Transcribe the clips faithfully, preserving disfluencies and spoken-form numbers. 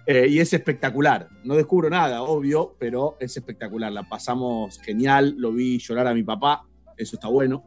Eh, y es espectacular. No descubro nada, obvio, pero es espectacular. La pasamos genial. Lo vi llorar a mi papá. Eso está bueno.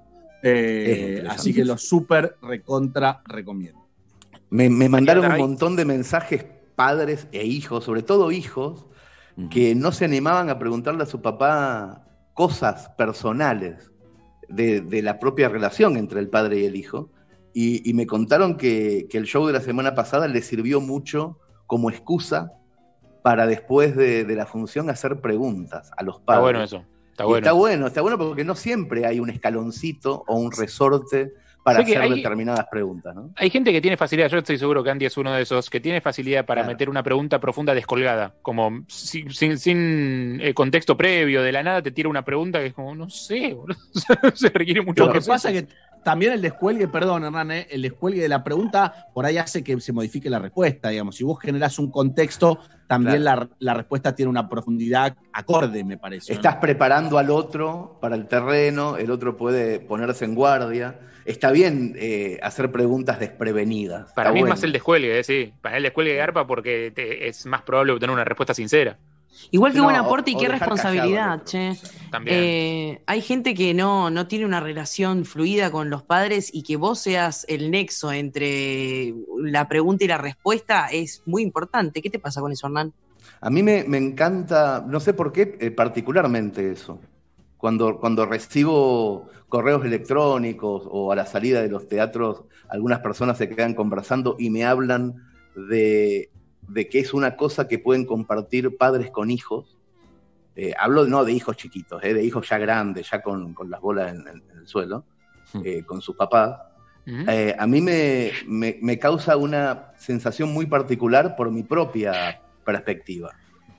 Eh, así que lo súper recontra recomiendo. Me, me mandaron un montón de mensajes padres e hijos, sobre todo hijos, uh-huh. que no se animaban a preguntarle a su papá cosas personales de, de la propia relación entre el padre y el hijo. Y, y me contaron que, que el show de la semana pasada les sirvió mucho como excusa para después de, de la función hacer preguntas a los padres. Está bueno eso. Está bueno. Está bueno, está bueno porque no siempre hay un escaloncito o un resorte para hacer hay, determinadas preguntas, ¿no? Hay gente que tiene facilidad, yo estoy seguro que Andy es uno de esos, que tiene facilidad para claro. meter una pregunta profunda descolgada, como sin, sin, sin eh, contexto previo, de la nada te tira una pregunta que es como, no sé, boludo. Se requiere mucho. Lo que pasa es que también el descuelgue, perdón Hernán, eh, el descuelgue de la pregunta por ahí hace que se modifique la respuesta, digamos. Si vos generás un contexto, también claro. la, la respuesta tiene una profundidad acorde, me parece. Estás ¿no? preparando al otro para el terreno, el otro puede ponerse en guardia. Está bien eh, hacer preguntas desprevenidas. Para Está mí bueno. es más el descuelgue, eh, sí. Para mí el descuelgue de arpa porque te, es más probable obtener una respuesta sincera. Igual que no, buen aporte o, y qué responsabilidad, che. También. Eh, hay gente que no, no tiene una relación fluida con los padres y que vos seas el nexo entre la pregunta y la respuesta es muy importante. ¿Qué te pasa con eso, Hernán? A mí me, me encanta, no sé por qué, eh, particularmente eso. Cuando, cuando recibo correos electrónicos o a la salida de los teatros, algunas personas se quedan conversando y me hablan de... de que es una cosa que pueden compartir padres con hijos. Eh, hablo no de hijos chiquitos, eh, de hijos ya grandes, ya con, con las bolas en, en, en el suelo, eh, con sus papás. Uh-huh. Eh, a mí me, me, me causa una sensación muy particular por mi propia perspectiva.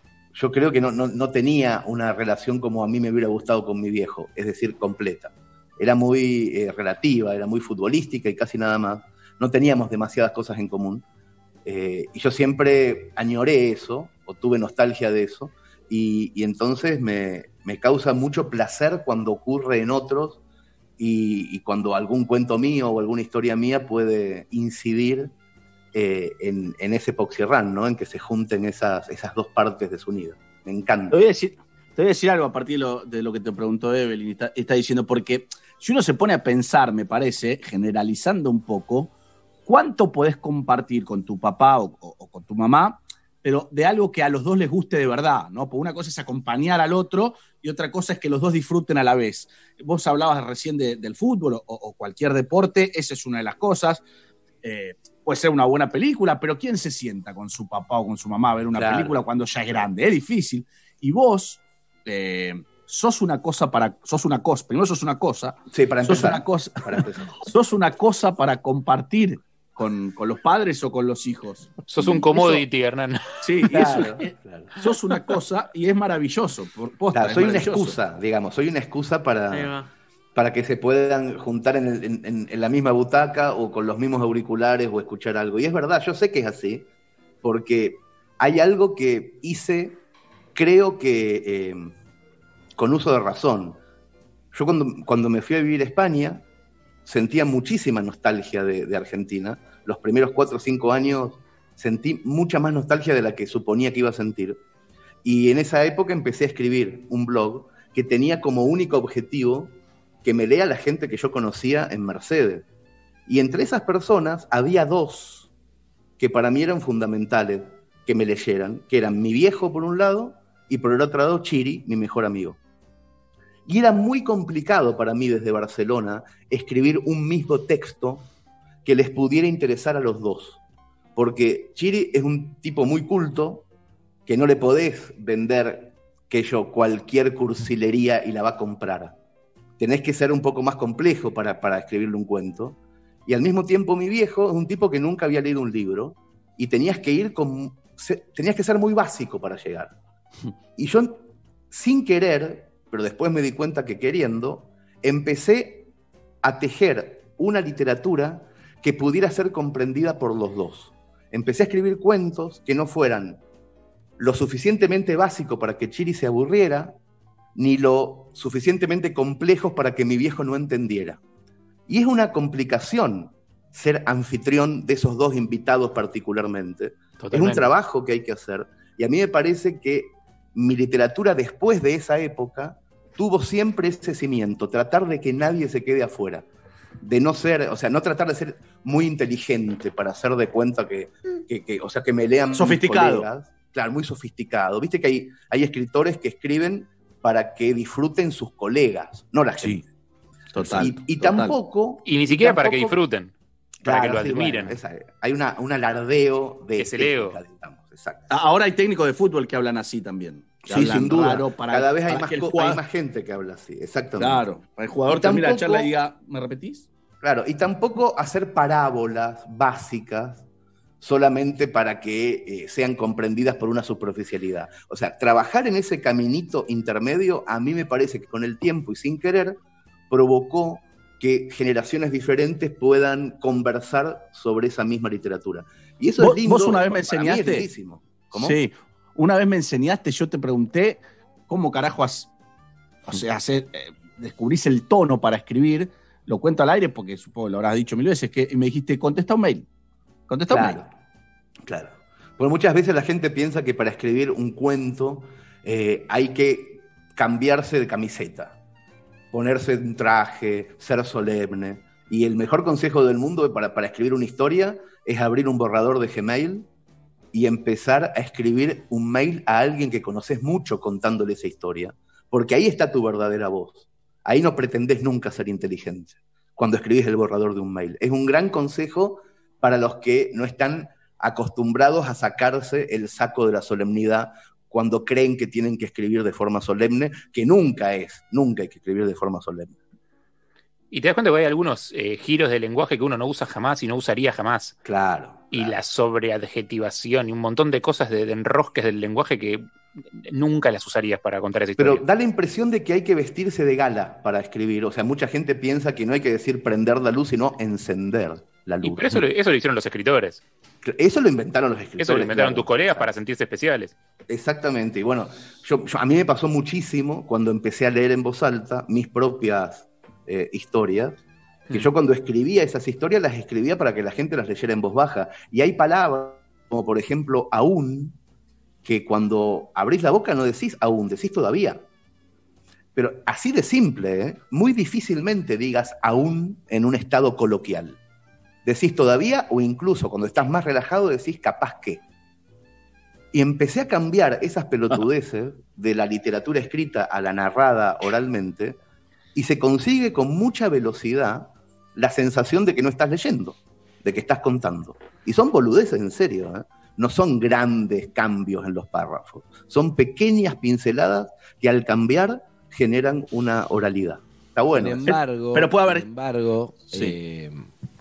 Yo creo que no, no, no tenía una relación como a mí me hubiera gustado con mi viejo, es decir, completa. Era muy eh, relativa, era muy futbolística y casi nada más. No teníamos demasiadas cosas en común. Eh, y yo siempre añoré eso, o tuve nostalgia de eso, y, y entonces me, me causa mucho placer cuando ocurre en otros, y, y cuando algún cuento mío o alguna historia mía puede incidir eh, en, en ese Poxirrán, ¿no? En que se junten esas, esas dos partes de su nido. Me encanta. Te voy a decir, te voy a decir algo a partir de lo, de lo que te preguntó Evelyn, está, está diciendo, porque si uno se pone a pensar, me parece, generalizando un poco, ¿cuánto podés compartir con tu papá o, o, o con tu mamá, pero de algo que a los dos les guste de verdad, ¿no? Porque una cosa es acompañar al otro y otra cosa es que los dos disfruten a la vez. Vos hablabas recién de, del fútbol o, o cualquier deporte, esa es una de las cosas. Eh, puede ser una buena película, pero ¿quién se sienta con su papá o con su mamá a ver una claro. película cuando ya es grande? Es difícil. Y vos... Eh, sos una cosa para, sos una cosa, primero sos una cosa, sí, para sos empezar, una cosa, para empezar. sos una cosa para compartir con, con los padres o con los hijos. Sos un commodity, eso, Hernán. Sí, claro, eso, eh, claro. Sos una cosa y es maravilloso. Por posta, claro, soy es una excusa, digamos, soy una excusa para, para que se puedan juntar en, el, en, en la misma butaca o con los mismos auriculares o escuchar algo. Y es verdad, yo sé que es así, porque hay algo que hice, creo que... Eh, con uso de razón. Yo cuando, cuando me fui a vivir a España, sentía muchísima nostalgia de, de Argentina. Los primeros cuatro o cinco años sentí mucha más nostalgia de la que suponía que iba a sentir. Y en esa época empecé a escribir un blog que tenía como único objetivo que me lea la gente que yo conocía en Mercedes. Y entre esas personas había dos que para mí eran fundamentales que me leyeran, que eran mi viejo por un lado y por el otro lado Chiri, mi mejor amigo. Y era muy complicado para mí desde Barcelona escribir un mismo texto que les pudiera interesar a los dos. Porque Chiri es un tipo muy culto, que no le podés vender que yo cualquier cursilería y la va a comprar. Tenés que ser un poco más complejo para, para escribirle un cuento. Y al mismo tiempo mi viejo es un tipo que nunca había leído un libro y tenías que ir con, tenías que ser muy básico para llegar. Y yo, sin querer... pero después me di cuenta que queriendo, empecé a tejer una literatura que pudiera ser comprendida por los dos. Empecé a escribir cuentos que no fueran lo suficientemente básicos para que Chiri se aburriera, ni lo suficientemente complejos para que mi viejo no entendiera. Y es una complicación ser anfitrión de esos dos invitados particularmente, Totalmente. Es un trabajo que hay que hacer. Y a mí me parece que mi literatura después de esa época tuvo siempre ese cimiento, tratar de que nadie se quede afuera. De no ser, o sea, no tratar de ser muy inteligente para hacer de cuenta que, que, que o sea, que me lean sofisticado. Colegas. Claro, muy sofisticado. Viste que hay, hay escritores que escriben para que disfruten sus colegas, no la gente. Sí, total. Y, y total. tampoco... Y ni siquiera y tampoco, para que disfruten, para claro, que lo sí, admiren. Bueno, esa, hay una, un alardeo de es el ego. Digamos, exacto. Ahora hay técnicos de fútbol que hablan así también. Sí, sin duda. Para, Cada vez hay para más, el co- jugador... hay más gente que habla así, exactamente. Claro, para el jugador Y termina tampoco... la charla y diga, ¿me repetís? Claro, y tampoco hacer parábolas básicas solamente para que eh, sean comprendidas por una superficialidad. O sea, trabajar en ese caminito intermedio, a mí me parece que con el tiempo y sin querer, provocó que generaciones diferentes puedan conversar sobre esa misma literatura. Y eso ¿Vos, es lindo. Vos una vez me para mí enseñaste. es lindísimo. ¿Cómo? Sí, una vez me enseñaste, yo te pregunté cómo carajo has, o sea, hacer, eh, descubrís el tono para escribir. Lo cuento al aire porque supongo que lo habrás dicho mil veces, que me dijiste, contesta un mail. Contesta Claro, un mail. claro. Porque muchas veces la gente piensa que para escribir un cuento eh, hay que cambiarse de camiseta, ponerse un traje, ser solemne. Y el mejor consejo del mundo para, para escribir una historia es abrir un borrador de Gmail y empezar a escribir un mail a alguien que conoces mucho contándole esa historia. Porque ahí está tu verdadera voz. Ahí no pretendés nunca ser inteligente cuando escribís el borrador de un mail. Es un gran consejo para los que no están acostumbrados a sacarse el saco de la solemnidad cuando creen que tienen que escribir de forma solemne, que nunca es, nunca hay que escribir de forma solemne. Y te das cuenta que hay algunos eh, giros de lenguaje que uno no usa jamás y no usaría jamás. Claro. Y claro. la sobreadjetivación y un montón de cosas de, de enrosques del lenguaje que nunca las usarías para contar esa historia. Pero da la impresión de que hay que vestirse de gala para escribir. O sea, mucha gente piensa que no hay que decir prender la luz, sino encender la luz. Y pero eso, lo, eso lo hicieron los escritores. Eso lo inventaron los escritores. Eso lo inventaron claro. tus colegas Exacto. para sentirse especiales. Exactamente. Y bueno, yo, yo, a mí me pasó muchísimo cuando empecé a leer en voz alta mis propias eh, historias, que mm. yo cuando escribía esas historias las escribía para que la gente las leyera en voz baja. Y hay palabras, como por ejemplo, aún, que cuando abrís la boca no decís aún, decís todavía. Pero así de simple, ¿eh? Muy difícilmente digas aún en un estado coloquial. Decís todavía o incluso cuando estás más relajado decís capaz que. Y empecé a cambiar esas pelotudeces de la literatura escrita a la narrada oralmente y se consigue con mucha velocidad la sensación de que no estás leyendo, de que estás contando. Y son boludeces en serio, ¿eh? No son grandes cambios en los párrafos, son pequeñas pinceladas que al cambiar generan una oralidad. Está bueno. Sin embargo, pero puede haber... sin embargo sí. eh,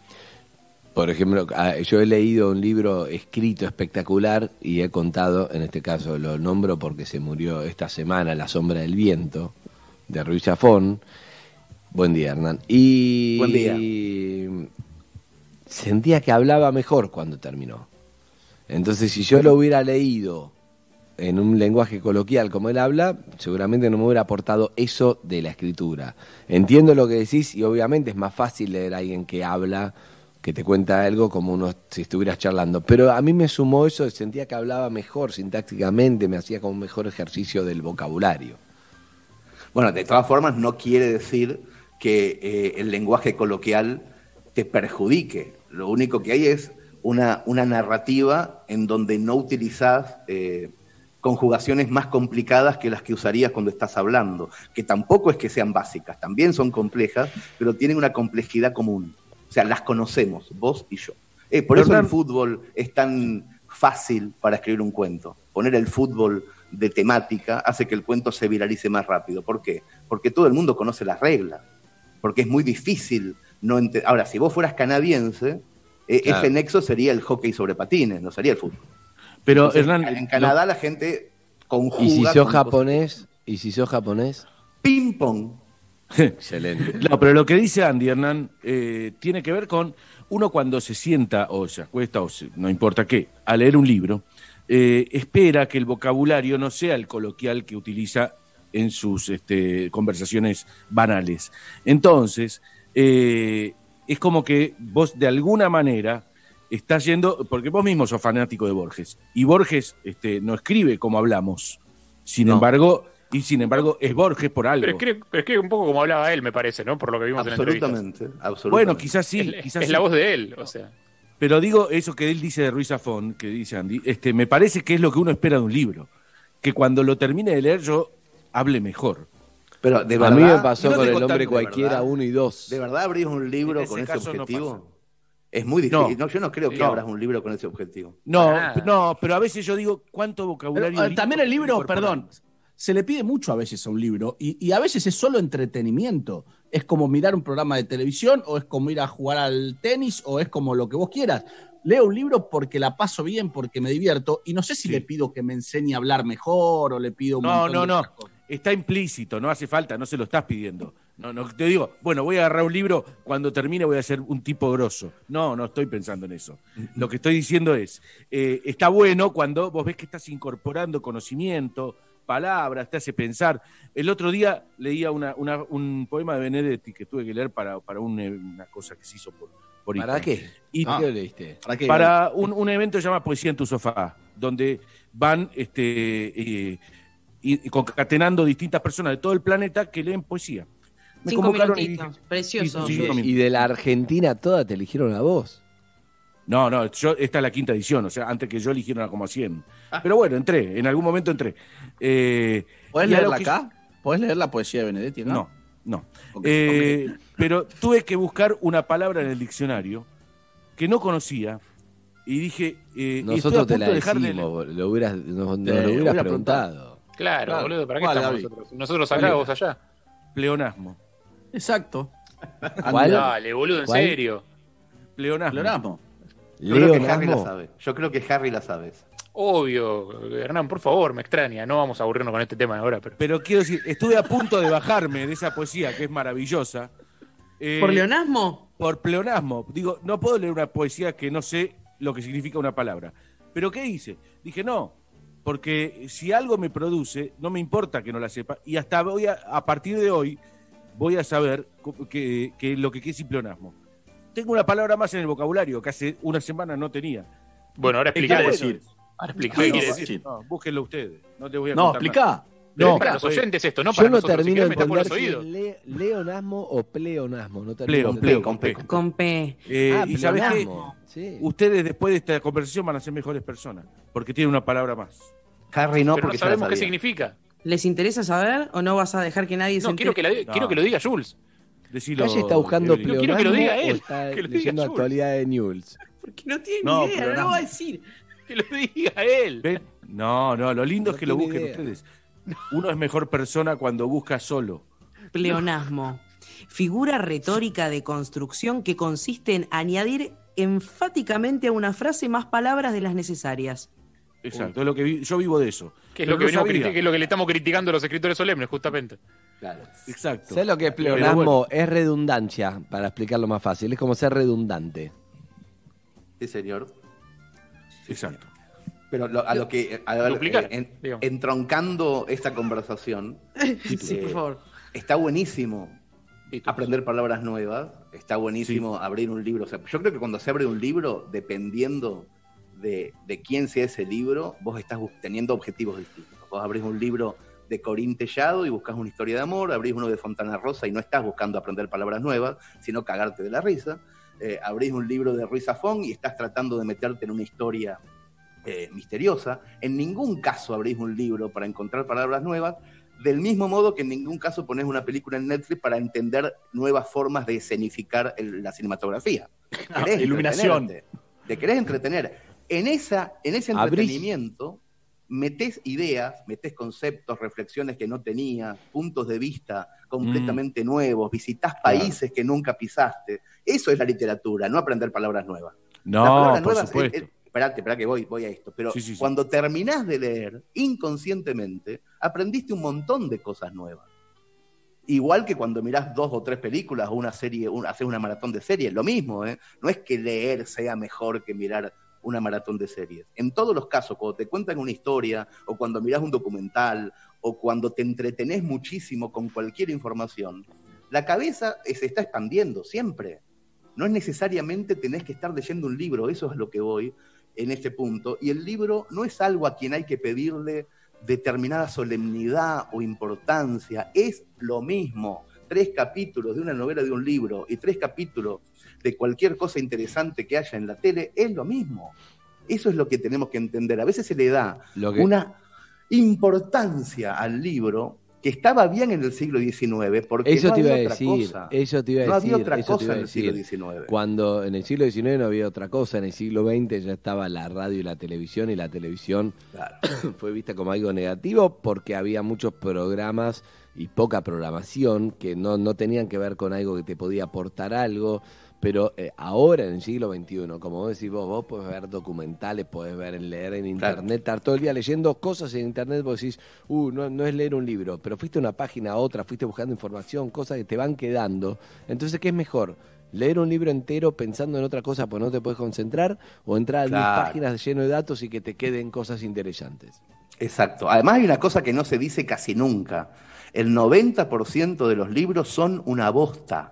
por ejemplo, yo he leído un libro escrito espectacular y he contado, en este caso lo nombro porque se murió esta semana, La sombra del viento, de Ruiz Zafón. Buen día, Hernán. Y Buen día. Sentía que hablaba mejor cuando terminó. Entonces, si yo lo hubiera leído en un lenguaje coloquial como él habla, seguramente no me hubiera aportado eso de la escritura. Entiendo lo que decís y obviamente es más fácil leer a alguien que habla, que te cuenta algo como uno si estuvieras charlando. Pero a mí me sumó eso, sentía que hablaba mejor sintácticamente, me hacía como un mejor ejercicio del vocabulario. Bueno, de todas formas no quiere decir que eh, el lenguaje coloquial te perjudique. Lo único que hay es Una, una narrativa en donde no utilizás eh, conjugaciones más complicadas que las que usarías cuando estás hablando, que tampoco es que sean básicas, también son complejas, pero tienen una complejidad común. O sea, las conocemos, vos y yo. Eh, por eso el fútbol es tan fácil para escribir un cuento. Poner el fútbol de temática hace que el cuento se viralice más rápido. ¿Por qué? Porque todo el mundo conoce las reglas, porque es muy difícil no ente- Ahora, si vos fueras canadiense, Eh, claro. Ese nexo sería el hockey sobre patines, no sería el fútbol. Pero Entonces, Hernán, en Canadá no. la gente conjuga. ¿Y si sos con japonés? cosas... ¿Y si sos japonés? Ping pong. Excelente. No, pero lo que dice Andy, Hernán, eh, tiene que ver con uno cuando se sienta o se acuesta o se, no importa qué, a leer un libro, eh, espera que el vocabulario no sea el coloquial que utiliza en sus este, conversaciones banales. Entonces, eh, es como que vos de alguna manera está yendo, porque vos mismo sos fanático de Borges, y Borges este, no escribe como hablamos, sin no. embargo, y sin embargo es Borges por algo. Pero escribe, pero escribe un poco como hablaba él, me parece, ¿no? Por lo que vimos en la entrevista. Absolutamente, absolutamente. Bueno, quizás sí, Es, quizás es sí. la voz de él, o sea. Pero digo, eso que él dice de Ruiz Zafón, que dice Andy, este, me parece que es lo que uno espera de un libro, que cuando lo termine de leer yo hable mejor. Pero de A verdad, mí me pasó no con te el contan hombre de cualquiera verdad. uno y dos. ¿De verdad abrís un libro En ese con ese caso no objetivo? pasa. Es muy difícil. No. No, yo no creo que No. abras un libro con ese objetivo. No, Para nada. no, pero a veces yo digo, ¿cuánto Pero, vocabulario? eh, también el libro, incorporar? perdón, se le pide mucho a veces a un libro y, y a veces es solo entretenimiento. Es como mirar un programa de televisión o es como ir a jugar al tenis o es como lo que vos quieras. Leo un libro porque la paso bien, porque me divierto y no sé si Sí. le pido que me enseñe a hablar mejor o le pido un No, montón no, de no. otras cosas. Está implícito, no hace falta, no se lo estás pidiendo. No, no, te digo, bueno, voy a agarrar un libro, cuando termine voy a ser un tipo grosso. No, no estoy pensando en eso. Lo que estoy diciendo es, eh, está bueno cuando vos ves que estás incorporando conocimiento, palabras, te hace pensar. El otro día leía una, una, un poema de Benedetti que tuve que leer para, para un, una cosa que se hizo por, por ¿Para Instagram. qué? Y ¿Para qué lo leíste? ¿Para qué? para un, un evento que se llama Poesía en tu sofá, donde van este, eh, y, y concatenando distintas personas de todo el planeta que leen poesía. Me Cinco convocaron y minutitos. dije, Precioso. Sí, Y sí, de, sí. y de la Argentina toda te eligieron a vos. no, no, yo, esta es la quinta edición, o sea, antes que yo eligieron como a cien. Pero bueno, entré, en algún momento entré. Eh, ¿Podés y a lo leerla que- acá? ¿Podés leer la poesía de Benedetti? No. No, no. Ok, Eh, Pero tuve que buscar una palabra en el diccionario que no conocía y dije, eh, y estoy a Nosotros te punto la de dejar de decimos, bol- lo hubieras, nos, nos Te lo hubieras hubiera preguntado. Claro, Claro. boludo, ¿para qué ¿Cuál, estamos Gaby? nosotros? Nosotros acá, vos allá. pleonasmo. Exacto. ¿Cuál? Dale, boludo, en ¿Cuál? serio. Pleonasmo. Pleonasmo. Yo creo que Leo Harry la Nasmo. sabe. Yo creo que Harry la sabe. Obvio, Hernán, por favor, me extraña. No vamos a aburrirnos con este tema ahora, pero. Pero quiero decir, estuve a punto de bajarme de esa poesía que es maravillosa. eh, ¿Por leonasmo? Por pleonasmo. Digo, no puedo leer una poesía que no sé lo que significa una palabra. ¿Pero qué hice? Dije, no, porque si algo me produce, no me importa que no la sepa. Y hasta voy a, a partir de hoy, voy a saber que, que lo que es pleonasmo. Tengo una palabra más en el vocabulario que hace una semana no tenía. Bueno, ahora ¿Qué explica quiere eso. decir? Ahora explica ¿Qué qué quiere quiere decir? decir. No, búsquenlo ustedes. No te voy a No, contar nada. explica. Pero No, es para los pues, oyentes esto, no Yo para no nosotros. Si termino de querés, me tapo los entender si oídos. es le- leonasmo o pleonasmo. No termino Pleo, de pleo, entender. con P. Con P. Eh, Ah, y sabes qué, pleonasmo. Sí. ustedes después de esta conversación van a ser mejores personas, porque tienen una palabra más. Harry no, Pero no porque ya la sabemos qué sabía. significa. ¿Les interesa saber o no vas a dejar que nadie se No, quiero que, entere? la, quiero que lo diga Jules. Decilo, Calle está buscando Evelyn. No, quiero que lo pleonasmo diga él, o está que lo diga leyendo Jules. actualidad de News. Porque no tiene No, ni idea, no pleonasmo. lo va a decir. Que lo diga él. ¿Ven? No, no, lo lindo No es que lo tiene busquen idea. ustedes. Uno es mejor persona cuando busca solo. Pleonasmo. Figura retórica de construcción que consiste en añadir enfáticamente a una frase más palabras de las necesarias. Exacto, es lo que vi- yo vivo de eso. Que es Pero lo que, no venimos sabía. criti- que es lo que le estamos criticando a los escritores solemnes, justamente. Claro. Exacto. ¿Sabes lo que es Pero pleonasmo? bueno. Es redundancia, para explicarlo más fácil. Es como ser redundante. Sí, señor. Exacto. Pero lo- a lo que. A ver, Duplicar, eh, en- digamos. entroncando esta conversación, Sí, por favor. está buenísimo Y tú- aprender palabras nuevas. Está buenísimo abrir un libro. O sea, yo creo que cuando se abre un libro, dependiendo de, de quién sea ese libro, vos estás bus- teniendo objetivos distintos. Vos abrís un libro de Corín Tellado y buscas una historia de amor, abrís uno de Fontana Rosa y no estás buscando aprender palabras nuevas, sino cagarte de la risa. Eh, abrís un libro de Ruiz Zafón y estás tratando de meterte en una historia eh, misteriosa. En ningún caso abrís un libro para encontrar palabras nuevas, del mismo modo que en ningún caso pones una película en Netflix para entender nuevas formas de escenificar el- la cinematografía. Querés iluminación. entretenerte, Te querés entretener. En, esa, en ese Abrís- entretenimiento metés ideas, metés conceptos, reflexiones que no tenías, puntos de vista completamente nuevos, visitás países que nunca pisaste. Eso es la literatura, no aprender palabras nuevas. Las No, palabras por nuevas, supuesto. eh, eh, esperate, esperá que voy, voy a esto. Pero Sí, sí, sí. cuando terminás de leer, inconscientemente, aprendiste un montón de cosas nuevas. Igual que cuando mirás dos o tres películas o una serie, un, haces una maratón de series, lo mismo, ¿eh? No es que leer sea mejor que mirar una maratón de series. En todos los casos, cuando te cuentan una historia, o cuando mirás un documental, o cuando te entretenés muchísimo con cualquier información, la cabeza se está expandiendo siempre. no es necesariamente tenés que estar leyendo un libro, eso es lo que voy en este punto, y el libro no es algo a quien hay que pedirle determinada solemnidad o importancia, es lo mismo, tres capítulos de una novela de un libro y tres capítulos de cualquier cosa interesante que haya en la tele, es lo mismo. Eso es lo que tenemos que entender. A veces se le da Lo que... una importancia al libro que estaba bien en el siglo diecinueve, porque eso no te iba había a otra decir, cosa. eso te iba a no decir, había otra eso te iba cosa a en el siglo decir. diecinueve. Cuando en el siglo diecinueve no había otra cosa, en el siglo veinte ya estaba la radio y la televisión, y la televisión Claro. fue vista como algo negativo porque había muchos programas y poca programación que no, no tenían que ver con algo que te podía aportar algo. Pero eh, ahora, en el siglo veintiuno, como vos decís vos, vos podés ver documentales, podés ver, leer en internet, Claro. estar todo el día leyendo cosas en internet, vos decís, uh, no, no es leer un libro, pero fuiste a una página a otra, fuiste buscando información, cosas que te van quedando. Entonces, ¿qué es mejor? ¿Leer un libro entero pensando en otra cosa porque no te puedes concentrar? ¿O entrar a Claro. diez páginas lleno de datos y que te queden cosas interesantes? Exacto. Además hay una cosa que no se dice casi nunca. El noventa por ciento de los libros son una bosta.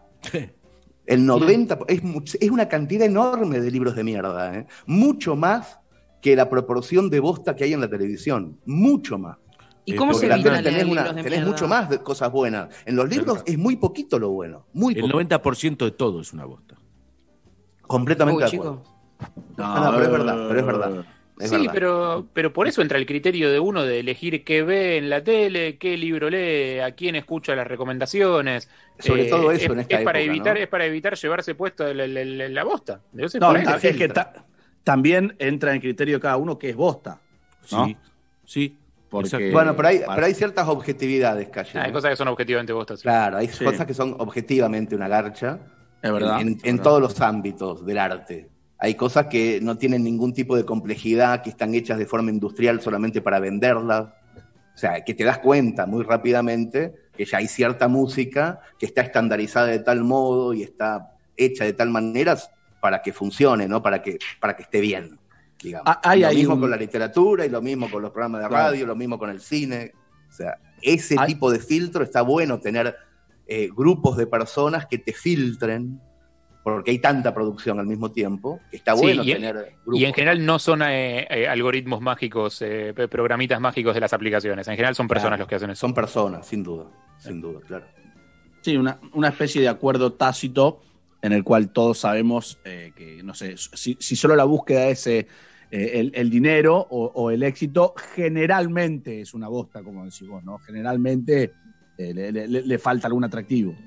El noventa por ciento, es, es una cantidad enorme de libros de mierda, ¿eh? Mucho más que la proporción de bosta que hay en la televisión. Mucho más. ¿Y cómo Porque se la evita tenés, leer tenés una- libros de tenés mierda? mucho más de cosas buenas. En los libros es muy poquito lo bueno. Muy El poquito. noventa por ciento de todo es una bosta. Completamente Uy, de acuerdo. chico. No, no, pero es verdad, pero es verdad. Es sí, verdad. pero, pero por eso entra el criterio de uno de elegir qué ve en la tele, qué libro lee, a quién escucha las recomendaciones. Sobre todo eso es, en esta es para época, evitar, ¿no? es para evitar llevarse puesto la, la, la, la bosta. Debe ser No, por es, eso. es que ta- también entra en el criterio de cada uno que es bosta. ¿no? Sí, sí. Porque- exacto. Bueno, pero hay, Para- pero hay ciertas objetividades, Calle. Ah, hay ¿no? cosas que son objetivamente bostas. Sí. Claro, hay Sí. cosas que son objetivamente una garcha. Es verdad. En, en- es en verdad. todos los ámbitos del arte. Hay cosas que no tienen ningún tipo de complejidad, que están hechas de forma industrial solamente para venderlas. O sea, que te das cuenta muy rápidamente que ya hay cierta música que está estandarizada de tal modo y está hecha de tal manera para que funcione, ¿no? Para que, para que esté bien, digamos. Ah, hay lo ahí mismo un- con la literatura y lo mismo con los programas de Claro. radio, lo mismo con el cine. O sea, ese Hay- tipo de filtro está bueno, tener eh, grupos de personas que te filtren, porque hay tanta producción al mismo tiempo, que está Sí, bueno y en- tener grupos. Y en general no son eh, eh, algoritmos mágicos, eh, programitas mágicos de las aplicaciones. En general son personas Claro, los que hacen eso. Son personas, sin duda, sin duda, claro. Sí, una, una especie de acuerdo tácito en el cual todos sabemos eh, que, no sé, si, si solo la búsqueda es eh, el, el dinero o, o el éxito, generalmente es una bosta, como decís vos, ¿no? Generalmente eh, le, le- le falta algún atractivo.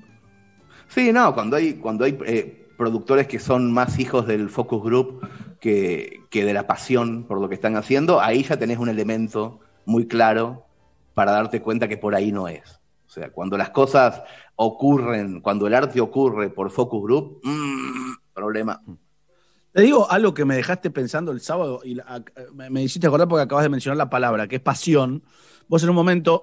Sí, no, cuando hay, cuando hay eh, productores que son más hijos del focus group que, que de la pasión por lo que están haciendo, ahí ya tenés un elemento muy claro para darte cuenta que por ahí no es. O sea, cuando las cosas ocurren, cuando el arte ocurre por focus group, mmm, problema. Te digo algo que me dejaste pensando el sábado y la- me, me hiciste acordar porque acabas de mencionar la palabra, que es pasión. Vos en un momento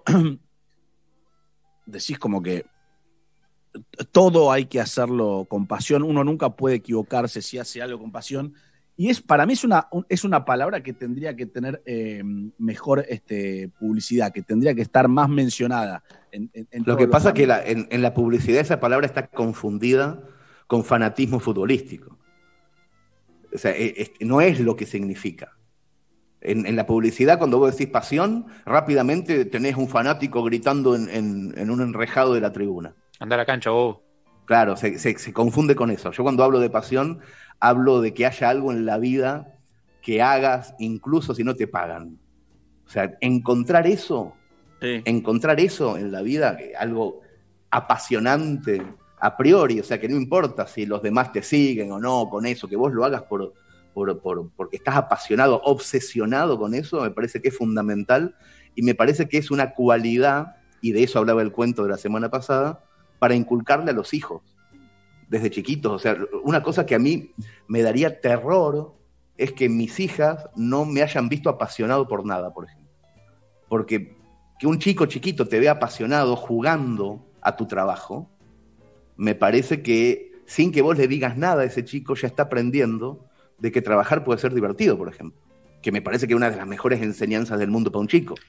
decís como que todo hay que hacerlo con pasión, uno nunca puede equivocarse si hace algo con pasión. Y es para mí es una, un- es una palabra que tendría que tener eh, mejor este, publicidad, que tendría que estar más mencionada. En, en- en Lo todos que los pasa es que ámbitos. la- en, en la publicidad esa palabra está confundida con fanatismo futbolístico. O sea, e- es- no es lo que significa. En, en la publicidad, cuando vos decís pasión, rápidamente tenés un fanático gritando en, en- en un enrejado de la tribuna. Anda a la cancha, vos. Claro, se, se- se confunde con eso. Yo cuando hablo de pasión, hablo de que haya algo en la vida que hagas incluso si no te pagan. O sea, encontrar eso, Sí. encontrar eso en la vida, que algo apasionante a priori, o sea, que no importa si los demás te siguen o no con eso, que vos lo hagas por, por, por- porque estás apasionado, obsesionado con eso, me parece que es fundamental y me parece que es una cualidad, y de eso hablaba el cuento de la semana pasada, para inculcarle a los hijos desde chiquitos. O sea, una cosa que a mí me daría terror es que mis hijas no me hayan visto apasionado por nada, por ejemplo. Porque que un chico chiquito te vea apasionado jugando a tu trabajo, me parece que sin que vos le digas nada a ese chico ya está aprendiendo de que trabajar puede ser divertido, por ejemplo. Que me parece que es una de las mejores enseñanzas del mundo para un chico.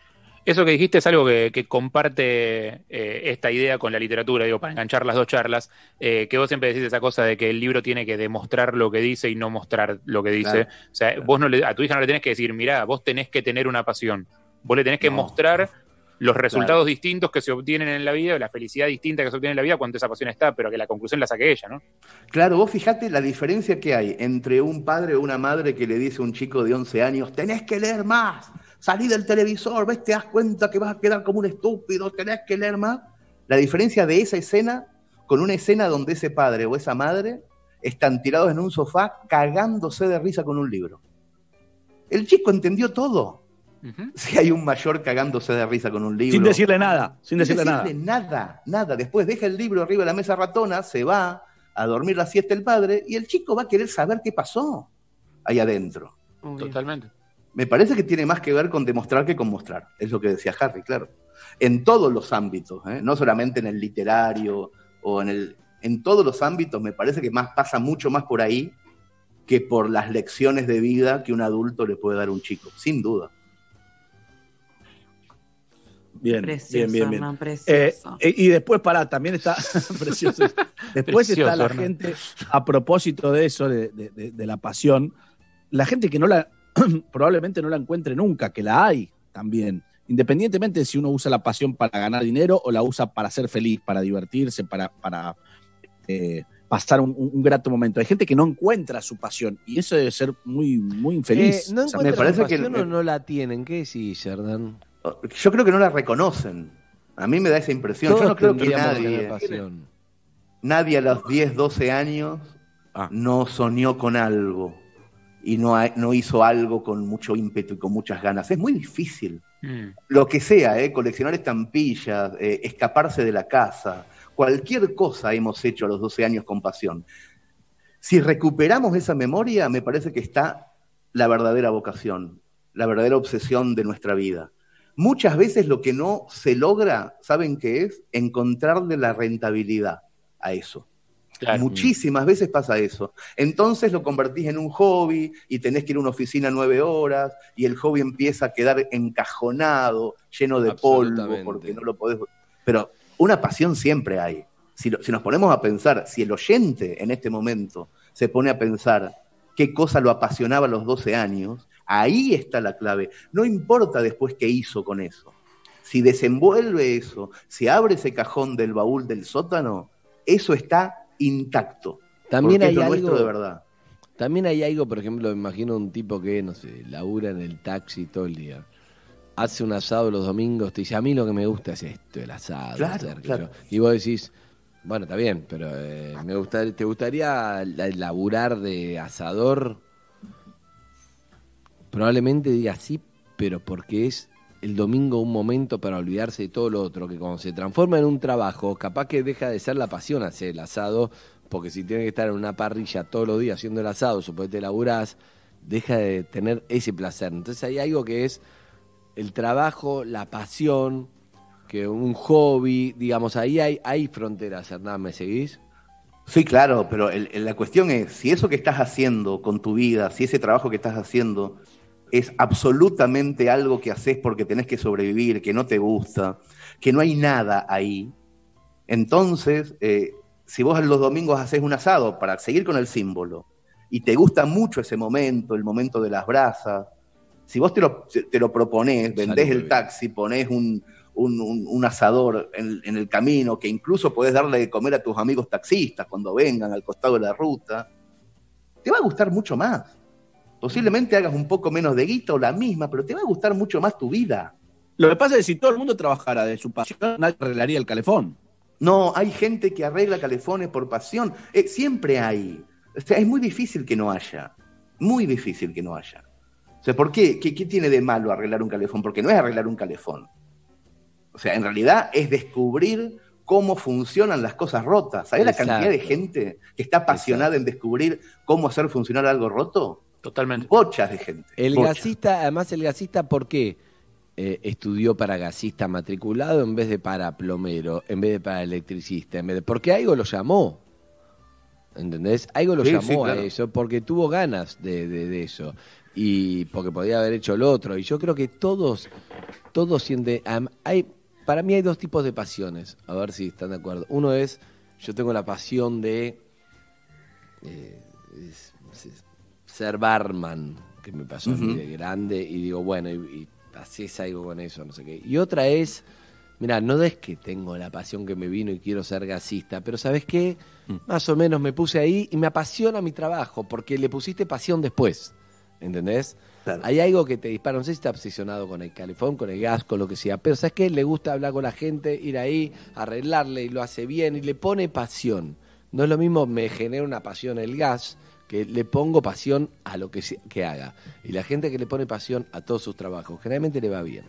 Eso que dijiste es algo que, que comparte eh, esta idea con la literatura, digo, para enganchar las dos charlas, eh, que vos siempre decís esa cosa de que el libro tiene que demostrar lo que dice y no mostrar lo que dice. Claro, o sea, claro. vos no le, a tu hija no le tenés que decir, mirá, vos tenés que tener una pasión. Vos le tenés que No. mostrar los resultados Claro. distintos que se obtienen en la vida, la felicidad distinta que se obtiene en la vida cuando esa pasión está, pero que la conclusión la saque ella, ¿no? Claro, vos fijate la diferencia que hay entre un padre o una madre que le dice a un chico de once años, tenés que leer más, salí del televisor, ves, te das cuenta que vas a quedar como un estúpido, tenés que leer más. La diferencia de esa escena con una escena donde ese padre o esa madre están tirados en un sofá cagándose de risa con un libro. El chico entendió todo. Uh-huh. Si hay un mayor cagándose de risa con un libro. Sin decirle nada, sin Sin decirle, decirle nada. nada, nada. Después deja el libro arriba de la mesa ratona, se va a dormir la siesta el padre y el chico va a querer saber qué pasó ahí adentro. Obvio. Totalmente. Me parece que tiene más que ver con demostrar que con mostrar. Es lo que decía Harry, claro. En todos los ámbitos, ¿eh? No solamente en el literario o en el... En todos los ámbitos me parece que más pasa mucho más por ahí que por las lecciones de vida que un adulto le puede dar a un chico, sin duda. Bien, Precioso, bien, bien, bien. Hernán, Eh, precioso. eh, y después, pará, también está precioso. Después Precioso, está la Hernán. gente, a propósito de eso, de, de- de- de la pasión, la gente que no la, probablemente no la encuentre nunca, que la hay también, independientemente de si uno usa la pasión para ganar dinero o la usa para ser feliz, para divertirse, para, para eh, pasar un, un grato momento. Hay gente que no encuentra su pasión y eso debe ser muy, muy infeliz. Eh, ¿No O sea, me encuentran parece que- pasión o no la tienen? ¿Qué decís, Hernán? Yo creo que no la reconocen. A mí me da esa impresión. Yo Todos no creo que tendríamos nadie... tener pasión. Nadie a los diez, doce años Ah. no soñó con algo y no, ha- no hizo algo con mucho ímpetu y con muchas ganas. Es muy difícil. Mm. Lo que sea, ¿eh? Coleccionar estampillas, eh, escaparse de la casa, cualquier cosa hemos hecho a los doce años con pasión. Si recuperamos esa memoria, me parece que está la verdadera vocación, la verdadera obsesión de nuestra vida. Muchas veces lo que no se logra, ¿saben qué es? Encontrarle la rentabilidad a eso. Claro. Muchísimas veces pasa eso. Entonces lo convertís en un hobby y tenés que ir a una oficina nueve horas y el hobby empieza a quedar encajonado, lleno de polvo, Absolutamente. porque no lo podés... Pero una pasión siempre hay. Si, lo- si nos ponemos a pensar, si el oyente en este momento se pone a pensar qué cosa lo apasionaba a los doce años, ahí está la clave. No importa después qué hizo con eso. Si desenvuelve eso, si abre ese cajón del baúl del sótano, eso está intacto. También porque hay es lo algo, nuestro de verdad. también hay algo, por ejemplo, me imagino un tipo que, no sé, labura en el taxi todo el día. Hace un asado los domingos, te dice, a mí lo que me gusta es esto, el asado. Claro, hacer, qué claro. sé yo. Y vos decís, bueno, está bien, pero eh, me gusta, ¿te gustaría la- laburar de asador? Probablemente diga sí, pero porque es el domingo un momento para olvidarse de todo lo otro, que cuando se transforma en un trabajo, capaz que deja de ser la pasión hacer el asado, porque si tienes que estar en una parrilla todos los días haciendo el asado, suponete laburás, deja de tener ese placer. Entonces hay algo que es el trabajo, la pasión, que un hobby, digamos, ahí hay, hay fronteras, Hernán, ¿me seguís? Sí, claro, pero el- el- la cuestión es, si eso que estás haciendo con tu vida, si ese trabajo que estás haciendo es absolutamente algo que haces porque tenés que sobrevivir, que no te gusta, que no hay nada ahí, entonces, eh, si vos los domingos haces un asado para seguir con el símbolo, y te gusta mucho ese momento, el momento de las brasas, si vos te lo, te lo proponés, vendés Sale muy el bien. taxi, ponés un, un, un- un asador en, en el camino, que incluso podés darle de comer a tus amigos taxistas cuando vengan al costado de la ruta, te va a gustar mucho más. Posiblemente hagas un poco menos de guita o la misma, pero te va a gustar mucho más tu vida. Lo que pasa es que si todo el mundo trabajara de su pasión, nadie arreglaría el calefón. No, hay gente que arregla calefones por pasión. Eh, siempre hay. O sea, es muy difícil que no haya. Muy difícil que no haya. O sea, ¿por qué? ¿Qué, qué tiene de malo arreglar un calefón? Porque no es arreglar un calefón. O sea, en realidad es descubrir cómo funcionan las cosas rotas. ¿Sabés la Exacto. cantidad de gente que está apasionada Exacto. en descubrir cómo hacer funcionar algo roto? Totalmente. Bochas de gente. El bochas. gasista, además el gasista, ¿por qué eh, estudió para gasista matriculado en vez de para plomero, en vez de para electricista? En vez de, porque algo lo llamó, ¿entendés? Algo lo Sí, llamó sí, claro. a eso, porque tuvo ganas de, de- de eso. y porque podía haber hecho lo otro. Y yo creo que todos, todos sienten... Um, hay, para mí hay dos tipos de pasiones, a ver si están de acuerdo. Uno es, yo tengo la pasión de eh, es, es, ser barman, que me pasó uh-huh. a mí de grande, y digo, bueno, y, y haces algo con eso, no sé qué. Y otra es, mira, no es que tengo la pasión que me vino y quiero ser gasista, pero ¿sabes qué? Mm. Más o menos me puse ahí y me apasiona mi trabajo, porque le pusiste pasión después, ¿entendés? Claro. Hay algo que te dispara, no sé si está obsesionado con el calefón, con el gas, con lo que sea, pero ¿sabes qué? Le gusta hablar con la gente, ir ahí, arreglarle, y lo hace bien, y le pone pasión. No es lo mismo, me genera una pasión el gas, que le pongo pasión a lo que, se, que haga. Y la gente que le pone pasión a todos sus trabajos, generalmente le va bien.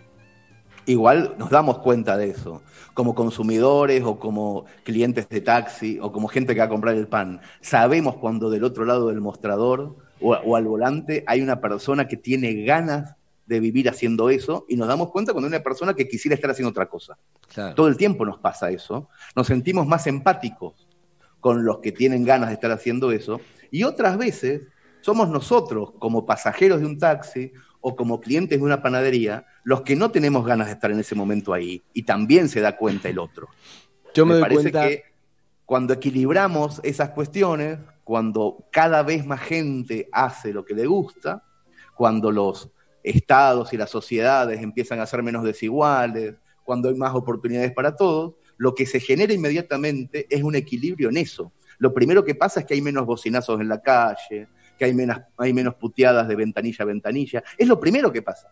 Igual nos damos cuenta de eso, como consumidores o como clientes de taxi o como gente que va a comprar el pan. Sabemos cuando del otro lado del mostrador o, o al volante hay una persona que tiene ganas de vivir haciendo eso, y nos damos cuenta cuando hay una persona que quisiera estar haciendo otra cosa. Claro. Todo el tiempo nos pasa eso. Nos sentimos más empáticos con los que tienen ganas de estar haciendo eso, y otras veces somos nosotros, como pasajeros de un taxi o como clientes de una panadería, los que no tenemos ganas de estar en ese momento ahí, y también se da cuenta el otro. Yo me, me doy parece cuenta que cuando equilibramos esas cuestiones, cuando cada vez más gente hace lo que le gusta, cuando los estados y las sociedades empiezan a ser menos desiguales, cuando hay más oportunidades para todos, lo que se genera inmediatamente es un equilibrio en eso. Lo primero que pasa es que hay menos bocinazos en la calle, que hay menos, hay menos puteadas de ventanilla a ventanilla. Es lo primero que pasa.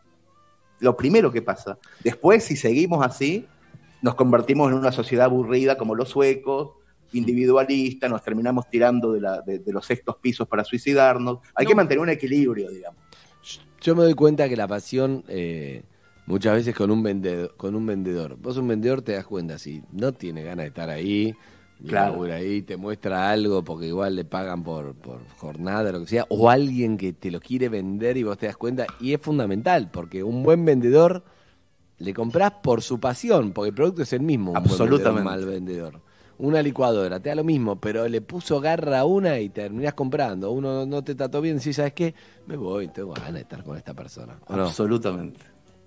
Lo primero que pasa. Después, si seguimos así, nos convertimos en una sociedad aburrida como los suecos, individualista, nos terminamos tirando de, la, de, de los sextos pisos para suicidarnos. Hay no. que mantener un equilibrio, digamos. Yo me doy cuenta que la pasión, eh, muchas veces con un vendedor, con un vendedor, vos un vendedor te das cuenta, si no tiene ganas de estar ahí, claro, ahí te muestra algo porque igual le pagan por, por jornada, lo que sea, o alguien que te lo quiere vender y vos te das cuenta, y es fundamental, porque un buen vendedor le comprás por su pasión, porque el producto es el mismo, un absolutamente buen vendedor, un mal vendedor. Una licuadora, te da lo mismo, pero le puso garra a una y terminás comprando. Uno no te trató bien, si sabes qué, me voy, tengo ganas de estar con esta persona. Absolutamente.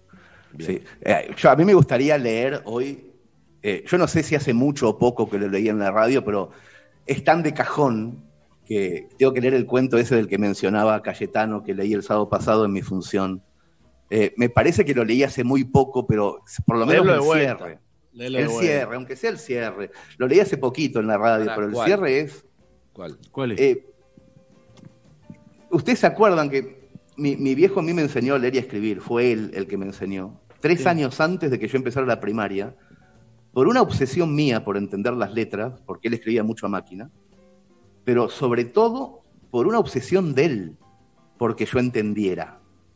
No? Sí. Eh, yo, a mí me gustaría leer hoy, eh, yo no sé si hace mucho o poco que lo leí en la radio, pero es tan de cajón que tengo que leer el cuento ese del que mencionaba Cayetano, que leí el sábado pasado en mi función. Eh, me parece que lo leí hace muy poco, pero por lo menos el cierre. Léelo el cierre, bueno. Aunque sea el cierre. Lo leí hace poquito en la radio, Ahora, pero el ¿cuál? cierre es... ¿Cuál? ¿Cuál es? Eh, Ustedes se acuerdan que mi, mi viejo a mí me enseñó a leer y a escribir. Fue él el que me enseñó. Tres sí. años antes de que yo empezara la primaria, por una obsesión mía por entender las letras, porque él escribía mucho a máquina, pero sobre todo por una obsesión de él, porque yo entendiera.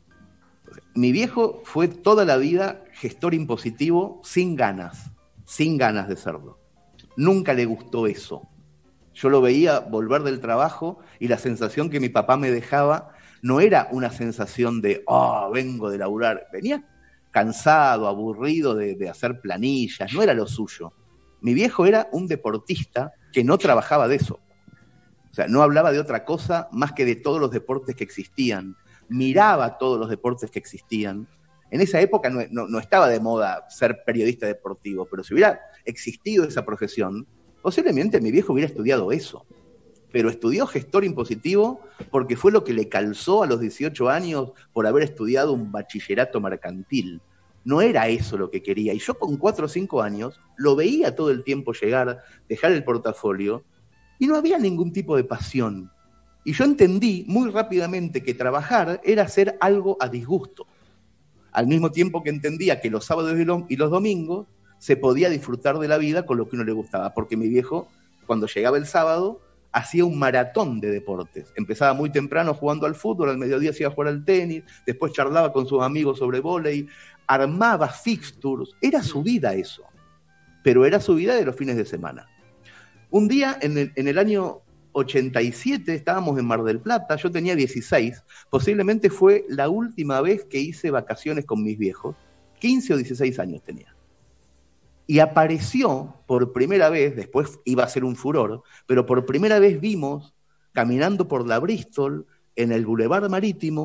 Mi viejo fue toda la vida gestor impositivo sin ganas, sin ganas de serlo. Nunca le gustó eso. Yo lo veía volver del trabajo y la sensación que mi papá me dejaba no era una sensación de, oh, vengo de laburar. Venía cansado, aburrido de, de hacer planillas, no era lo suyo. Mi viejo era un deportista que no trabajaba de eso. O sea, no hablaba de otra cosa más que de todos los deportes que existían. Miraba todos los deportes que existían. En esa época no, no, no estaba de moda ser periodista deportivo, pero si hubiera existido esa profesión, posiblemente mi viejo hubiera estudiado eso. Pero estudió gestor impositivo porque fue lo que le calzó a los dieciocho años por haber estudiado un bachillerato mercantil. No era eso lo que quería. Y yo con cuatro o cinco años lo veía todo el tiempo llegar, dejar el portafolio, y no había ningún tipo de pasión. Y yo entendí muy rápidamente que trabajar era hacer algo a disgusto. Al mismo tiempo que entendía que los sábados y los domingos se podía disfrutar de la vida con lo que uno le gustaba. Porque mi viejo, cuando llegaba el sábado, hacía un maratón de deportes. Empezaba muy temprano jugando al fútbol, al mediodía se iba a jugar al tenis, después charlaba con sus amigos sobre vóley, armaba fixtures. Era su vida eso. Pero era su vida de los fines de semana. Un día, en el, en el año ochenta y siete, estábamos en Mar del Plata, yo tenía dieciséis, posiblemente fue la última vez que hice vacaciones con mis viejos, quince o dieciséis años tenía. Y apareció por primera vez, después iba a ser un furor, pero por primera vez vimos, caminando por la Bristol, en el Boulevard Marítimo,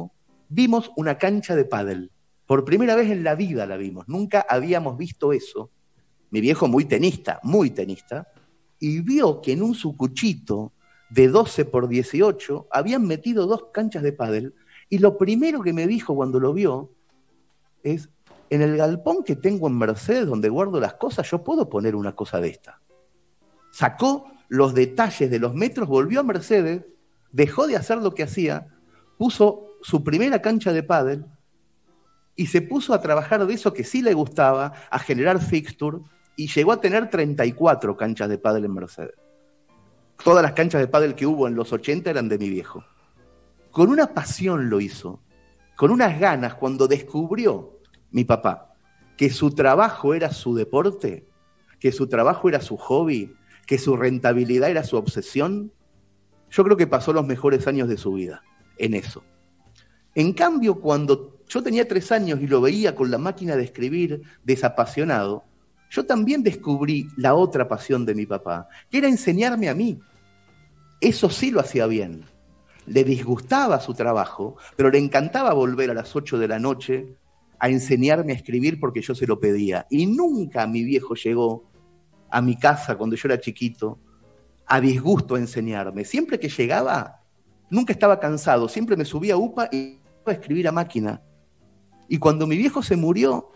vimos una cancha de pádel. Por primera vez en la vida la vimos. Nunca habíamos visto eso. Mi viejo muy tenista, muy tenista, y vio que en un sucuchito de doce por dieciocho habían metido dos canchas de pádel, y lo primero que me dijo cuando lo vio es, en el galpón que tengo en Mercedes, donde guardo las cosas, yo puedo poner una cosa de esta. Sacó los detalles de los metros, volvió a Mercedes, dejó de hacer lo que hacía, puso su primera cancha de pádel y se puso a trabajar de eso que sí le gustaba, a generar fixture, y llegó a tener treinta y cuatro canchas de pádel en Mercedes. Todas las canchas de pádel que hubo en los ochenta eran de mi viejo. Con una pasión lo hizo, con unas ganas, cuando descubrió mi papá que su trabajo era su deporte, que su trabajo era su hobby, que su rentabilidad era su obsesión, yo creo que pasó los mejores años de su vida en eso. En cambio, cuando yo tenía tres años y lo veía con la máquina de escribir desapasionado, yo también descubrí la otra pasión de mi papá, que era enseñarme a mí. Eso sí lo hacía bien. Le disgustaba su trabajo, pero le encantaba volver a las ocho de la noche a enseñarme a escribir porque yo se lo pedía. Y nunca mi viejo llegó a mi casa cuando yo era chiquito a disgusto a enseñarme. Siempre que llegaba, nunca estaba cansado, siempre me subía a UPA y iba a escribir a máquina. Y cuando mi viejo se murió,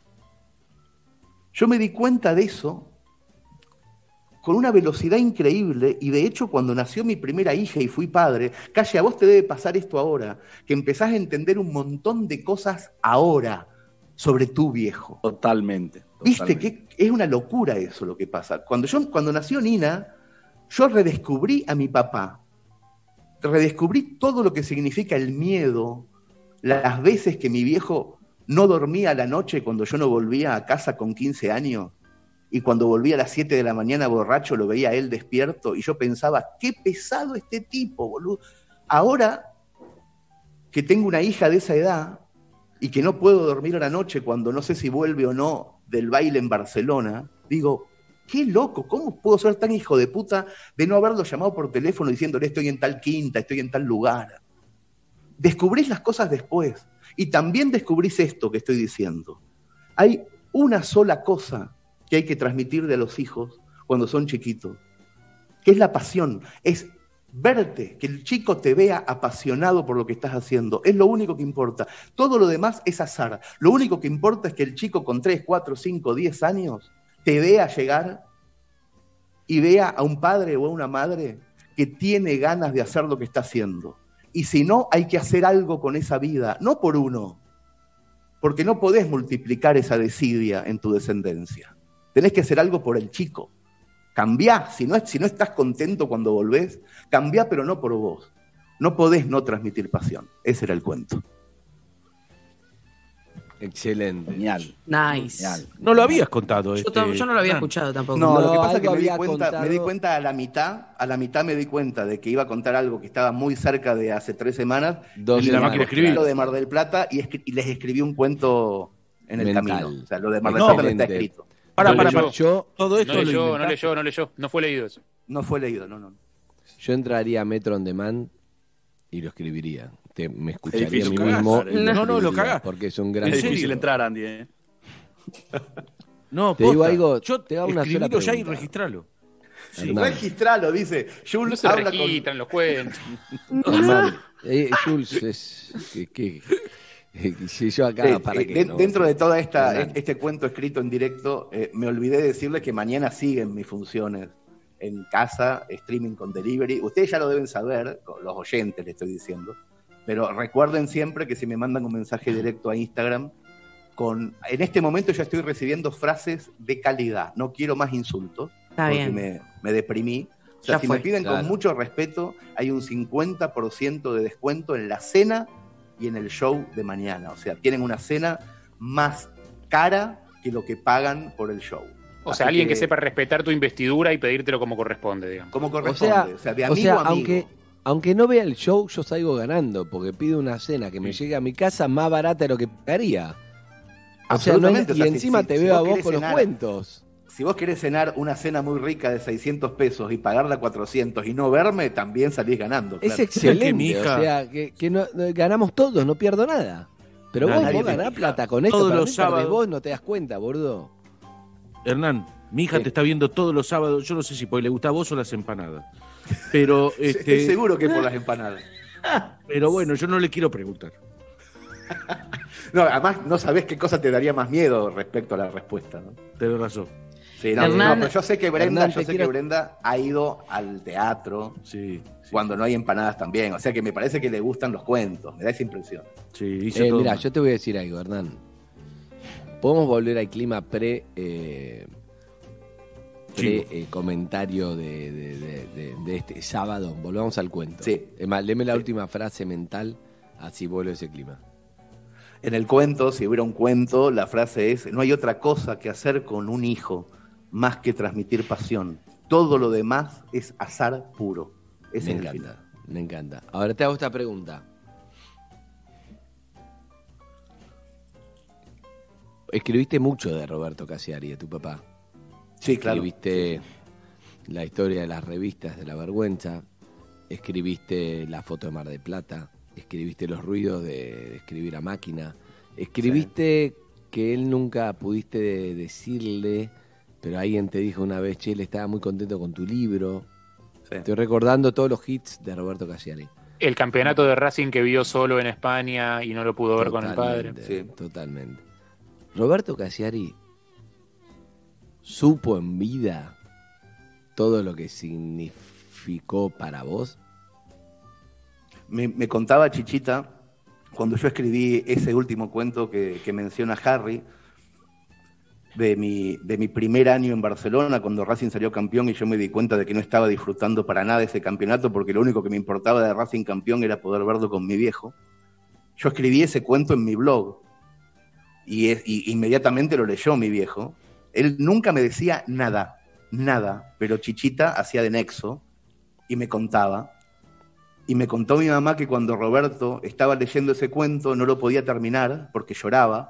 yo me di cuenta de eso con una velocidad increíble, y de hecho cuando nació mi primera hija y fui padre, Calle, a vos te debe pasar esto ahora, que empezás a entender un montón de cosas ahora sobre tu viejo. Totalmente. Viste totalmente. que es una locura eso lo que pasa. Cuando, yo, cuando nació Nina, yo redescubrí a mi papá, redescubrí todo lo que significa el miedo, las veces que mi viejo no dormía a la noche cuando yo no volvía a casa con quince años, y cuando volvía a las siete de la mañana borracho lo veía a él despierto, y yo pensaba, qué pesado este tipo, boludo. Ahora que tengo una hija de esa edad y que no puedo dormir a la noche cuando no sé si vuelve o no del baile en Barcelona, digo, qué loco, ¿cómo puedo ser tan hijo de puta de no haberlo llamado por teléfono diciéndole estoy en tal quinta, estoy en tal lugar? Descubrís las cosas después, y también descubrís esto que estoy diciendo. Hay una sola cosa que hay que transmitirle a los hijos cuando son chiquitos, que es la pasión, es verte, que el chico te vea apasionado por lo que estás haciendo, es lo único que importa. Todo lo demás es azar. Lo único que importa es que el chico con tres, cuatro, cinco, diez años te vea llegar y vea a un padre o a una madre que tiene ganas de hacer lo que está haciendo. Y si no, hay que hacer algo con esa vida, no por uno, porque no podés multiplicar esa desidia en tu descendencia. Tenés que hacer algo por el chico. Cambiá, si no, si no estás contento cuando volvés, cambiá, pero no por vos. No podés no transmitir pasión. Ese era el cuento. Excelente. Genial. Nice. Genial. No lo habías contado. Yo, este, tam- yo no lo había Fran. escuchado tampoco. No, No, lo que pasa es que algo me di, había cuenta, contado. me di cuenta a la mitad, a la mitad me di cuenta de que iba a contar algo que estaba muy cerca de hace tres semanas. Dos y la les máquina de escribir. Lo de Mar del Plata y, escri- y les escribí un cuento en el Mental. camino. O sea, lo de Mar del No, Plata no está excelente. escrito. Para, No para, leyó. para. Yo, Todo esto No lo leyó, no inventaste. leyó, no leyó, no fue leído eso. No fue leído, no, no. yo entraría a Metro On Demand y lo escribiría. Te, me escucharía difícil, a mí lo cagás, mismo. Sara. y lo No, no, lo escribiría, cagás. Porque es un gran. ¿En Es serio? difícil entrar, Andy. ¿eh? No, Te digo posta. algo, Yo te hago una sola escribilo ya y pregunta. registralo. Sí, Hernán. registralo, dice. No Jules se habla con... registran los cuentos. Hernán, eh, Jules es. Que, que- que si yo acá, Sí, para eh, que. de- no, dentro de todo esta, Hernán. este cuento escrito en directo, eh, me olvidé de decirles que mañana siguen mis funciones en casa, streaming con delivery. Ustedes ya lo deben saber, los oyentes les estoy diciendo, pero recuerden siempre que si me mandan un mensaje directo a Instagram, con, en este momento ya estoy recibiendo frases de calidad, no quiero más insultos, Está porque bien. me, me deprimí. O sea, Ya si fue. me piden Claro. con mucho respeto, hay un cincuenta por ciento de descuento en la cena y en el show de mañana. O sea, tienen una cena más cara que lo que pagan por el show. O Así sea, alguien que... sepa respetar tu investidura y pedírtelo como corresponde, digamos. Como O corresponde. sea, O sea, de o amigo sea, a amigo. aunque, aunque no vea el show, yo salgo ganando, porque pido una cena que me llegue a mi casa más barata de lo que pagaría. O sea, no hay- Absolutamente. O y sea, si- encima si- te si veo vos a vos querés con los cenar- cuentos. si vos querés cenar una cena muy rica de seiscientos pesos y pagarla cuatrocientos y no verme, también salís ganando. Claro. Es excelente, o sea, que, que no, ganamos todos, no pierdo nada. Pero vos, vos ganás plata con esto, todos para los mí, sábados. Vos no te das cuenta, boludo. Hernán, mi hija Sí. te está viendo todos los sábados, yo no sé si porque le gusta a vos o las empanadas. Pero este, Estoy seguro que por las empanadas. pero bueno, yo no le quiero preguntar. No, además no sabés qué cosa te daría más miedo respecto a la respuesta, ¿no? Tenés razón. Sí, no, Hernán- no, pero yo sé que Brenda, Hernán, yo te sé quiero- que Brenda ha ido al teatro Sí, sí, cuando no hay empanadas también. O sea que me parece que le gustan los cuentos, me da esa impresión. sí, hizo Eh, todo mira, mal. yo te voy a decir algo, Hernán. Podemos volver al clima pre, eh, pre Chivo. eh, comentario de, de- de- de- de este sábado. Volvamos al cuento. Sí. Es más, léeme la Sí. última frase mental, así vuelve ese clima. En el cuento, si hubiera un cuento, la frase es: no hay otra cosa que hacer con un hijo más que transmitir pasión. Todo lo demás es azar puro. Ese Me es el encanta, final. me encanta. Ahora te hago esta pregunta. Escribiste mucho de Roberto Cassiari, de tu papá. Sí, claro. Escribiste la historia de las revistas de la vergüenza, escribiste la foto de Mar del Plata, escribiste los ruidos de, de escribir a máquina, escribiste que él nunca pudiste decirle, pero alguien te dijo una vez, che, él estaba muy contento con tu libro. Sí. Estoy recordando todos los hits de Roberto Cassiari. El campeonato de Racing que vio solo en España y no lo pudo ver con el padre. Totalmente, Sí. Totalmente. Roberto Cassiari supo en vida todo lo que significó para vos. Me, me contaba Chichita, cuando yo escribí ese último cuento que, que menciona Harry, de mi, de mi primer año en Barcelona, cuando Racing salió campeón y yo me di cuenta de que no estaba disfrutando para nada ese campeonato, porque lo único que me importaba de Racing campeón era poder verlo con mi viejo. Yo escribí ese cuento en mi blog y, es, y inmediatamente lo leyó mi viejo. Él nunca me decía nada, nada, pero Chichita hacía de nexo y me contaba. Y me contó mi mamá que cuando Roberto estaba leyendo ese cuento no lo podía terminar porque lloraba.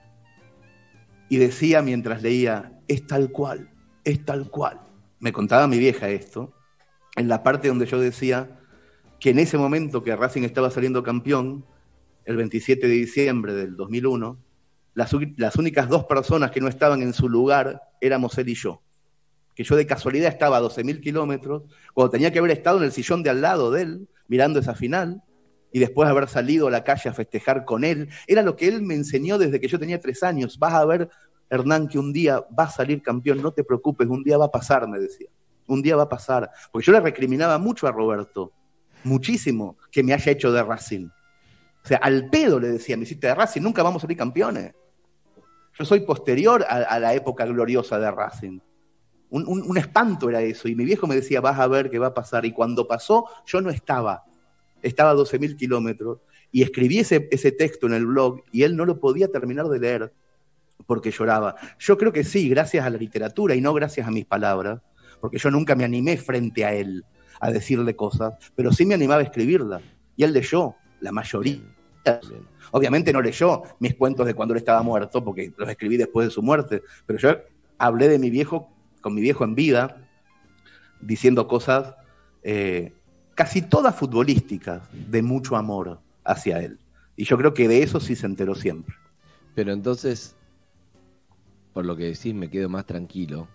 Y decía mientras leía, es tal cual, es tal cual. Me contaba mi vieja esto, en la parte donde yo decía que en ese momento que Racing estaba saliendo campeón, el veintisiete de diciembre del dos mil uno, las, las únicas dos personas que no estaban en su lugar éramos él y yo. Que yo de casualidad estaba a doce mil kilómetros, cuando tenía que haber estado en el sillón de al lado de él, mirando esa final, y después haber salido a la calle a festejar con él. Era lo que él me enseñó desde que yo tenía tres años. Vas a ver, Hernán, que un día va a salir campeón, no te preocupes, un día va a pasar, me decía. Un día va a pasar. Porque yo le recriminaba mucho a Roberto, muchísimo, que me haya hecho de Racing. O sea, al pedo le decía, me hiciste de Racing, nunca vamos a salir campeones. Yo soy posterior a, a la época gloriosa de Racing. Un, un, un espanto era eso. Y mi viejo me decía, vas a ver qué va a pasar. Y cuando pasó, yo no estaba. Estaba a doce mil kilómetros. Y escribí ese, ese texto en el blog y él no lo podía terminar de leer porque lloraba. Yo creo que sí, gracias a la literatura y no gracias a mis palabras. Porque yo nunca me animé frente a él a decirle cosas, pero sí me animaba a escribirlas. Y él leyó, la mayoría. Bien. Obviamente no leyó mis cuentos de cuando él estaba muerto, porque los escribí después de su muerte. Pero yo hablé de mi viejo, con mi viejo en vida, diciendo cosas eh, casi todas futbolísticas, de mucho amor hacia él. Y yo creo que de eso sí se enteró siempre. Pero entonces, por lo que decís, me quedo más tranquilo.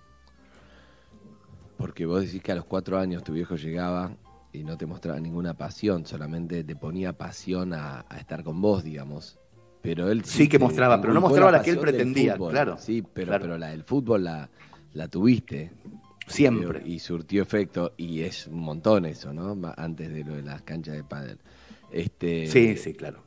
Porque vos decís que a los cuatro años tu viejo llegaba y no te mostraba ninguna pasión, solamente te ponía pasión a, a estar con vos, digamos. Pero él Sí que te mostraba, pero no inculcó mostraba la que él pasión del pretendía, fútbol. claro. Sí, pero, Claro. pero la del fútbol la, la tuviste. Siempre. Y, y surtió efecto, y es un montón eso, ¿no? Ma- Antes de lo de las canchas de pádel. Este, Sí, sí, claro.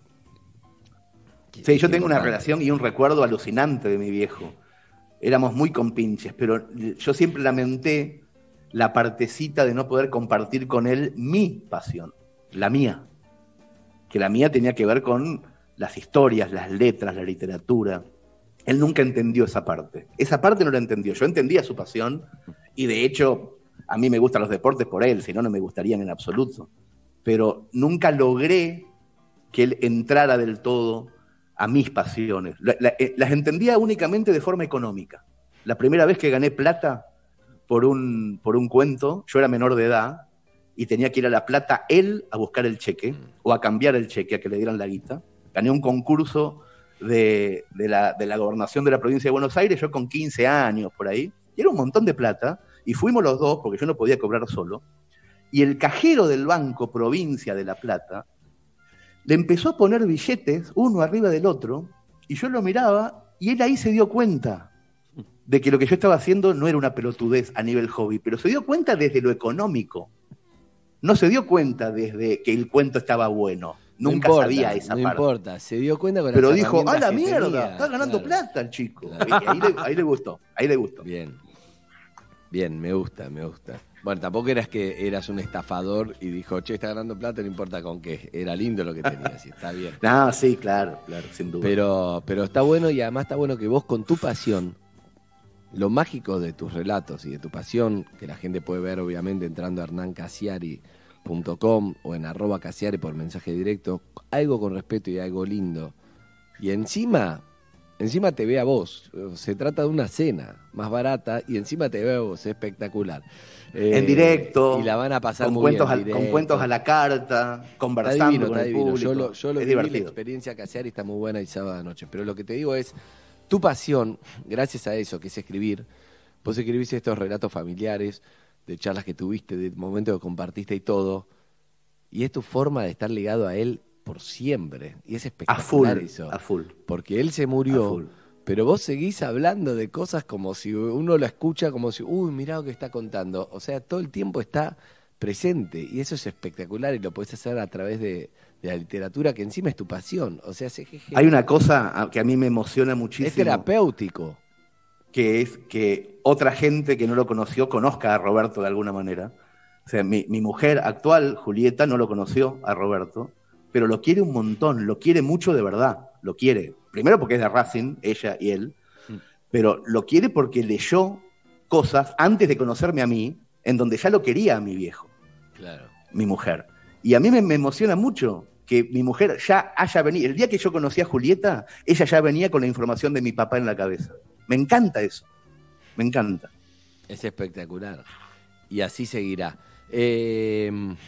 que- Sí, yo que tengo una importante. relación y un recuerdo alucinante de mi viejo. Éramos muy compinches, pero yo siempre lamenté la partecita de no poder compartir con él mi pasión, la mía. Que la mía tenía que ver con las historias, las letras, la literatura. Él nunca entendió esa parte. Esa parte no la entendió. Yo entendía su pasión y de hecho a mí me gustan los deportes por él, si no, no me gustarían en absoluto. Pero nunca logré que él entrara del todo a mis pasiones. La- la- eh, las entendía únicamente de forma económica. La primera vez que gané plata por un, por un cuento, yo era menor de edad y tenía que ir a La Plata él a buscar el cheque o a cambiar el cheque, a que le dieran la guita. Gané un concurso de, de, la, de la gobernación de la provincia de Buenos Aires, yo con quince años por ahí, y era un montón de plata, y fuimos los dos, porque yo no podía cobrar solo, y el cajero del Banco Provincia de La Plata le empezó a poner billetes uno arriba del otro, y yo lo miraba, y él ahí se dio cuenta de que lo que yo estaba haciendo no era una pelotudez a nivel hobby, pero se dio cuenta desde lo económico. No se dio cuenta desde que el cuento estaba bueno. Nunca no importa, sabía esa no parte. No importa, se dio cuenta con Pero las dijo, ¡ah, la mierda! tenía. Está ganando Claro. plata el chico. Claro. Y ahí, le, ahí le gustó, ahí le gustó. Bien. Bien, me gusta, me gusta. Bueno, tampoco eras que eras un estafador y dijo, che, está ganando plata, no importa con qué. Era lindo lo que tenías, y está bien. No, sí, claro, claro, sin duda. Pero, pero está bueno, y además está bueno que vos con tu pasión, lo mágico de tus relatos y de tu pasión, que la gente puede ver obviamente entrando a hernán casiari punto com o en arroba casiari por mensaje directo, algo con respeto y algo lindo. Y encima, encima te ve a vos. Se trata de una cena más barata y encima te ve a vos, espectacular. Eh, en directo, y la van a pasar con, muy cuentos bien, al, directo. con cuentos a la carta, conversando Está divino, con está el divino. público. Yo lo, yo lo es viví, la divertido. experiencia Casiari está muy buena y sábado de noche. Pero lo que te digo es, tu pasión, gracias a eso, que es escribir, vos escribís estos relatos familiares, de charlas que tuviste, de momentos que compartiste y todo, y es tu forma de estar ligado a él por siempre. Y es espectacular A full, eso. a full. Porque él se A murió, full. pero vos seguís hablando de cosas como si uno lo escucha, como si, uy, mirá lo que está contando. O sea, todo el tiempo está presente, y eso es espectacular, y lo podés hacer a través de, de la literatura, que encima es tu pasión. O sea, es, es, Hay una cosa que a mí me emociona muchísimo. es terapéutico. Que es que otra gente que no lo conoció conozca a Roberto de alguna manera. O sea, mi, mi mujer actual, Julieta, no lo conoció a Roberto, pero lo quiere un montón, lo quiere mucho de verdad, lo quiere. Primero porque es de Racing, ella y él, mm. pero lo quiere porque leyó cosas antes de conocerme a mí, en donde ya lo quería a mi viejo, Claro. mi mujer. Y a mí me, me emociona mucho que mi mujer ya haya venido. El día que yo conocí a Julieta, ella ya venía con la información de mi papá en la cabeza. Me encanta eso, me encanta. Es espectacular. Y así seguirá. Eh,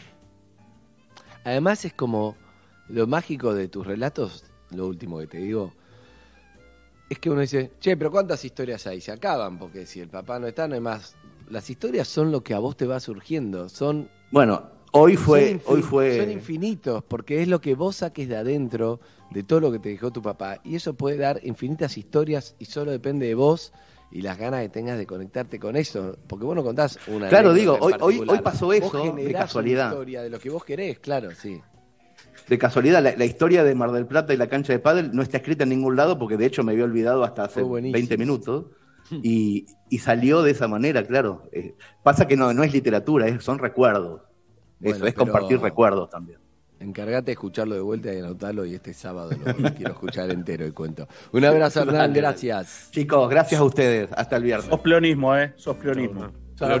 además es como lo mágico de tus relatos, lo último que te digo, es que uno dice, che, pero ¿cuántas historias hay? Se acaban, porque si el papá no está, no hay más. Las historias son lo que a vos te va surgiendo, son... Bueno, hoy fue... Son, infin- hoy fue... son infinitos, porque es lo que vos saques de adentro, de todo lo que te dejó tu papá, y eso puede dar infinitas historias, y solo depende de vos y las ganas que tengas de conectarte con eso, porque vos no contás una Claro, anécdota digo, en hoy, hoy, particular. hoy pasó Vos eso de generás casualidad. una historia de lo que vos querés, claro, sí. De casualidad, la, la historia de Mar del Plata y la cancha de pádel no está escrita en ningún lado, porque de hecho me había olvidado hasta hace Fue buenísimo. veinte minutos, y, y salió de esa manera, claro. Eh, pasa que no, no es literatura, es, son recuerdos. Bueno, Eso, es pero- compartir recuerdos también. Encargate de escucharlo de vuelta y anotarlo, y este sábado lo, lo quiero escuchar entero el cuento. Un abrazo, Hernán, Dale, gracias. Chicos, gracias a ustedes. Hasta el viernes. Sos pleonismo, ¿eh? Sos pleonismo. Hasta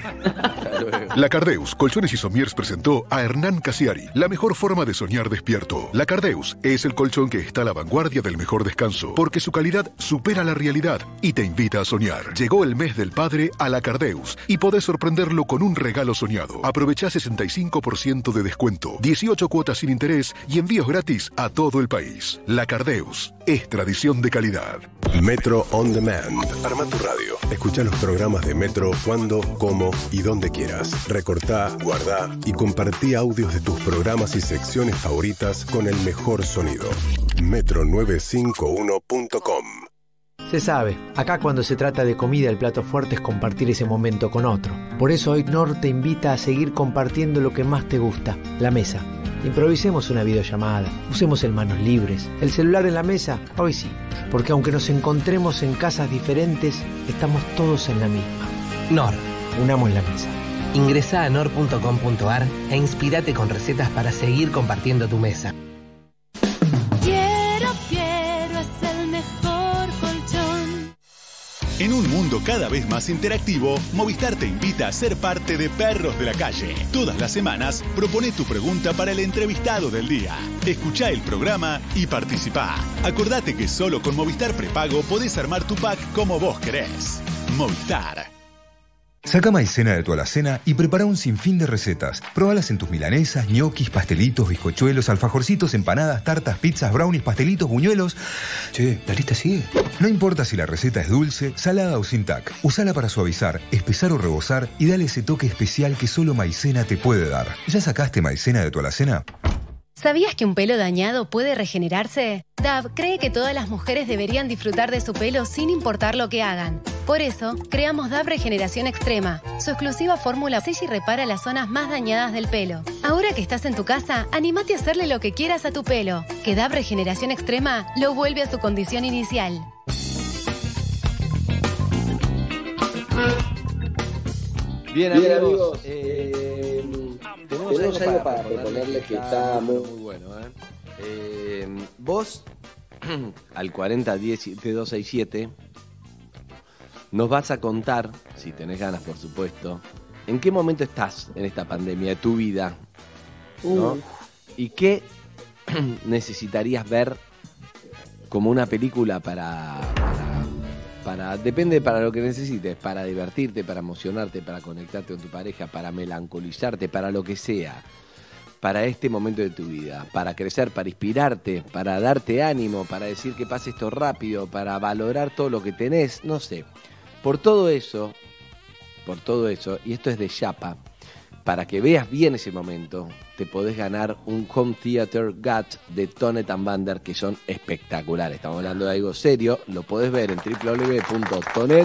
luego. La Cardeus Colchones y Somiers presentó a Hernán Casiari, la mejor forma de soñar despierto. La Cardeus es el colchón que está a la vanguardia del mejor descanso, porque su calidad supera la realidad y te invita a soñar. Llegó el mes del padre a La Cardeus y podés sorprenderlo con un regalo soñado. Aprovechá sesenta y cinco por ciento de descuento, dieciocho cuotas sin interés y envíos gratis a todo el país. La Cardeus es tradición de calidad. Metro On Demand. Arma tu radio. Escucha los programas de Metro cuando, cómo y donde quieras. Recortá, guardá y compartí audios de tus programas y secciones favoritas con el mejor sonido. metro novecientos cincuenta y uno punto com. Se sabe, acá cuando se trata de comida el plato fuerte es compartir ese momento con otro. Por eso hoy Knorr te invita a seguir compartiendo lo que más te gusta, la mesa. Improvisemos una videollamada, usemos el manos libres, el celular en la mesa, hoy sí, porque aunque nos encontremos en casas diferentes, estamos todos en la misma. Knorr. Unamos la mesa. Ingresá a knorr punto com punto ar e inspirate con recetas para seguir compartiendo tu mesa. Quiero, quiero, es el mejor colchón. En un mundo cada vez más interactivo, Movistar te invita a ser parte de Perros de la Calle. Todas las semanas, propone tu pregunta para el entrevistado del día. Escuchá el programa y participá. Acordate que solo con Movistar Prepago podés armar tu pack como vos querés. Movistar. Saca maicena de tu alacena y prepara un sinfín de recetas. Probalas en tus milanesas, ñoquis, pastelitos, bizcochuelos, alfajorcitos, empanadas, tartas, pizzas, brownies, pastelitos, buñuelos. Che, la lista sigue. No importa si la receta es dulce, salada o sin tac. Usala para suavizar, espesar o rebozar y dale ese toque especial que solo maicena te puede dar. ¿Ya sacaste maicena de tu alacena? ¿Sabías que un pelo dañado puede regenerarse? Dove cree que todas las mujeres deberían disfrutar de su pelo sin importar lo que hagan. Por eso, creamos Dove Regeneración Extrema. Su exclusiva fórmula sella y repara las zonas más dañadas del pelo. Ahora que estás en tu casa, anímate a hacerle lo que quieras a tu pelo. Que Dove Regeneración Extrema lo vuelve a su condición inicial. Bien, Bien amigos, amigos eh, tenemos, tenemos algo, algo para proponerles que está muy, muy bueno. ¿eh? Eh, vos, al cuarenta diez siete dos seis siete, nos vas a contar, si tenés ganas por supuesto, en qué momento estás en esta pandemia de tu vida, ¿no? Uh. Y qué necesitarías ver como una película para... Para, depende para lo que necesites, para divertirte, para emocionarte, para conectarte con tu pareja, para melancolizarte, para lo que sea, para este momento de tu vida, para crecer, para inspirarte, para darte ánimo, para decir que pase esto rápido, para valorar todo lo que tenés, no sé. Por todo eso, por todo eso, y esto es de Chapa, para que veas bien ese momento, te podés ganar un Home Theater G A T de Tonet and Bander, que son espectaculares. Estamos hablando de algo serio, lo podés ver en w w w punto tonet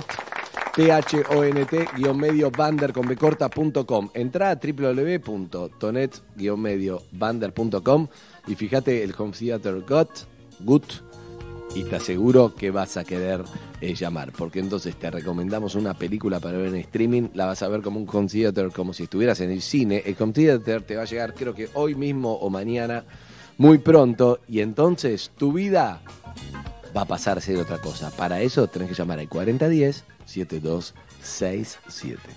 bander con b corta punto com. Entrá a w w w punto tonet bander punto com y fíjate el Home Theater G A T, G U T, y te aseguro que vas a querer eh, llamar, porque entonces te recomendamos una película para ver en streaming, la vas a ver como un home theater, como si estuvieras en el cine. El home theater te va a llegar creo que hoy mismo o mañana, muy pronto, y entonces tu vida va a pasar a ser otra cosa. Para eso tenés que llamar al cuarenta diez siete dos seis siete.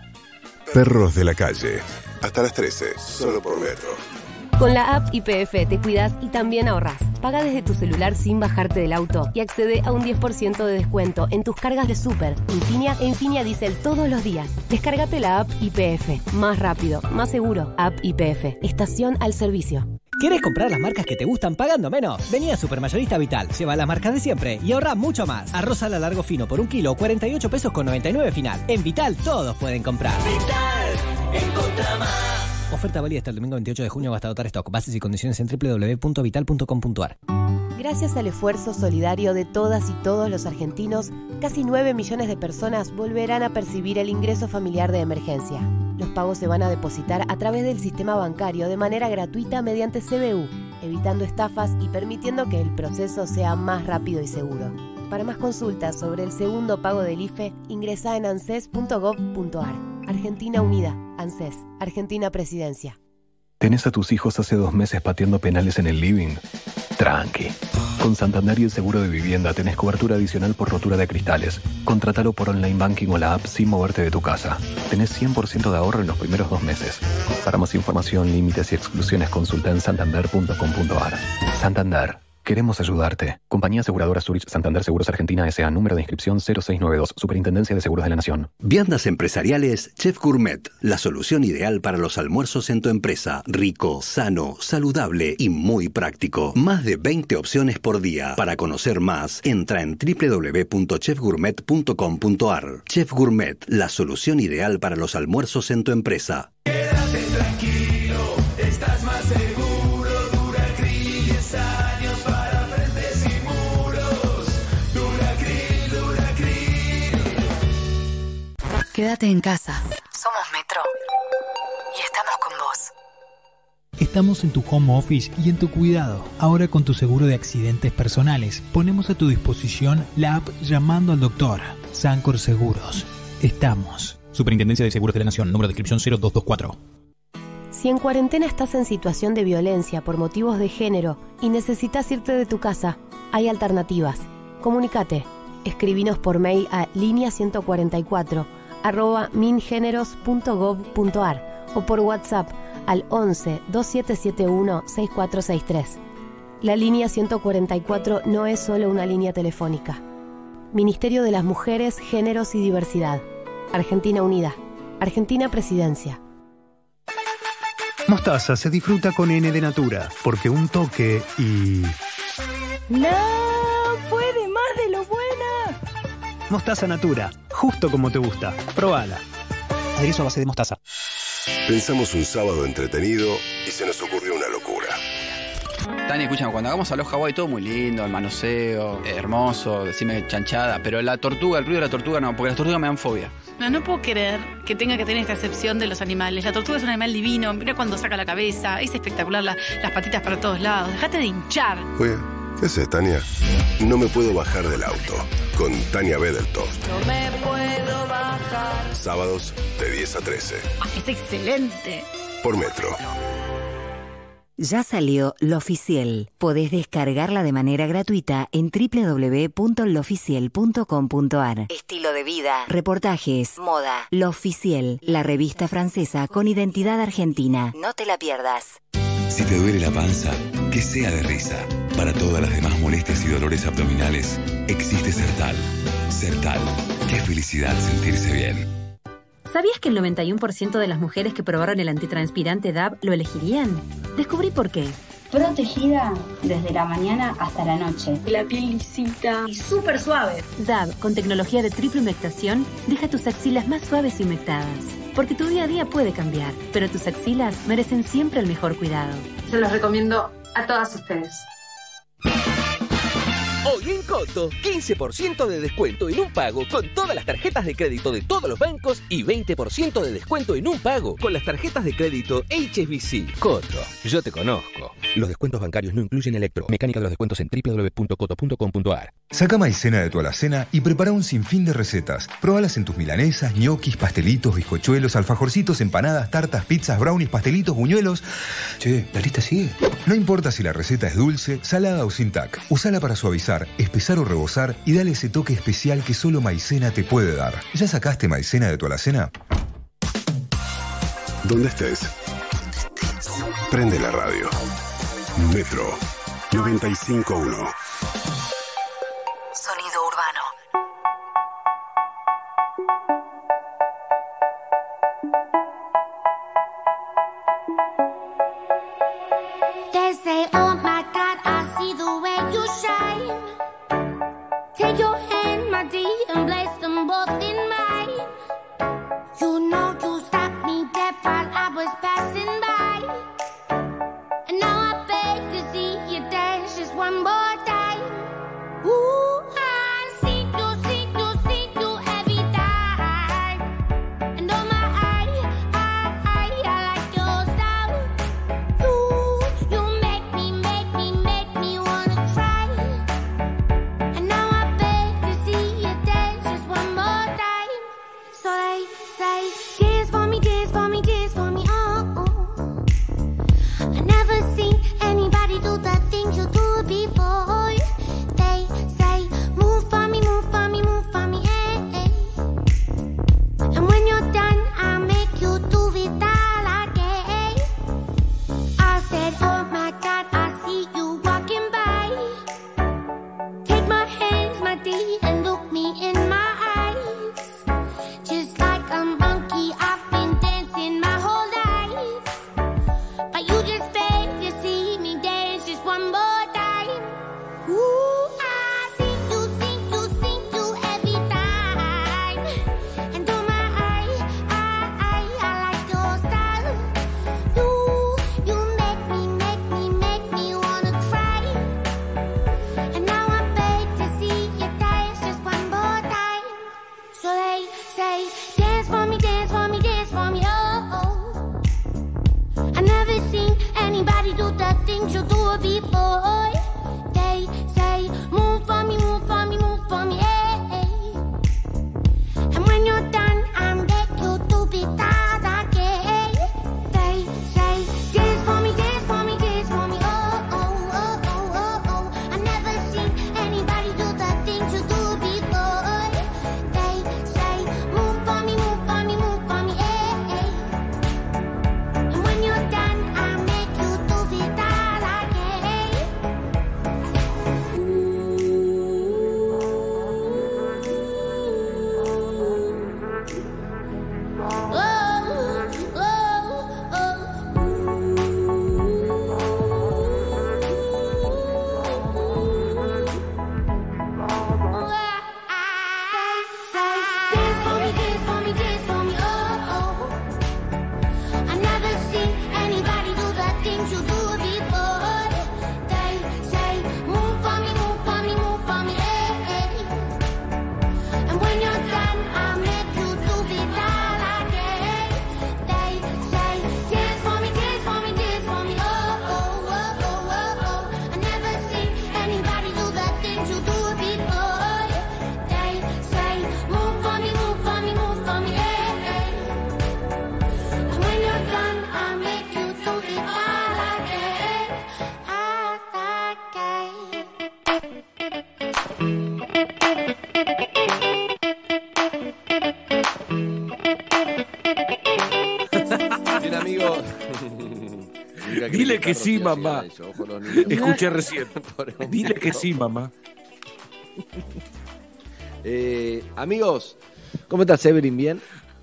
Perros de la Calle, hasta las trece, solo por Metro. Con la app Y P F te cuidas y también ahorrás. Paga desde tu celular sin bajarte del auto y accede a un diez por ciento de descuento en tus cargas de Super, Infinia e Infinia Diesel todos los días. Descárgate la app Y P F. Más rápido, más seguro. App Y P F. Estación al servicio. ¿Quieres comprar las marcas que te gustan pagando menos? Vení a Supermayorista Vital, lleva las marcas de siempre y ahorra mucho más. Arroz a la largo fino por un kilo, cuarenta y ocho pesos con noventa y nueve final. En Vital todos pueden comprar. Vital, encontra más. Oferta válida hasta el domingo veintiocho de junio hasta agotar stock. Bases y condiciones en w w w punto vital punto com punto a r. Gracias al esfuerzo solidario de todas y todos los argentinos, casi nueve millones de personas volverán a percibir el ingreso familiar de emergencia. Los pagos se van a depositar a través del sistema bancario de manera gratuita mediante C B U, evitando estafas y permitiendo que el proceso sea más rápido y seguro. Para más consultas sobre el segundo pago del I F E, ingresa en anses punto gov punto a r. Argentina Unida, ANSES, Argentina Presidencia. ¿Tenés a tus hijos hace dos meses pateando penales en el living? Tranqui. Con Santander y el seguro de vivienda tenés cobertura adicional por rotura de cristales. Contratalo por online banking o la app sin moverte de tu casa. Tenés cien por ciento de ahorro en los primeros dos meses. Para más información, límites y exclusiones, consulta en santander punto com punto a r. Santander. Queremos ayudarte. Compañía Aseguradora Zurich Santander Seguros Argentina S A. Número de inscripción cero seis nueve dos. Superintendencia de Seguros de la Nación. Viandas empresariales Chef Gourmet. La solución ideal para los almuerzos en tu empresa. Rico, sano, saludable y muy práctico. Más de veinte opciones por día. Para conocer más, entra en w w w punto chef gourmet punto com punto a r. Chef Gourmet. La solución ideal para los almuerzos en tu empresa. Quédate tranquilo, estás más seguro. Quédate en casa. Somos Metro. Y estamos con vos. Estamos en tu home office y en tu cuidado. Ahora con tu seguro de accidentes personales, ponemos a tu disposición la app Llamando al Doctor. Sancor Seguros. Estamos. Superintendencia de Seguros de la Nación. Número de inscripción cero dos dos cuatro. Si en cuarentena estás en situación de violencia por motivos de género y necesitas irte de tu casa, hay alternativas. Comunícate. Escribinos por mail a línea ciento cuarenta y cuatro arroba mingeneros punto gov punto ar o por WhatsApp al once veintisiete setenta y uno sesenta y cuatro sesenta y tres. La línea ciento cuarenta y cuatro no es solo una línea telefónica. Ministerio de las Mujeres, Géneros y Diversidad. Argentina Unida. Argentina Presidencia. Mostaza se disfruta con N de Natura, porque un toque y... ¡No! ¡Puede más de lo buena! Mostaza Natura, justo como te gusta. Probala. Aderezo a base de mostaza. Pensamos un sábado entretenido y se nos ocurrió una locura. Tania, escúchame, cuando hagamos a los Hawái todo muy lindo, el manoseo, hermoso, decime chanchada, pero la tortuga, el ruido de la tortuga no, porque las tortugas me dan fobia. No, no puedo creer que tenga que tener esta excepción de los animales. La tortuga es un animal divino, mira cuando saca la cabeza, es espectacular, la, las patitas para todos lados. Dejate de hinchar. Oye, ¿qué haces, Tania? No me puedo bajar del auto, con Tania Bedeltoft. No me puedo bajar. Sábados de diez a trece. Ah, es excelente. Por Metro. Ya salió L'Oficiel. Podés descargarla de manera gratuita en doble u doble u doble u punto loficiel punto com punto ar. Estilo de vida, reportajes, moda. L'Oficiel, la revista francesa con identidad argentina. No te la pierdas. Si te duele la panza, que sea de risa. Para todas las demás molestias y dolores abdominales, existe Sertal. Sertal. Qué felicidad sentirse bien. ¿Sabías que el noventa y uno por ciento de las mujeres que probaron el antitranspirante D A B lo elegirían? Descubrí por qué. Protegida desde la mañana hasta la noche. La piel lisita y súper suave. D A B, con tecnología de triple humectación, deja tus axilas más suaves y humectadas. Porque tu día a día puede cambiar, pero tus axilas merecen siempre el mejor cuidado. Se los recomiendo a todas ustedes. Hoy en Coto, quince por ciento de descuento en un pago con todas las tarjetas de crédito de todos los bancos y veinte por ciento de descuento en un pago con las tarjetas de crédito H S B C. Coto, yo te conozco. Los descuentos bancarios no incluyen electro. Mecánica de los descuentos en doble u doble u doble u punto coto punto com punto ar. Saca maicena de tu alacena y prepara un sinfín de recetas. Probalas en tus milanesas, ñoquis, pastelitos, bizcochuelos, alfajorcitos, empanadas, tartas, pizzas, brownies, pastelitos, buñuelos. Che, ¿la lista sigue? No importa si la receta es dulce, salada o sin tac. Usala para suavizar, espesar o rebozar y dale ese toque especial que solo maicena te puede dar. ¿Ya sacaste maicena de tu alacena? ¿Dónde estés? Prende la radio. Metro noventa y cinco punto uno. Sonido urbano. They say, oh my God, I see the way you shine. Take your hand, my dear, and place them both in mine. You know you stopped me dead while I was passing by. And now I beg to see you dance just one more time. Ooh, I see you, see you, see you every time. And oh my, I, I, I, I like your style. Ooh, you make me, make me, make me wanna try. And now I beg to see you dance just Dile que sí, mamá. Eso, ojo, los niños. Escuché recién. Dile que sí, mamá. Eh, amigos, ¿cómo estás, Evelyn? ¿Bien?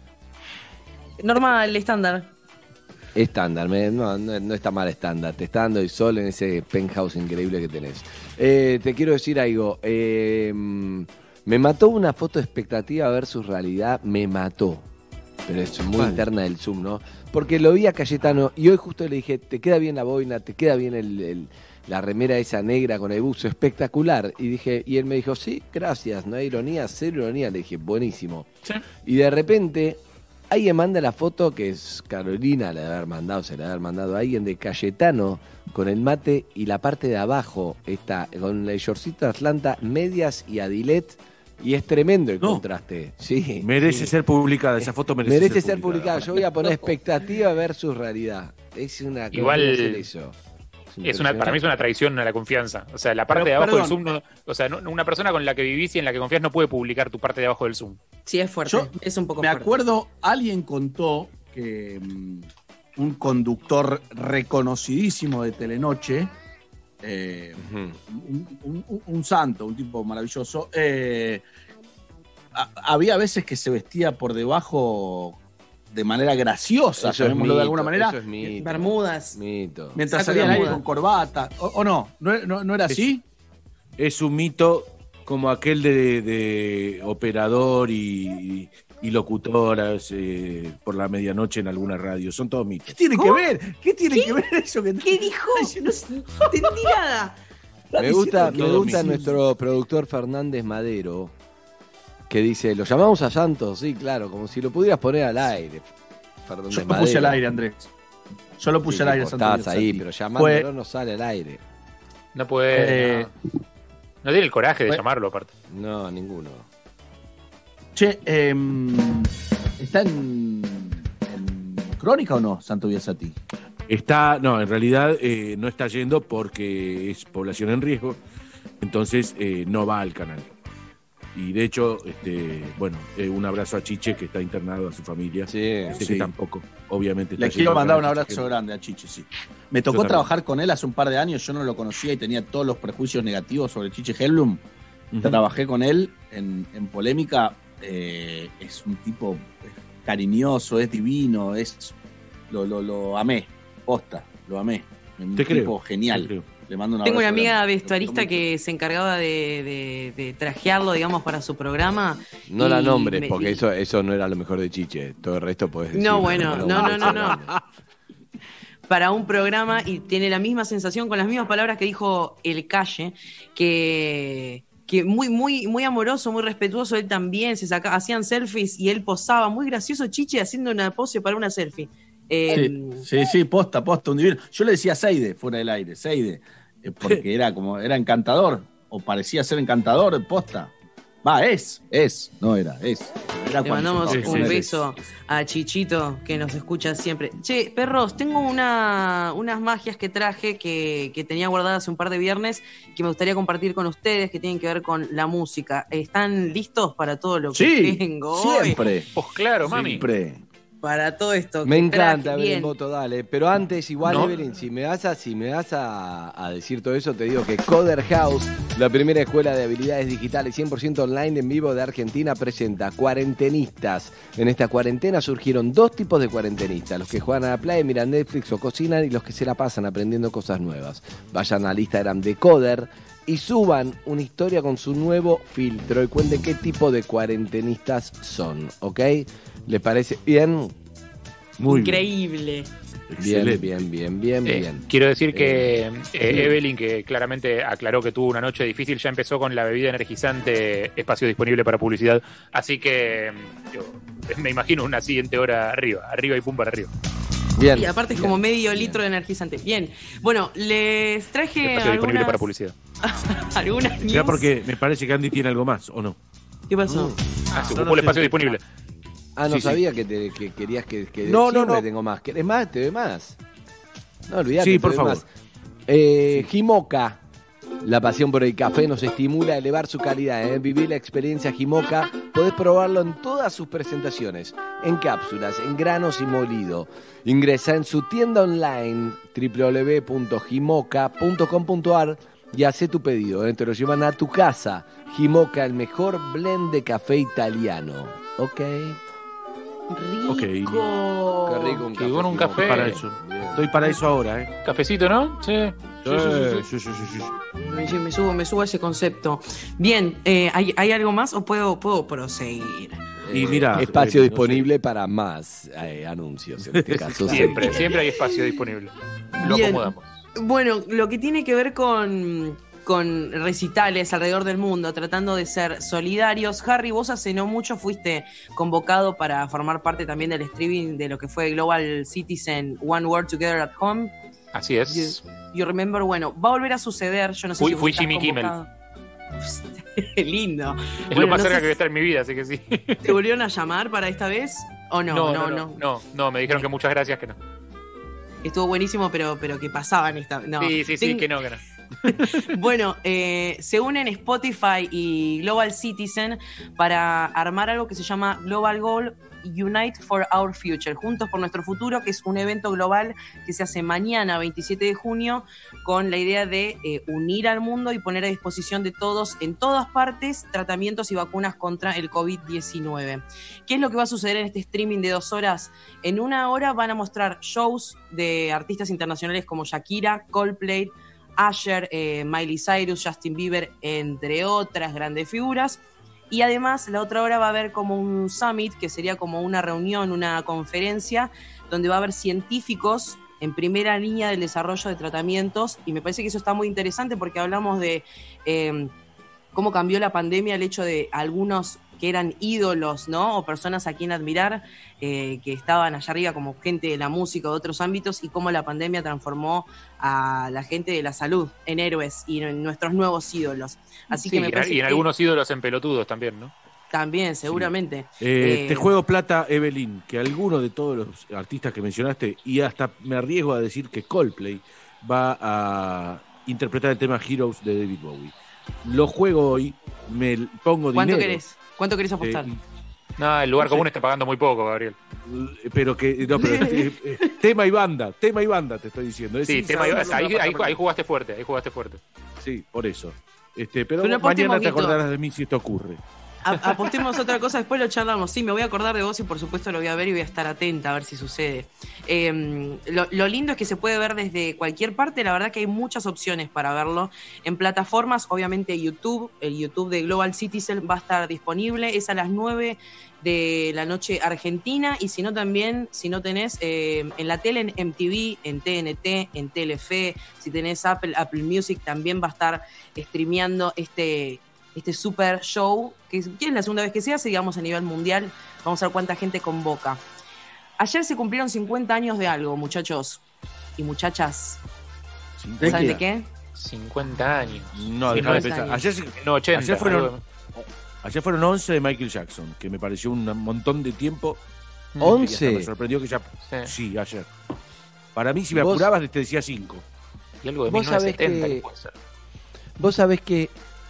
Normal, estándar. Estándar, me- no, no, no está mal estándar. Te está dando el sol en ese penthouse increíble que tenés. Eh, te quiero decir algo. Eh, me mató una foto de expectativa versus realidad. Me mató. Pero es muy ¿Cuál? interna del Zoom, ¿no? Porque lo vi a Cayetano y hoy justo le dije, te queda bien la boina, te queda bien el, el- la remera esa negra con el buzo, espectacular. Y dije, y él me dijo, sí, gracias, no hay ironía, cero ironía. Le dije, buenísimo. Sí. Y de repente, alguien manda la foto, que es Carolina, la de haber mandado, se la de haber mandado a alguien, de Cayetano con el mate y la parte de abajo está con el shortcito de Atlanta, medias y Adilet. Y es tremendo el No. contraste. Sí, Merece sí. ser publicada, esa foto merece, Merece ser publicada. Yo voy a poner expectativa versus realidad. Es una cosa Igual- de hacer eso. Es una, para mí es una traición a la confianza. O sea, la parte Pero, de abajo perdón. del Zoom, no- o sea, no- una persona con la que vivís y en la que confías no puede publicar tu parte de abajo del Zoom. Sí, es fuerte. Yo es un poco Me fuerte. acuerdo, alguien contó que mm, un conductor reconocidísimo de Telenoche, eh, un, un- un- un santo, un tipo maravilloso, eh, a- había veces que se vestía por debajo de manera graciosa, Eso es llamémoslo de mito, alguna manera, eso es mito. Bermudas. Mito. mientras Saco salía al de aire bermuda. con corbata. ¿O, o no? ¿No, no, no era Es- así? Es un mito como aquel de, de operador y, y locutoras eh, por la medianoche en alguna radio. Son todos mitos. ¿Qué tiene ¿Cómo? que ver? ¿Qué tiene ¿Qué? que ver eso? Que ¿Qué dijo? No entendí nada. Me gusta, me todo gusta mito. nuestro productor Fernández Madero, que dice, lo llamamos a Santos, sí, claro, como si lo pudieras poner al aire. Fernández Yo lo Madero. puse al aire, Andrés. Yo lo puse Sí, al aire, tipo, Santo estás ahí, Biasati. pero llamándolo Fue- no sale al aire. No puede. Eh, no. No tiene el coraje de fue- llamarlo, aparte. No, ninguno. Che, em, ¿está en, en Crónica o no, Santo Biasati? Está, no, en realidad eh, no está yendo porque es población en riesgo, entonces eh, no va al canal. Y de hecho, este, bueno, eh, un abrazo a Chiche, que está internado, a su familia. Sí, Sé sí. que tampoco, obviamente. Le está quiero yendo mandar un al canal abrazo Chiche. grande a Chiche, sí. Me tocó también. trabajar con él hace un par de años, yo no lo conocía y tenía todos los prejuicios negativos sobre Chiche Hellblum. Ujú. Trabajé con él en, en Polémica, eh, es un tipo cariñoso, es divino, es lo, lo, lo amé, posta, lo amé. Un Te tipo creo, genial. te creo. Le mando un Tengo una abrazo amiga grande. vestuarista que se encargaba de, de- de trajearlo, digamos, para su programa. No la y nombres, me- porque eso, eso no era lo mejor de Chiche. Todo el resto puedes decir. No, bueno, pero no, no, no, no. no. Para un programa y tiene la misma sensación, con las mismas palabras que dijo El Calle, que, que muy, muy, muy amoroso, muy respetuoso, él también, se saca, hacían selfies y él posaba, muy gracioso Chiche haciendo una pose para una selfie. Eh, Sí, sí, sí, posta, posta, un divino. Yo le decía Seide fuera del aire, Seide, eh, porque era como, era encantador, o parecía ser encantador, posta. Va, es, es, no era, es. Era Le cuando mandamos yo un estaba con él. beso a Chichito, que nos escucha siempre. Che, perros, tengo una, unas magias que traje que, que tenía guardadas hace un par de viernes que me gustaría compartir con ustedes, que tienen que ver con la música. ¿Están listos para todo lo que Sí, tengo hoy? siempre. Pues claro, mami. Siempre. Para todo esto. Me que encanta, traje. Evelyn Bien. Boto, dale. Pero antes, igual, No. Evelyn, si me vas, a, si me vas a, a decir todo eso, te digo que Coder House, la primera escuela de habilidades digitales cien por ciento online en vivo de Argentina, presenta Cuarentenistas. En esta cuarentena surgieron dos tipos de cuarentenistas: los que juegan a la playa, miran Netflix o cocinan, y los que se la pasan aprendiendo cosas nuevas. Vayan al Instagram de Coder y suban una historia con su nuevo filtro y cuenten qué tipo de cuarentenistas son, ¿ok? ¿Les parece bien? Muy bien. Increíble. Bien, Excelente. bien, bien, bien, Eh, bien. quiero decir que Eh, eh, Evelyn, que claramente aclaró que tuvo una noche difícil, ya empezó con la bebida energizante, espacio disponible para publicidad. Así que mm, yo me imagino una siguiente hora arriba, arriba y pum para arriba. Bien. Y aparte es bien, como medio bien. litro de energizante. Bien. Bueno, les traje Espacio disponible algunas, para publicidad. algunas news. Ya porque me parece que Andy tiene algo más, ¿o no? ¿Qué pasó? Ah, se no, ocupó no, el espacio sí. disponible. Ah, no Sí, sí. sabía que, te, que querías que, que No, no, siempre no. tengo más. ¿Querés más? Te doy más. No, olvidate. Sí, te por doy favor. más. Eh, Jimoca. La pasión por el café nos estimula a elevar su calidad. ¿eh? Vivir la experiencia Jimoca, podés probarlo en todas sus presentaciones, en cápsulas, en granos y molido. Ingresa en su tienda online doble u doble u doble u punto jimoca punto com punto a r y hace tu pedido. ¿eh? Te lo llevan a tu casa. Jimoca, el mejor blend de café italiano. ¿Ok? Rico. Okay. Qué rico un Qué café. bueno un café. Para eso. Estoy para eso ahora, ¿eh? Cafecito, ¿no? Sí. Sí, sí, sí, sí, sí. sí, sí, sí. Me, me subo, me subo a ese concepto. Bien, eh, ¿hay, ¿hay algo más o puedo, puedo proseguir? Y mira, espacio eh, no disponible para más eh, anuncios. En este caso, Siempre, sí. siempre hay espacio disponible. Lo Bien. acomodamos. Bueno, lo que tiene que ver con, con recitales alrededor del mundo, tratando de ser solidarios. Harry, vos hace no mucho fuiste convocado para formar parte también del streaming de lo que fue Global Citizen One World Together at Home. Así es. You, you remember, bueno, va a volver a suceder. Yo no sé Fui, si fui estás Jimmy convocado. Lindo. Es Bueno, lo más no cerca sé que voy a estar en mi vida, así que sí. si ¿Te volvieron a llamar para esta vez o no? No, No, no, no. no, no, no, no, me dijeron que muchas gracias, que no. Estuvo buenísimo, pero, pero que pasaban esta. No. Sí, sí, sí, Ten- que no, que no. Bueno, eh, se unen Spotify y Global Citizen para armar algo que se llama Global Goal Unite for Our Future, Juntos por Nuestro Futuro, que es un evento global que se hace mañana, veintisiete de junio, con la idea de eh, unir al mundo y poner a disposición de todos, en todas partes, tratamientos y vacunas contra el covid diecinueve. ¿Qué es lo que va a suceder en este streaming de dos horas? En una hora van a mostrar shows de artistas internacionales como Shakira, Coldplay, Usher, eh, Miley Cyrus, Justin Bieber, entre otras grandes figuras. Y además, la otra hora va a haber como un summit, que sería como una reunión, una conferencia, donde va a haber científicos en primera línea del desarrollo de tratamientos. Y me parece que eso está muy interesante porque hablamos de eh, cómo cambió la pandemia, el hecho de algunos que eran ídolos, ¿no? O personas a quien admirar, eh, que estaban allá arriba como gente de la música o de otros ámbitos, y cómo la pandemia transformó a la gente de la salud en héroes y en nuestros nuevos ídolos. Así Sí, que me parece y en que algunos ídolos en pelotudos también, ¿no? también, seguramente. Eh, Eh, te juego plata, Evelyn, que alguno de todos los artistas que mencionaste, y hasta me arriesgo a decir que Coldplay va a interpretar el tema Heroes de David Bowie. Lo juego hoy, me pongo ¿Cuánto dinero. querés? ¿Cuánto querés apostar? Eh, No, el lugar No sé. común está pagando muy poco, Gabriel. Pero que, no, pero eh, eh, tema y banda, tema y banda te estoy diciendo. Es Sí, sin tema, saber ahí, lo que va a ahí, pasar ahí mañana. jugaste fuerte, ahí jugaste fuerte. Sí, por eso. Este, pero Pero mañana apostemos, te Guito. acordarás de mí si esto ocurre. A- apostemos otra cosa, después lo charlamos. Sí, me voy a acordar de vos y por supuesto lo voy a ver y voy a estar atenta a ver si sucede. Eh, lo, lo lindo es que se puede ver desde cualquier parte, la verdad que hay muchas opciones para verlo. En plataformas, obviamente YouTube, el YouTube de Global Citizen va a estar disponible, es a las nueve de la noche Argentina, y si no también, si no tenés eh, en la tele, en M T V, en T N T, en Telefe, si tenés Apple, Apple Music también va a estar streameando este... este super show, que es, que es la segunda vez que se hace, digamos, a nivel mundial. Vamos a ver cuánta gente convoca. Ayer se cumplieron cincuenta años de algo, muchachos y muchachas. ¿De ¿Saben qué? de qué? cincuenta años. No, déjame pensar. Ayer, se- No, ochenta. ayer fueron, algo. ayer fueron once de Michael Jackson, que me pareció un montón de tiempo. ¿once? Y hasta me sorprendió que ya... Sí. Sí, ayer. Para mí, si me Vos- apurabas, te decía cinco. Y algo de Vos sabés mil novecientos setenta que- que puede ser. Vos sabés que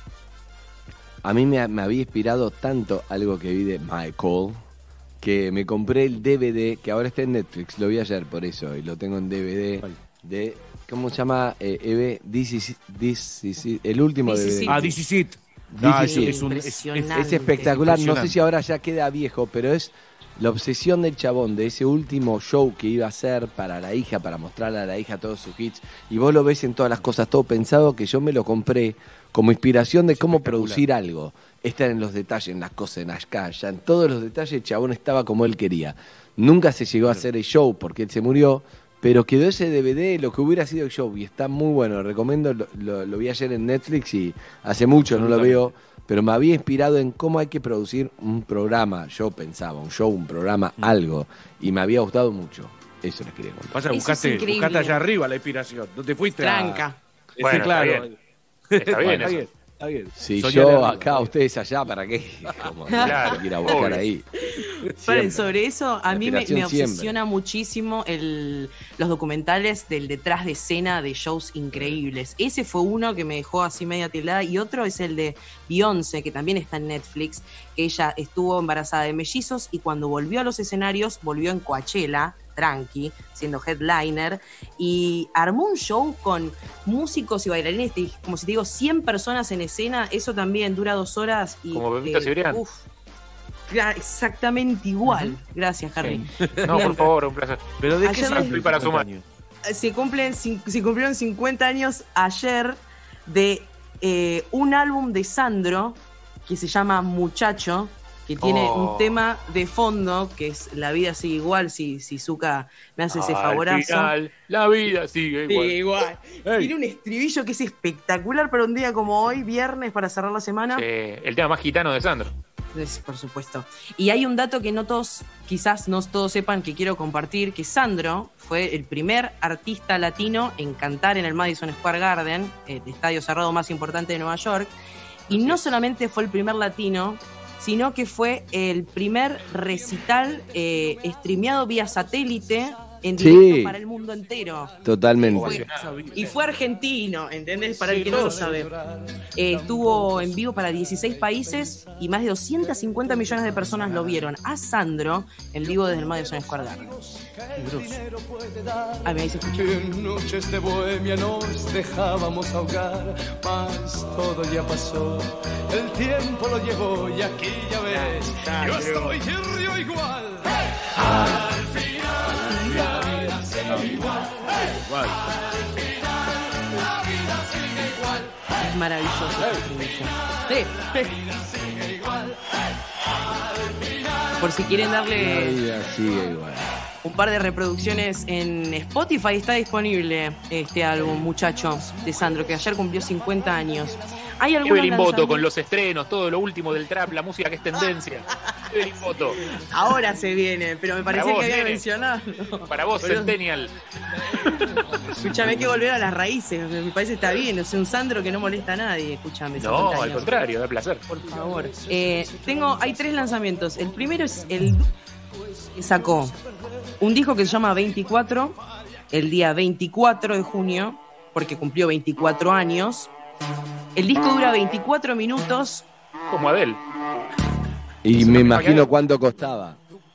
a mí me, me había inspirado tanto algo que vi de Michael, que me compré el D V D, que ahora está en Netflix, lo vi ayer por eso, y lo tengo en D V D, de, ¿cómo se llama? Eh, Eve, This is- This is- el último This is D V D. it. Ah, This Is It. This Ah, is es, it. es un- es- es- Impresionante. Es espectacular, no sé Impresionante. si ahora ya queda viejo, pero es la obsesión del chabón de ese último show que iba a hacer para la hija, para mostrarle a la hija todos sus hits, y vos lo ves en todas las cosas, todo pensado, que yo me lo compré como inspiración de cómo producir algo. Estar en los detalles, en las cosas, en las calles, en todos los detalles, el chabón estaba como él quería. Nunca se llegó a hacer el show porque él se murió, pero quedó ese D V D, lo que hubiera sido el show, y está muy bueno, lo recomiendo, lo, lo- lo vi ayer en Netflix y hace mucho no lo veo, pero me había inspirado en cómo hay que producir un programa, yo pensaba, un show, un programa, algo, y me había gustado mucho. Eso les quería contar. Pasa, Eso es buscaste, increíble. buscaste allá arriba la inspiración. No te fuiste Tranca. a... Bueno, Sí, está claro. bien. Está bien Está eso. bien, está bien. Si Soñar yo arriba. acá, ustedes allá, ¿para qué? Como, Claro, ir a buscar obvio. ahí. Paren, sobre eso, a mí me, me Aspiración obsesiona siempre. muchísimo el, los documentales del detrás de escena de shows increíbles. Ese fue uno que me dejó así media tildada, y otro es el de Beyoncé, que también está en Netflix, que ella estuvo embarazada de mellizos y cuando volvió a los escenarios, volvió en Coachella, tranqui, siendo headliner, y armó un show con músicos y bailarines, te- como si te digo, cien personas en escena. Eso también dura dos horas. Y, Como Bebito Cibrián. uf, Cla- exactamente igual. Gracias, Harry. No, por favor, un placer. Pero ¿de qué Ayer se les- Estoy para sumar. Se cumplen, cin- se cumplieron cincuenta años ayer de eh, un álbum de Sandro que se llama Muchacho, que tiene Oh. un tema de fondo que es La vida sigue igual, si, si Zucca me hace ese Al favorazo. final, la vida sigue igual. Sí, igual. Tiene un estribillo que es espectacular para un día como hoy, viernes, para cerrar la semana. Sí, el tema más gitano de Sandro. Es, por supuesto. Y hay un dato que no todos, quizás no todos sepan, que quiero compartir, que Sandro fue el primer artista latino en cantar en el Madison Square Garden, el estadio cerrado más importante de Nueva York. Y no solamente fue el primer latino, sino que fue el primer recital eh, streameado vía satélite en Sí. directo para el mundo entero. Totalmente. Fue- y fue argentino, ¿entendés? Para el que no lo sabe. Eh, estuvo en vivo para dieciséis países y más de doscientos cincuenta millones de personas lo vieron a Sandro en vivo desde el Madison Square Garden. Ah, me dice, escucha. En noches de bohemia nos dejábamos ahogar, mas todo ya pasó, el tiempo lo llevó y aquí ya ves, yo estoy y río igual. Al final la vida sigue igual. Al final la vida sigue igual. Es maravilloso este estribillo. Sí. Por si quieren La darle vida sigue igual. un par de reproducciones en Spotify, está disponible este álbum, Muchachos, de Sandro, que ayer cumplió cincuenta años. Hay algunos Evelyn Boto lanzamientos- con los estrenos, todo lo último del trap, la música que es tendencia. Evelyn Boto. Ahora se viene, pero me parecía Para vos, que había nene. mencionado. Para vos, Boludo. Centennial. Escúchame, hay que volver a las raíces. Me parece que está bien. Es un Sandro que no molesta a nadie. Escúchame. No, cincuenta al años. contrario, da placer. Por favor. Eh, tengo, hay tres lanzamientos. El primero es el que sacó un disco que se llama veinticuatro, el día veinticuatro de junio, porque cumplió veinticuatro años. El disco dura veinticuatro minutos. Como Adele. Y me imagino cuánto costaba.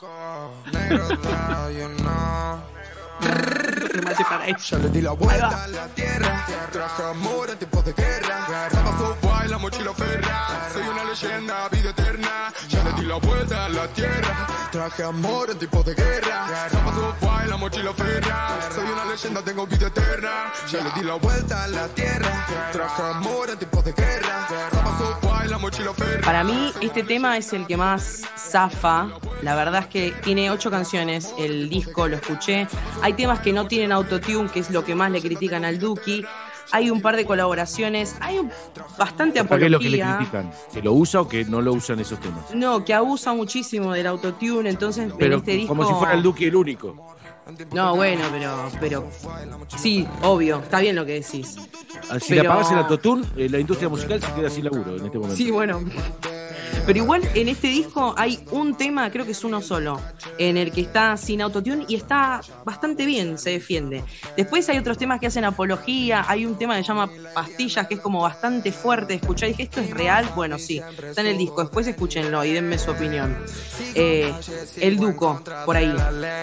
Ya le di la vuelta a la tierra, traje amor en tiempos de guerra, pasó guay la mochila ferra, soy una leyenda, vida eterna. Ya le di la vuelta a la tierra, traje amor en tiempos de guerra, pasó guay la mochila ferra, soy una leyenda, tengo vida eterna. Ya le di la vuelta a la tierra, traje amor en tiempos de guerra, pasó guay la mochila ferra. Para mí, este tema es el que más zafa. La verdad es que tiene ocho canciones. El disco lo escuché. Hay temas que no tienen autotune, que es lo que más le critican al Duki. Hay un par de colaboraciones. Hay un, bastante ¿Para qué es lo que le apología. critican? ¿Que lo usa o que no lo usan esos temas? No, que abusa muchísimo del autotune. Entonces, Pero en este disco. como si fuera el Duque el único. No, bueno, pero, pero. Sí, obvio. Está bien lo que decís. Ah, Si Pero- le apagas el autotune, eh, la industria musical se queda sin laburo en este momento. Sí, bueno. Pero igual en este disco hay un tema, creo que es uno solo, en el que está sin autotune y está bastante bien, se defiende. Después hay otros temas que hacen apología, hay un tema que se llama Pastillas, que es como bastante fuerte de escuchar. Y dije, ¿esto es real? Bueno, sí, está en el disco. Después escúchenlo y denme su opinión. Eh, el Duco, por ahí.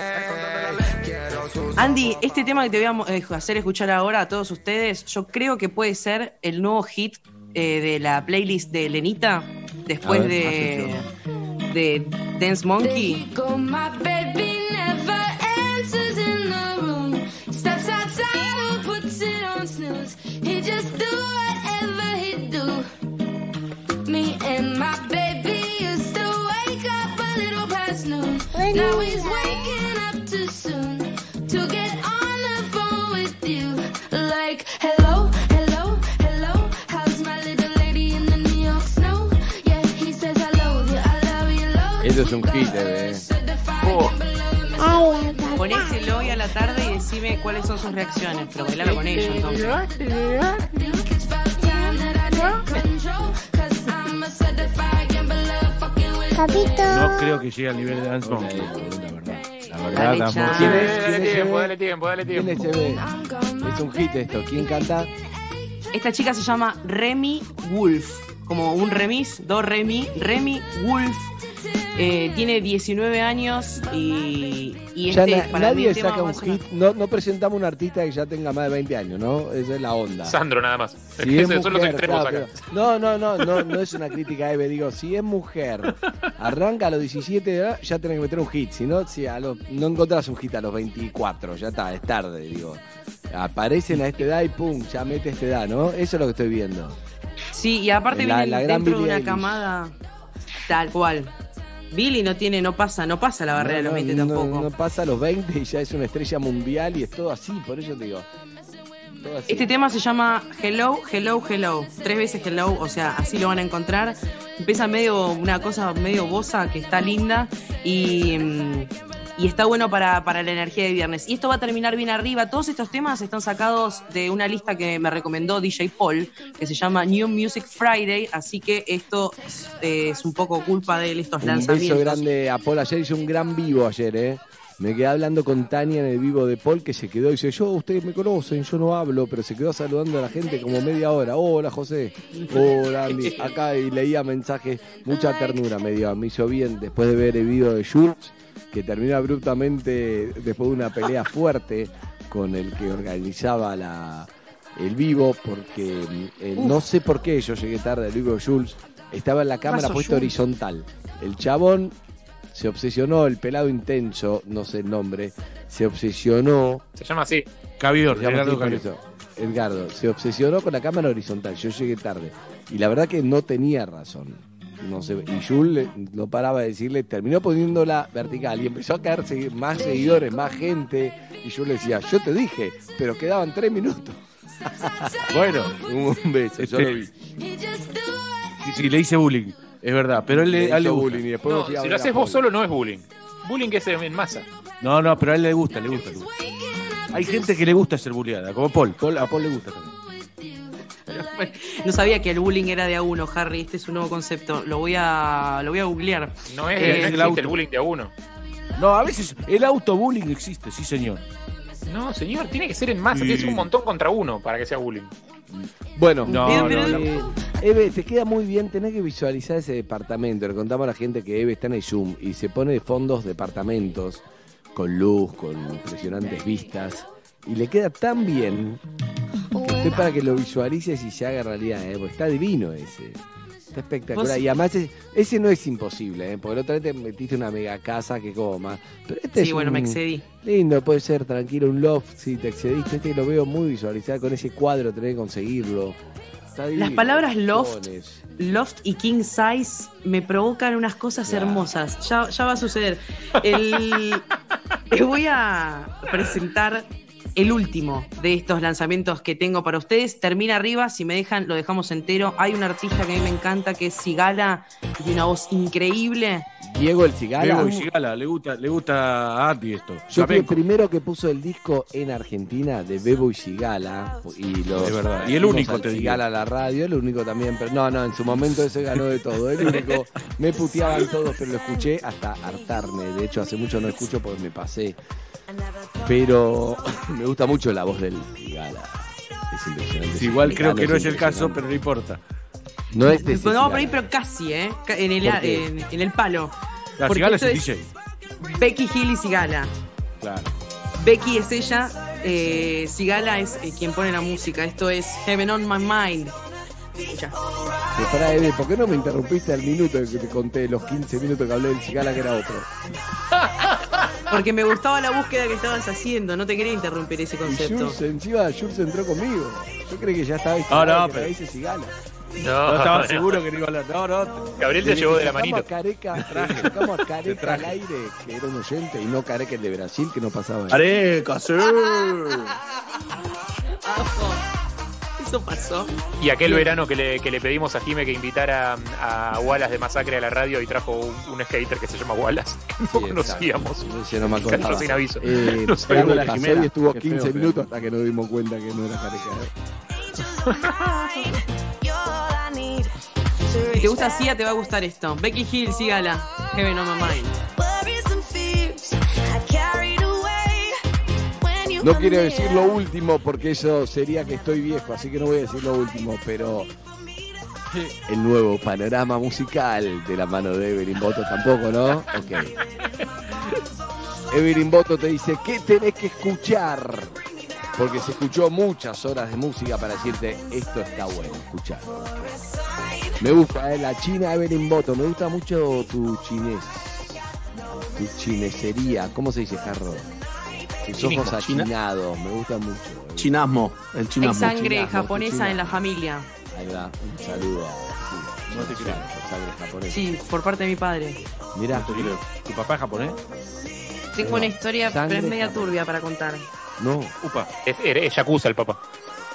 Andy, este tema que te voy a mo- eh, hacer escuchar ahora a todos ustedes, yo creo que puede ser el nuevo hit eh, de la playlist de Lenita, después A ver, de, de Dance Monkey. Go, my baby never answers in the room. Steps outside and puts it on snooze. He just do whatever he do. Me and my baby used to wake up a little past noon. Now he's waking up too soon to get on the phone with you. Like, hello, hello, hello. How's my little lady in the New York snow? Yeah, he says I love you, I love you, love you. Eso es un hit, eh. Oh. Ponéselo hoy a la tarde y decime cuáles son sus reacciones, pero bailalo con ellos entonces. Papito. No creo que llegue al nivel de Dance Monkey, la verdad. La verdad, Dale, Dance Chan. Monkey. ¿Quién es? Dale ¿Quién es tiempo, ese? dale tiempo, dale ¿Quién tiempo. es ese? Es un hit esto. ¿Quién canta? Esta chica se llama Remy Wolf, como un remis, do Remy, Remy Wolf. Eh, tiene diecinueve años y, y Ya este na- para mí nadie el tema saca va un a sonar. hit. No, no presentamos un artista que ya tenga más de veinte años, ¿no? Esa es la onda. Sandro nada más. Si es Esos son los mujer, extremos claro, acá. pero- no, no, no, no, no es una crítica, Eve. Digo, si es mujer, arranca a los diecisiete de edad, ya tenés que meter un hit. Si no, si a los, no encontrás un hit a los veinticuatro, ya está, es tarde, digo. Aparecen a esta edad y pum, ya mete esta edad, ¿no? Eso es lo que estoy viendo. Sí, y aparte La- vienen la gran dentro de Billie una Eilish. camada tal cual. Billy no tiene, no pasa, no pasa la barrera de No, los veinte no, tampoco. No, no pasa a los veinte y ya es una estrella mundial y es todo así, por eso te digo. Todo así. Este tema se llama Hello, Hello, Hello. Tres veces Hello, o sea, así lo van a encontrar. Empieza medio, una cosa medio bosa que está linda y, mm, y está bueno para, para la energía de viernes. Y esto va a terminar bien arriba. Todos estos temas están sacados de una lista que me recomendó D J Paul, que se llama New Music Friday, así que esto es, eh, es un poco culpa de él, estos Un lanzamientos. beso grande a Paul. Ayer hizo un gran vivo ayer, ¿eh? Me quedé hablando con Tania en el vivo de Paul, que se quedó y dice, yo, ustedes me conocen, yo no hablo, pero se quedó saludando a la gente como media hora. Hola, José. Hola, Andy. Acá y leía mensajes, mucha ternura me dio. Me hizo bien después de ver el video de Schultz, que terminó abruptamente después de una pelea fuerte con el que organizaba la, el vivo, porque eh, no sé por qué yo llegué tarde al vivo de Schultz. Estaba en la cámara pasó, puesta Schultz? horizontal. El chabón se obsesionó, el pelado intenso, no sé el nombre, se obsesionó. Se llama así. Cavior, se llama Edgardo así por Cavior. eso, Edgardo, se obsesionó con la cámara horizontal. Yo llegué tarde. Y la verdad que no tenía razón. No sé, y Jules no paraba de decirle, terminó poniéndola vertical y empezó a caerse más seguidores, más gente. Y yo le decía, yo te dije, pero quedaban tres minutos. Bueno, un beso, yo lo vi. Sí, sí, le hice bullying, es verdad, pero a él le, a él le hizo gusta. bullying y después No, me fui a si ver lo a haces Paul. vos solo no es bullying. Bullying es en masa. No, no, pero a él le gusta, le gusta, le gusta. Hay gente que le gusta ser bulleada, como Paul. Paul a Paul le gusta también. No sabía que el bullying era de a uno, Harry. Este es un nuevo concepto. Lo voy a, lo voy a googlear. No es, Eh, no el existe auto. el bullying de a uno. No, a veces el autobullying existe, sí señor. No, señor, tiene que ser en masa, Sí. tiene que ser un montón contra uno para que sea bullying. Bueno, No, eh, no, eh, Eve, te queda muy bien, tenés que visualizar ese departamento. Le contamos a la gente que Eve está en el Zoom y se pone de fondos departamentos, con luz, con impresionantes vistas. Y le queda tan bien que estoy para que lo visualices y se haga realidad, ¿eh? Porque está divino ese. Está espectacular. ¿Vos? Y además ese, ese no es imposible, ¿eh? Porque la otra vez te metiste una mega casa que como más. Pero este Sí, es bueno, un- me excedí. Lindo, puede ser tranquilo, un loft, si te excediste, este lo veo muy visualizado con ese cuadro, tenés que conseguirlo. Está divino, Las palabras loft, colchones. loft y king size me provocan unas cosas Claro. hermosas. Ya, ya va a suceder. El, les voy a presentar el último de estos lanzamientos que tengo para ustedes. Termina arriba, si me dejan, lo dejamos entero. Hay un artista que a mí me encanta, que es Sigala, y tiene una voz increíble. Diego el Cigala. Bebo y Cigala, le gusta, le gusta a Andy esto. Yo fui el Flamenco. primero que puso el disco en Argentina de Bebo y Cigala. Y los, Es verdad. Y el fuimos único, al te digo. Cigala a la radio, el único también. Pero no, no, en su momento ese ganó de todo. El único. Me puteaban todos, pero lo escuché hasta hartarme. De hecho, hace mucho no escucho porque me pasé. Pero me gusta mucho la voz del Cigala. Es impresionante. Sí, igual Ese creo que no mexicano es el caso, impresionante. pero no importa. No es de ese No, por ahí, Cigala. pero casi, ¿eh? Ca- En el, ¿Por qué? en, en el palo. La Porque Cigala es esto un es D J. Becky Hill y Sigala. Claro. Becky es ella, eh, Sigala es eh, quien pone la música. Esto es Heaven on My Mind. Escucha. Pero pará, Eve, ¿por qué no me interrumpiste al minuto que te conté los quince minutos que hablé del Cigala que era otro? Porque me gustaba la búsqueda que estabas haciendo. No te quería interrumpir ese Y concepto. Jules, encima Jules entró conmigo. Yo creí que ya estaba No, no, que pero- dice Cigala. No, No, estaba no. seguro que no iba a hablar. No, no. Gabriel te Desde llevó que de la sacamos manito. a Careca, traje. sacamos a Te Careca traje. al aire, que era un oyente, y no Careca el de Brasil, que no pasaba. Areca, sí. Eso pasó. Y aquel verano que le, que le pedimos a Jime que invitara a Wallace de Masacre a la radio y trajo un, un skater que se llama Wallace, que no Sí, conocíamos. exacto. Ese no me Cayó acordaba. sin aviso. Eh, No sabía algo la pasó Jimena. y estuvo Qué quince feo, feo. minutos hasta que nos dimos cuenta que no era Careca. Si te gusta Sia, te va a gustar esto. Becky Hill, sígala. Heaven on my mind. No quiero decir lo último porque eso sería que estoy viejo, así que no voy a decir lo último, pero el nuevo panorama musical de la mano de Evelyn Boto tampoco, ¿no? Ok. Evelyn Boto te dice, ¿qué tenés que escuchar? Porque se escuchó muchas horas de música para decirte, esto está bueno, escucharlo. Me gusta, ¿eh? La china Evelyn Boto, me gusta mucho tu chinés, tu chinesería, ¿cómo se dice, Jarro? Tus ojos achinados, me gusta mucho. Eh. Chinasmo, el chinasmo. Hay sangre Chinasmo, japonesa chinasmo. en la familia. Ahí va, un saludo. Sí, No te creo. sangre japonesa. Sí, por parte de mi padre. Mirá, No te creo. ¿Tu papá es japonés? Tengo una historia, pero Sangre es media japonesa. turbia para contar. no, Upa, es, es Yakuza el papá.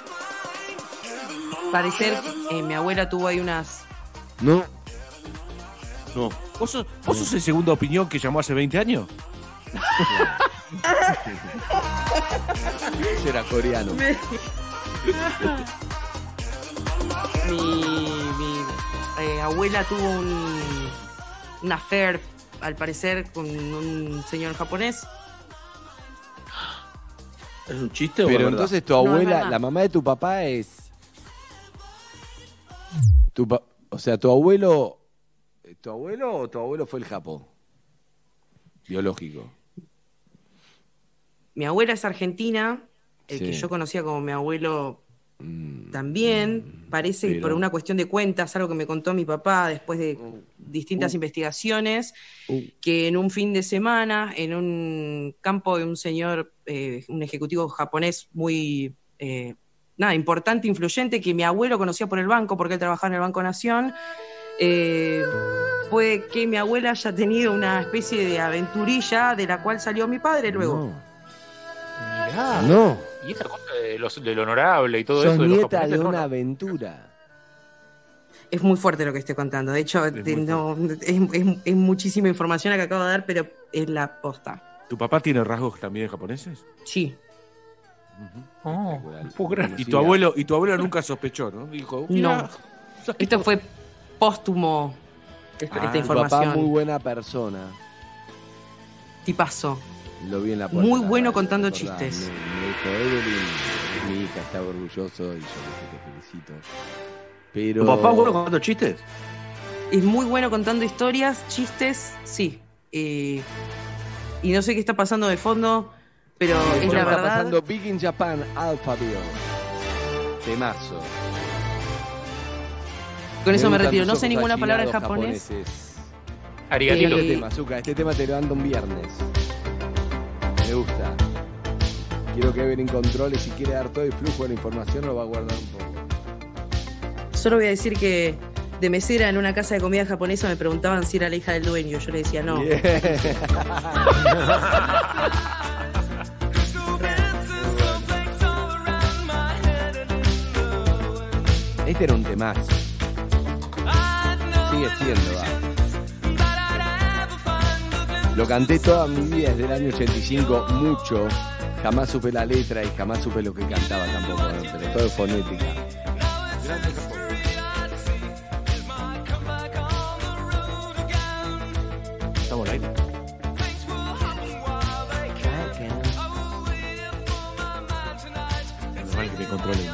Parecer, eh, mi abuela tuvo ahí unas... no. No. ¿Vos sos, vos sos el segunda opinión que llamó hace veinte años? Ese era coreano. mi mi eh, abuela tuvo un, un affair, al parecer, con un señor japonés. ¿Es un chiste o es Pero verdad? entonces tu No, es abuela, verdad. la mamá de tu papá es... Tu pa- o sea, tu abuelo... ¿Tu abuelo o tu abuelo fue el Japón? Biológico. Mi abuela es argentina, el Sí. que yo conocía como mi abuelo también, parece que pero- por una cuestión de cuentas, algo que me contó mi papá después de distintas investigaciones, Uh. que en un fin de semana, en un campo de un señor, eh, un ejecutivo japonés muy, eh, nada, importante, influyente, que mi abuelo conocía por el banco, porque él trabajaba en el Banco Nación, eh, puede que mi abuela haya tenido una especie de aventurilla de la cual salió mi padre luego. Mirá. No. Y esa cosa de, los, de lo honorable y todo Sos eso. De los nieta japoneses, de no, una no. aventura. Es muy fuerte lo que estoy contando. De hecho, te- muy no, es, es- es muchísima información la que acabo de dar, pero es la posta. ¿Tu papá tiene rasgos también japoneses? Sí. Oh, no puedo creer. Y tu abuelo, y tu abuelo nunca sospechó, ¿no? Dijo, No. Esto fue póstumo, esta, Ah, esta tu información. papá muy buena persona. Tipazo. Lo vi en la puerta. Muy de la bueno radio, contando ¿te acordás? chistes. Me, me dijo, Evelyn, mi hija está orgulloso y yo le dije, te felicito. Pero... ¿Tu papá es bueno contando chistes? Es muy bueno contando historias, chistes, sí. Eh, y no sé qué está pasando de fondo, pero Sí, es bueno, la está verdad. pasando Big in Japan, Alphaville. Temazo. Con eso me gustan retiro. tus No sé ojos ninguna palabra en achinados japonés. japoneses. Arigatito. Este tema, Zucca, este tema te lo ando un viernes. Me gusta. Quiero que Evelyn controle si quiere dar todo el flujo de la información, lo va a guardar un poco. Solo voy a decir que de mesera en una casa de comida japonesa me preguntaban si era la hija del dueño. Yo le decía no. Bien. Este era un temazo. Sigue siendo, va. Lo canté toda mi vida desde el año ochenta y cinco, mucho. Jamás supe la letra y jamás supe lo que cantaba tampoco, ¿no? Pero todo es fonética. Estamos al aire. Menos mal que me controlen.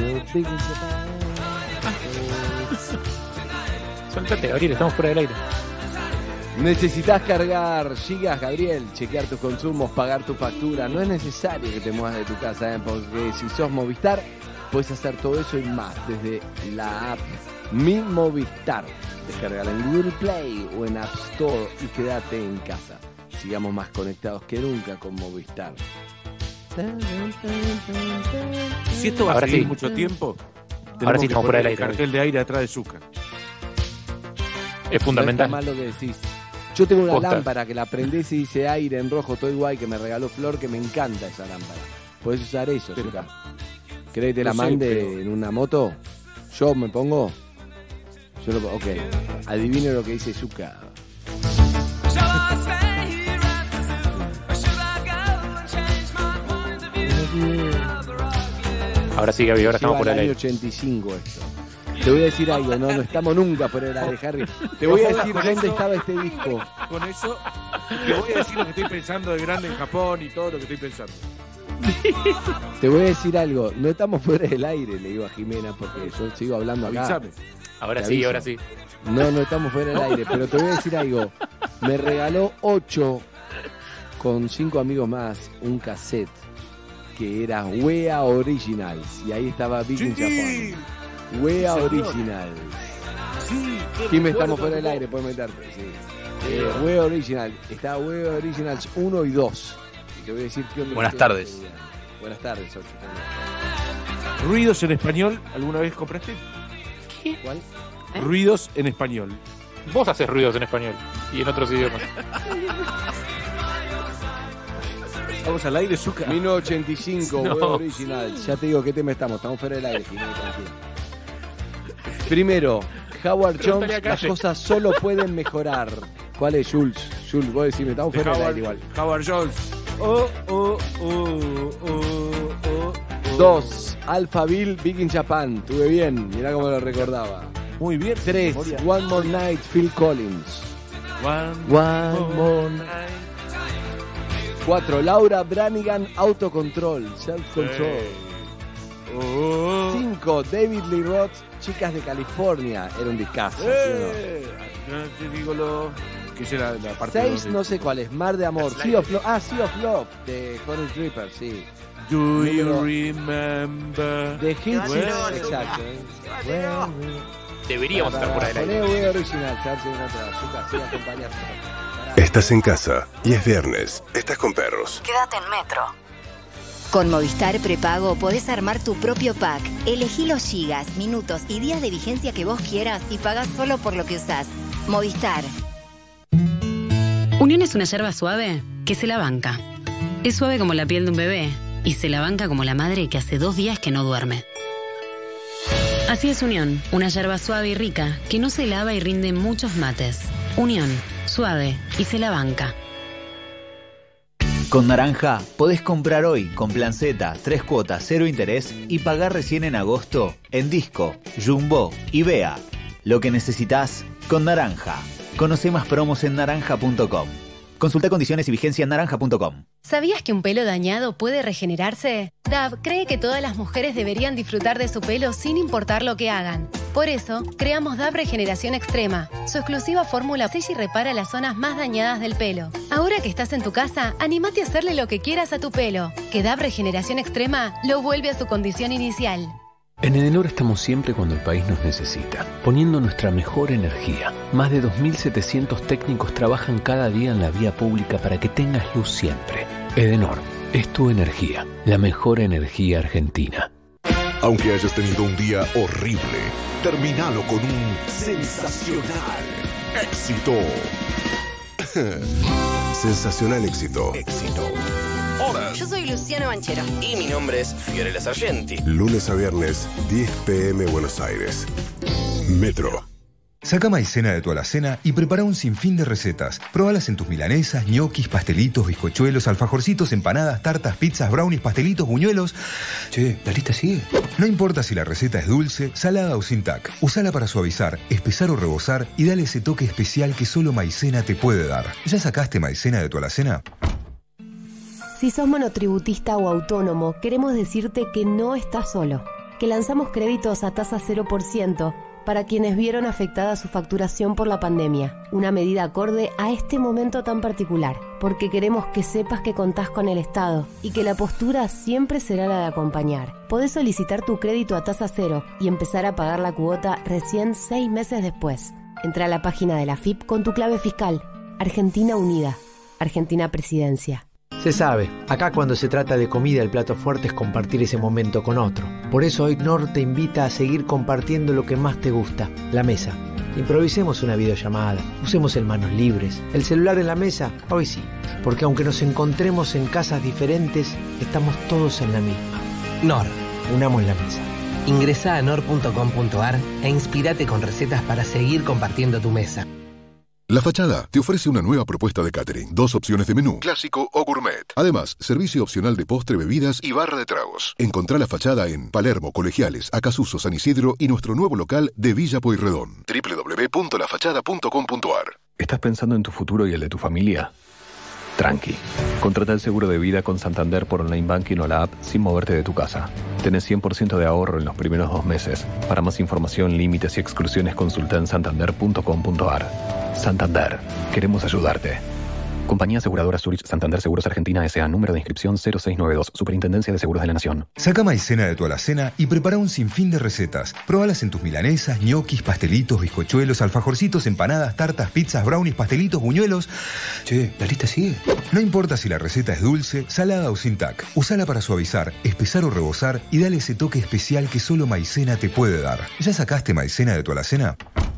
Suéltate, Gabriel, estamos fuera del aire. Necesitas cargar gigas, Gabriel, chequear tus consumos, pagar tu factura. No es necesario que te muevas de tu casa, ¿eh? Porque si sos Movistar, puedes hacer todo eso y más desde la app Mi Movistar. Descargala en Google Play o en App Store y quédate en casa. Sigamos más conectados que nunca con Movistar. Si esto va Ahora a seguir sí. mucho tiempo, Ahora tenemos sí que estamos fuera poner del el aire. cartel de aire atrás de Zucca. Es fundamental. No está mal lo que decís. Yo tengo una Posta. lámpara que la prendés y dice aire en rojo, todo igual, que me regaló Flor, que me encanta esa lámpara. Podés usar eso, Pero- Zucca. ¿Querés que te la No sé, mande pero- en una moto? ¿Yo me pongo? Yo lo Ok. Adivine lo que dice Zucca. Ahora sí, Gaby, ahora estamos Lleva fuera el del año aire. ochenta y cinco esto. Te voy a decir algo, no, no estamos nunca fuera del aire, Harry. Te voy a decir Con dónde eso- estaba este disco. Con eso, te voy a decir lo que estoy pensando de grande en Japón y todo lo que estoy pensando. Te voy a decir algo, no estamos fuera del aire, le digo a Jimena, porque yo sigo hablando acá. Avísame. Ahora Te sí, aviso. ahora sí. No, no estamos fuera del aire, pero te voy a decir algo. Me regaló ocho con cinco amigos más un cassette que era Wea Originals. Y ahí estaba Big in Sí. Japan. Wea Sí, señor. Originals. Sí, qué Jimmy, recuerdo estamos fuera del como- aire, puedes meterte. Sí. Eh, Wea Original. Está Wea Originals uno y dos. Y te voy a decir qué onda. Buenas qué tardes. onda. Buenas tardes, ocho. ¿Ruidos en español alguna vez compraste? ¿Cuál? Ruidos en español. Vos haces ruidos en español y en otros idiomas. Vamos al aire, Zucca. mil novecientos ochenta y cinco, No. Wea Originals. Ya te digo qué tema estamos. Estamos fuera del aire, Jimmy, tranquilo. Primero, Howard Pregúntale Jones, a las Calle. cosas solo pueden mejorar. ¿Cuál es, Jules? Jules, vos decime, estamos De fuera del Howard, aire igual. Howard Jones. Oh, oh, oh, oh, oh, oh. Dos, Alphaville, Big in Japan. Estuve bien, mirá cómo lo recordaba. Muy bien. Tres, memoria. One More Night, Phil Collins. One, One More Night. Cuatro, Laura Branigan, Autocontrol, Self Control. Oh. Cinco, David Lee Roth, Chicas de California. Era un discazo. ¿sí o no? Eh, no te digo lo que es la, la parte Seis, dos de- no sé cuál es, Mar de Amor, Sea of Love, ah, Sea of Love, de Forest Reaper, sí. Do you Número- remember? De Hits, Bueno. exacto. ¿eh? Bueno, Deberíamos estar fuera del aire. Poné Wea Original, a ver si encuentra azúcar, sí, acompañate. Estás en casa y es viernes. Estás con perros. Quédate en Metro. Con Movistar Prepago podés armar tu propio pack. Elegí los gigas, minutos y días de vigencia que vos quieras y pagás solo por lo que usás. Movistar. Unión es una yerba suave que se la banca. Es suave como la piel de un bebé y se la banca como la madre que hace dos días que no duerme. Así es Unión, una yerba suave y rica que no se lava y rinde muchos mates. Unión, suave y se la banca. Con Naranja podés comprar hoy con Plan Z, tres cuotas, cero interés y pagar recién en agosto en Disco, Jumbo y Bea. Lo que necesitas con Naranja. Conoce más promos en naranja punto com. Consulta condiciones y vigencia en naranja punto com. ¿Sabías que un pelo dañado puede regenerarse? Dove cree que todas las mujeres deberían disfrutar de su pelo sin importar lo que hagan. Por eso, creamos Dove Regeneración Extrema. Su exclusiva fórmula sella y repara las zonas más dañadas del pelo. Ahora que estás en tu casa, anímate a hacerle lo que quieras a tu pelo. Que Dove Regeneración Extrema lo vuelve a su condición inicial. En Edenor estamos siempre cuando el país nos necesita, poniendo nuestra mejor energía. Más de dos mil setecientos técnicos trabajan cada día en la vía pública para que tengas luz siempre. Edenor, es tu energía, la mejor energía argentina. Aunque hayas tenido un día horrible, terminalo con un sensacional éxito. Sensacional éxito. Éxito. Hola. Yo soy Luciano Banchero. Y mi nombre es Fiorella Sargenti. Lunes a viernes, diez pm Buenos Aires. Metro. Saca maicena de tu alacena y prepara un sinfín de recetas. Probalas en tus milanesas, ñoquis, pastelitos, bizcochuelos, alfajorcitos, empanadas, tartas, pizzas, brownies, pastelitos, buñuelos. Che, la lista sigue. No importa si la receta es dulce, salada o sin tac. Usala para suavizar, espesar o rebozar y dale ese toque especial que solo maicena te puede dar. ¿Ya sacaste maicena de tu alacena? Si sos monotributista o autónomo, queremos decirte que no estás solo, que lanzamos créditos a tasa cero por ciento para quienes vieron afectada su facturación por la pandemia, una medida acorde a este momento tan particular, porque queremos que sepas que contás con el Estado y que la postura siempre será la de acompañar. Podés solicitar tu crédito a tasa cero y empezar a pagar la cuota recién seis meses después. Entra a la página de la F I P con tu clave fiscal. Argentina Unida. Argentina Presidencia. Se sabe, acá cuando se trata de comida el plato fuerte es compartir ese momento con otro. Por eso hoy Knorr te invita a seguir compartiendo lo que más te gusta, la mesa. Improvisemos una videollamada, usemos el manos libres, el celular en la mesa, hoy sí, porque aunque nos encontremos en casas diferentes, estamos todos en la misma. Knorr. Unamos la mesa. Ingresá a knorr punto com punto ar e inspirate con recetas para seguir compartiendo tu mesa. La Fachada te ofrece una nueva propuesta de catering, dos opciones de menú, clásico o gourmet. Además, servicio opcional de postre, bebidas y barra de tragos. Encontrá La Fachada en Palermo, Colegiales, Acasuso, San Isidro y nuestro nuevo local de Villa Pueyrredón. doble u doble u doble u punto la fachada punto com punto a r. ¿Estás pensando en tu futuro y el de tu familia? Tranqui. Contrata el seguro de vida con Santander por online banking o la app sin moverte de tu casa. Tenés cien por ciento de ahorro en los primeros dos meses. Para más información, límites y exclusiones, consulta en santander punto com punto a r. Santander. Queremos ayudarte. Compañía Aseguradora Zurich Santander Seguros Argentina S A. Número de inscripción cero seis nueve dos. Superintendencia de Seguros de la Nación. Saca maicena de tu alacena y prepara un sinfín de recetas. Probalas en tus milanesas, ñoquis, pastelitos, bizcochuelos, alfajorcitos, empanadas, tartas, pizzas, brownies, pastelitos, buñuelos. Che, ¿la lista sigue? No importa si la receta es dulce, salada o sin tac. Usala para suavizar, espesar o rebozar y dale ese toque especial que solo maicena te puede dar. ¿Ya sacaste maicena de tu alacena?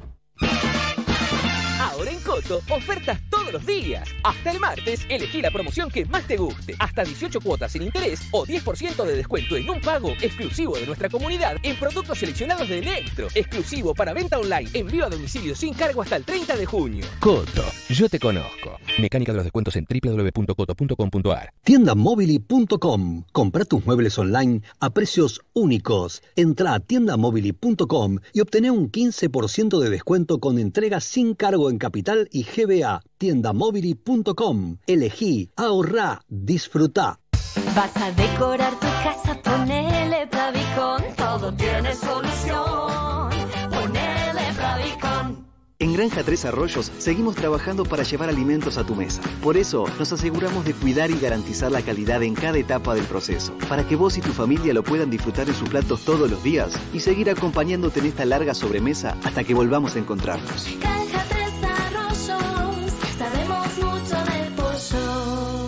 Ahora en Coto, ofertas todos los días. Hasta el martes, elegí la promoción que más te guste. Hasta dieciocho cuotas sin interés o diez por ciento de descuento en un pago exclusivo de nuestra comunidad en productos seleccionados de Electro. Exclusivo para venta online, envío a domicilio sin cargo hasta el treinta de junio. Coto, yo te conozco. Mecánica de los descuentos en doble u doble u doble u punto coto punto com punto a r. tienda mobili punto com. Compra tus muebles online a precios únicos. Entra a tienda mobili punto com y obtené un quince por ciento de descuento con entrega sin cargo en Capital y G B A. tienda mobili punto com. Elegí, ahorrá, disfrutá. Vas a decorar tu casa, ponele Bravicon. Todo tiene solución. Ponele Bravicon. En Granja Tres Arroyos seguimos trabajando para llevar alimentos a tu mesa. Por eso nos aseguramos de cuidar y garantizar la calidad en cada etapa del proceso, para que vos y tu familia lo puedan disfrutar en sus platos todos los días y seguir acompañándote en esta larga sobremesa hasta que volvamos a encontrarnos. Granja Tres Arroyos, sabemos mucho del pollo.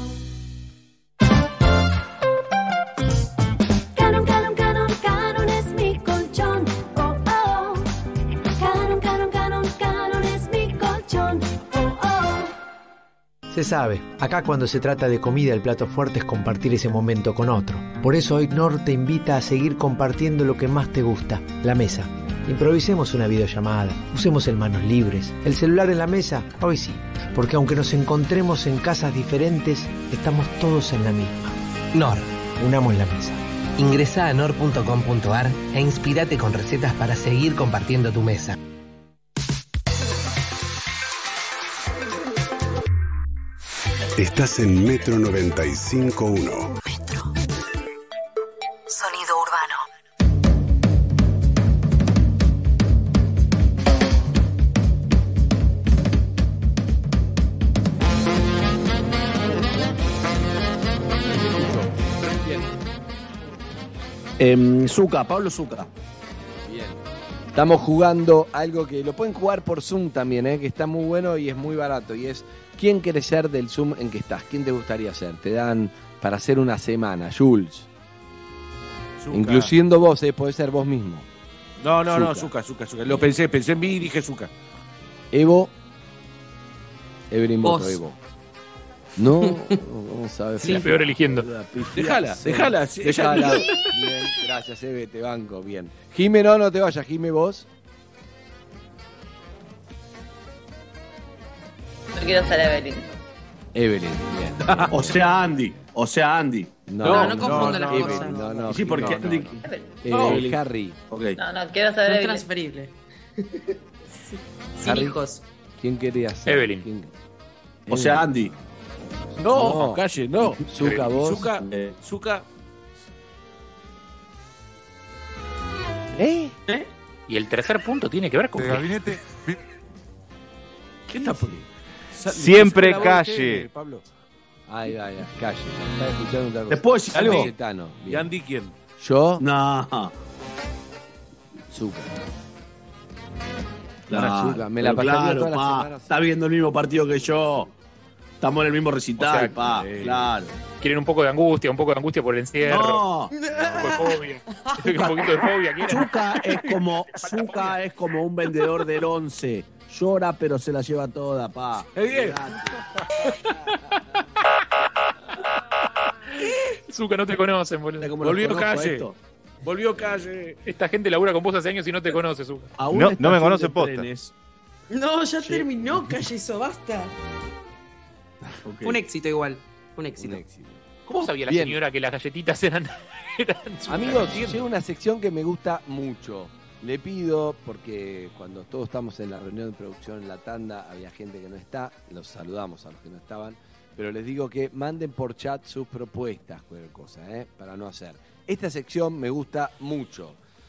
Canon, Canon, Canon, Canon es mi colchón. Oh, oh. Canon, Canon, Canon, Canon es mi colchón. Oh, oh. Se sabe, acá cuando se trata de comida el plato fuerte es compartir ese momento con otro. Por eso hoy Nor te invita a seguir compartiendo lo que más te gusta, la mesa. Improvisemos una videollamada, usemos el manos libres, el celular en la mesa, hoy sí, porque aunque nos encontremos en casas diferentes, estamos todos en la misma. Nor. Unamos la mesa. Ingresá a nor punto com punto a r e inspirate con recetas para seguir compartiendo tu mesa. Estás en Metro noventa y cinco punto uno. Sonido urbano. Eh, Zucca, Pablo Zucca. Bien. Estamos jugando algo que lo pueden jugar por Zoom también, ¿eh? Que está muy bueno y es muy barato. Y es, ¿quién querés ser del Zoom en que estás? ¿Quién te gustaría ser? Te dan para hacer una semana, Jules. Zucca. Incluyendo vos, ¿eh? Podés ser vos mismo. No, no, no, Zucca, Zucca, Zucca. Lo pensé, pensé en mí y dije Zucca. Evo. Evelyn Vos. voto Evo. No, no sabes. Sí, la peor eligiendo. Déjala, déjala. sí, Déjala. ella- Bien, gracias, Eve, te banco, bien. Jime, no, no te vayas, Jime, vos. No quiero ser Evelyn. Evelyn, bien. O sea, Andy. O sea, Andy. No, no confunda las Evelyn, cosas. No, no, Sí, porque no, Andy. Eh, No. Harry. Ok. No, no, quiero ser Son Evelyn. transferibles. Sin Harry. hijos. ¿Quién quería ser? Evelyn. ¿Quién? O sea, Andy. No, No. calle, no. Zucca, vos. Zucca, Eh, Zucca. ¿Eh? Y el tercer punto tiene que ver con El qué? gabinete. ¿Qué está poniendo? Sa- Siempre saca la voz calle. usted, Pablo. Ahí va, ya, calle. Estaba escuchando otra cosa. ¿Te puedo decir algo? Cayetano, ¿Y bien. Andy quién? Yo, No. Zucca. Claro, Zucca, me la pero pasaría claro, todas las pa, semanas. está viendo el mismo partido que yo. Estamos en el mismo recital, O sea, pa. eh, Claro. Quieren un poco de angustia, un poco de angustia por el encierro. No. Un poco de fobia. un poquito de fobia. ¿quieren? Zucca es como Zucca es como un vendedor del once. Llora pero se la lleva toda, pa. Eh, bien. Zucca, no te conocen, boludo. ¿Cómo lo Volvió conozco calle. esto? Volvió calle. Esta gente labura con vos hace años y no te conoce, Zucca. A una No- no me estación conoce de posta. trenes, No, ya terminó, calle eso, basta. Okay. Un éxito igual, un éxito. Un éxito. ¿Cómo sabía la Bien. señora que las galletitas eran, eran super- Amigos, llega una sección que me gusta mucho. Le pido, porque cuando todos estamos en la reunión de producción en la tanda, había gente que no está, los saludamos a los que no estaban, pero les digo que manden por chat sus propuestas, cualquier cosa, ¿eh? Para no hacer. Esta sección me gusta mucho.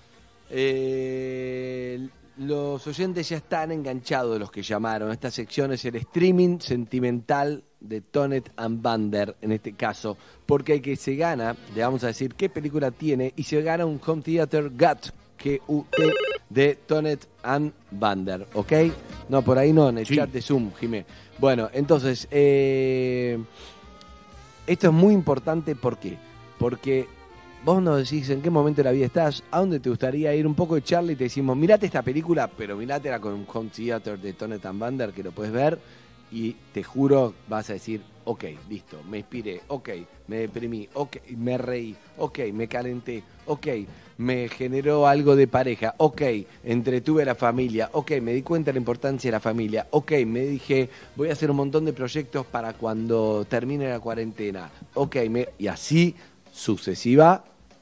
Eh, los oyentes ya están enganchados de los que llamaron. Esta sección es el streaming sentimental de Tonet and Bander, en este caso, porque el que se gana, le vamos a decir qué película tiene, y se gana un Home Theater Gut, G U T, de Tonet and Bander, ¿ok? No, por ahí no, en el Sí. chat de Zoom, Jimé. Bueno, entonces, eh, esto es muy importante, ¿por qué? Porque vos nos decís en qué momento de la vida estás, a dónde te gustaría ir, un poco de charla, y te decimos, mirate esta película, pero mirátela con un Home Theater de Tonet and Bander, que lo puedes ver, y te juro, vas a decir, ok, listo, me inspiré, ok, me deprimí, ok, me reí, ok, me calenté, ok, me generó algo de pareja, ok, entretuve a la familia, ok, me di cuenta de la importancia de la familia, ok, me dije, voy a hacer un montón de proyectos para cuando termine la cuarentena, ok, me... y así sucesiva.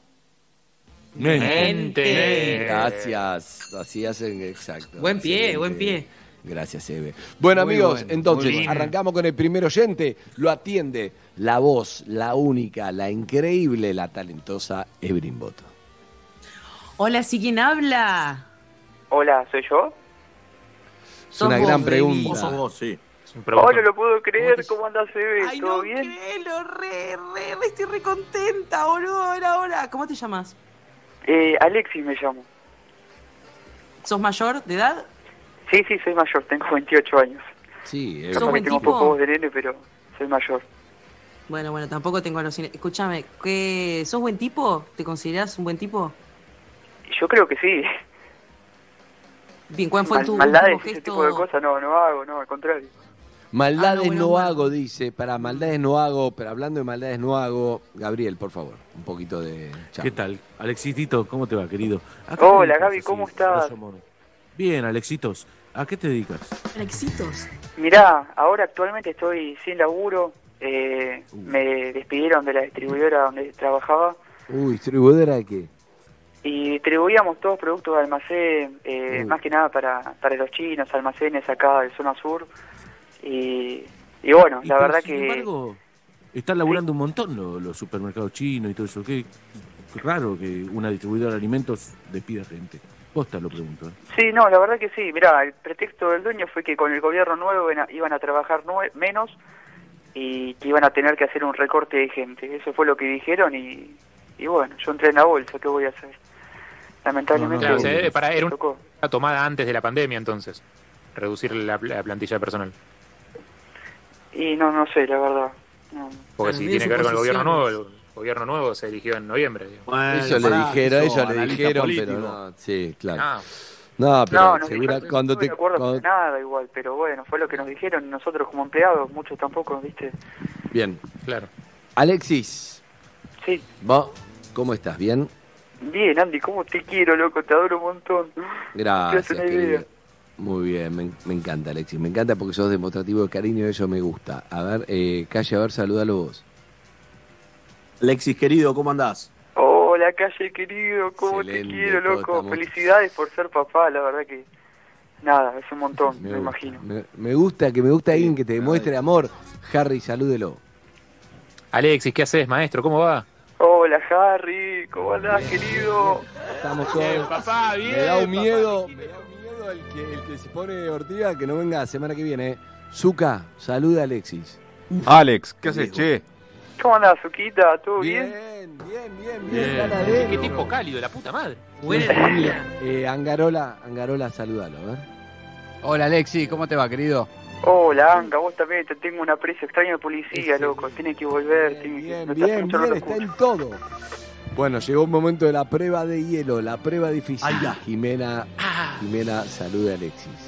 Mente. Gracias, así hacen, exacto. Buen pie, Excelente. buen pie. Gracias, Eve. Bueno, Muy amigos, bueno, entonces muy bueno. arrancamos con el primer oyente. Lo atiende la voz, la única, la increíble, la talentosa Evelyn Boto. Hola, ¿sí quién habla? Hola, ¿soy yo? Es una Sos gran vos, pregunta. baby. Vos sos vos, sí. Oh, no lo puedo creer. ¿Cómo andás, Eve? Ay, ¿Todo no bien? créelo, re, re, re, estoy re contenta, boludo. Ahora, ahora. ¿Cómo te llamas? Eh, Alexis me llamo. ¿Sos mayor de edad? Sí, sí, soy mayor. Tengo veintiocho años. Sí, ¿Sos Capaz que buen tengo un tipo? poco voz de nene, pero soy mayor. Bueno, bueno, tampoco tengo los... Escúchame, ¿qué... ¿sos buen tipo? ¿Te considerás un buen tipo? Yo creo que sí. Bien, ¿cuál fue Mal- tu maldades, último ese gesto? tipo de cosas no, no hago, no, al contrario. Maldades Ah, no, bueno, no bueno. hago, dice. Para maldades no hago, pero hablando de maldades no hago. Gabriel, por favor, un poquito de charla. ¿Qué tal? Alexitito, ¿cómo te va, querido? ¿A qué te Hola, dedicas Gaby, así, ¿cómo estás? grosso modo? Bien, Alexitos. ¿A qué te dedicas? Alexitos. Mirá, ahora actualmente estoy sin laburo. Eh, Uh. me despidieron de la distribuidora donde trabajaba. Uy, ¿distribuidora de qué? Y distribuíamos todos productos de almacén, eh, Uh. más que nada para, para los chinos, almacenes acá de zona sur. Y, y bueno, Y la pero, verdad sin que... embargo, están laburando un montón los, los supermercados chinos y todo eso. Qué, qué raro que una distribuidora de alimentos despida gente. Posta lo pregunto. ¿eh? Sí, no, la verdad que sí. Mirá, el pretexto del dueño fue que con el gobierno nuevo iban a, iban a trabajar nue- menos y que iban a tener que hacer un recorte de gente. Eso fue lo que dijeron y, y bueno, yo entré en la bolsa, ¿qué voy a hacer? Lamentablemente... Claro, o sea, me para, era tocó. una tomada antes de la pandemia, entonces. Reducir la, la plantilla de personal. Y no, no sé, la verdad. No. Porque Para si mí tiene que ver con el gobierno nuevo, suposiciones. el gobierno nuevo se eligió en noviembre. digamos. Bueno, Eso le pará, dijeron, sos ellos le analista dijeron, político. pero no. Sí, claro. Ah, No, pero No, no, segura, yo cuando no te... me acuerdo cuando- para nada igual, pero bueno, fue lo que nos dijeron y nosotros como empleados, muchos tampoco, ¿viste? Bien. claro. Alexis, Sí. ¿vos cómo estás? ¿Bien? Bien, Andy, ¿cómo te quiero, loco? Te adoro un montón. Gracias, Te hace una querido. idea. Muy bien, me, me encanta, Alexis. Me encanta porque sos demostrativo de cariño y eso me gusta. A ver, eh, Calle, a ver, salúdalo vos. Alexis, querido, ¿cómo andás? Hola, Calle, querido, ¿cómo Excelente, te quiero, todos loco? estamos- Felicidades por ser papá, la verdad que... Nada, es un montón, me, gusta, imagino. Me, me gusta que me gusta alguien que te demuestre amor. Harry, salúdelo. Alexis, ¿qué haces, maestro? ¿Cómo va? Hola, Harry, ¿cómo andás, querido? Estamos todos. papá, Me da un miedo, me da un miedo el que, el que se pone Ortiga que no venga la semana que viene. eh. Zuka, saluda a Alexis. Alex, ¿qué haces, che? ¿Cómo andás, Zuquita? ¿Todo bien? Bien, bien, bien, Bien. bien. Gana de- Qué tiempo cálido, la puta madre. Buena energía. Eh, Angarola, Angarola, salúdalo, a ver. Hola Alexi, ¿cómo te va, querido? Hola, Anga, vos también te tengo un aprecio extraño de policía, loco. Tiene que volver, tiene que... Bien, me estás bien, escuchando bien, los está cursos. en todo. Bueno, llegó un momento de la prueba de hielo, la prueba difícil. Ay, ya. Jimena, Jimena, salude a Alexis.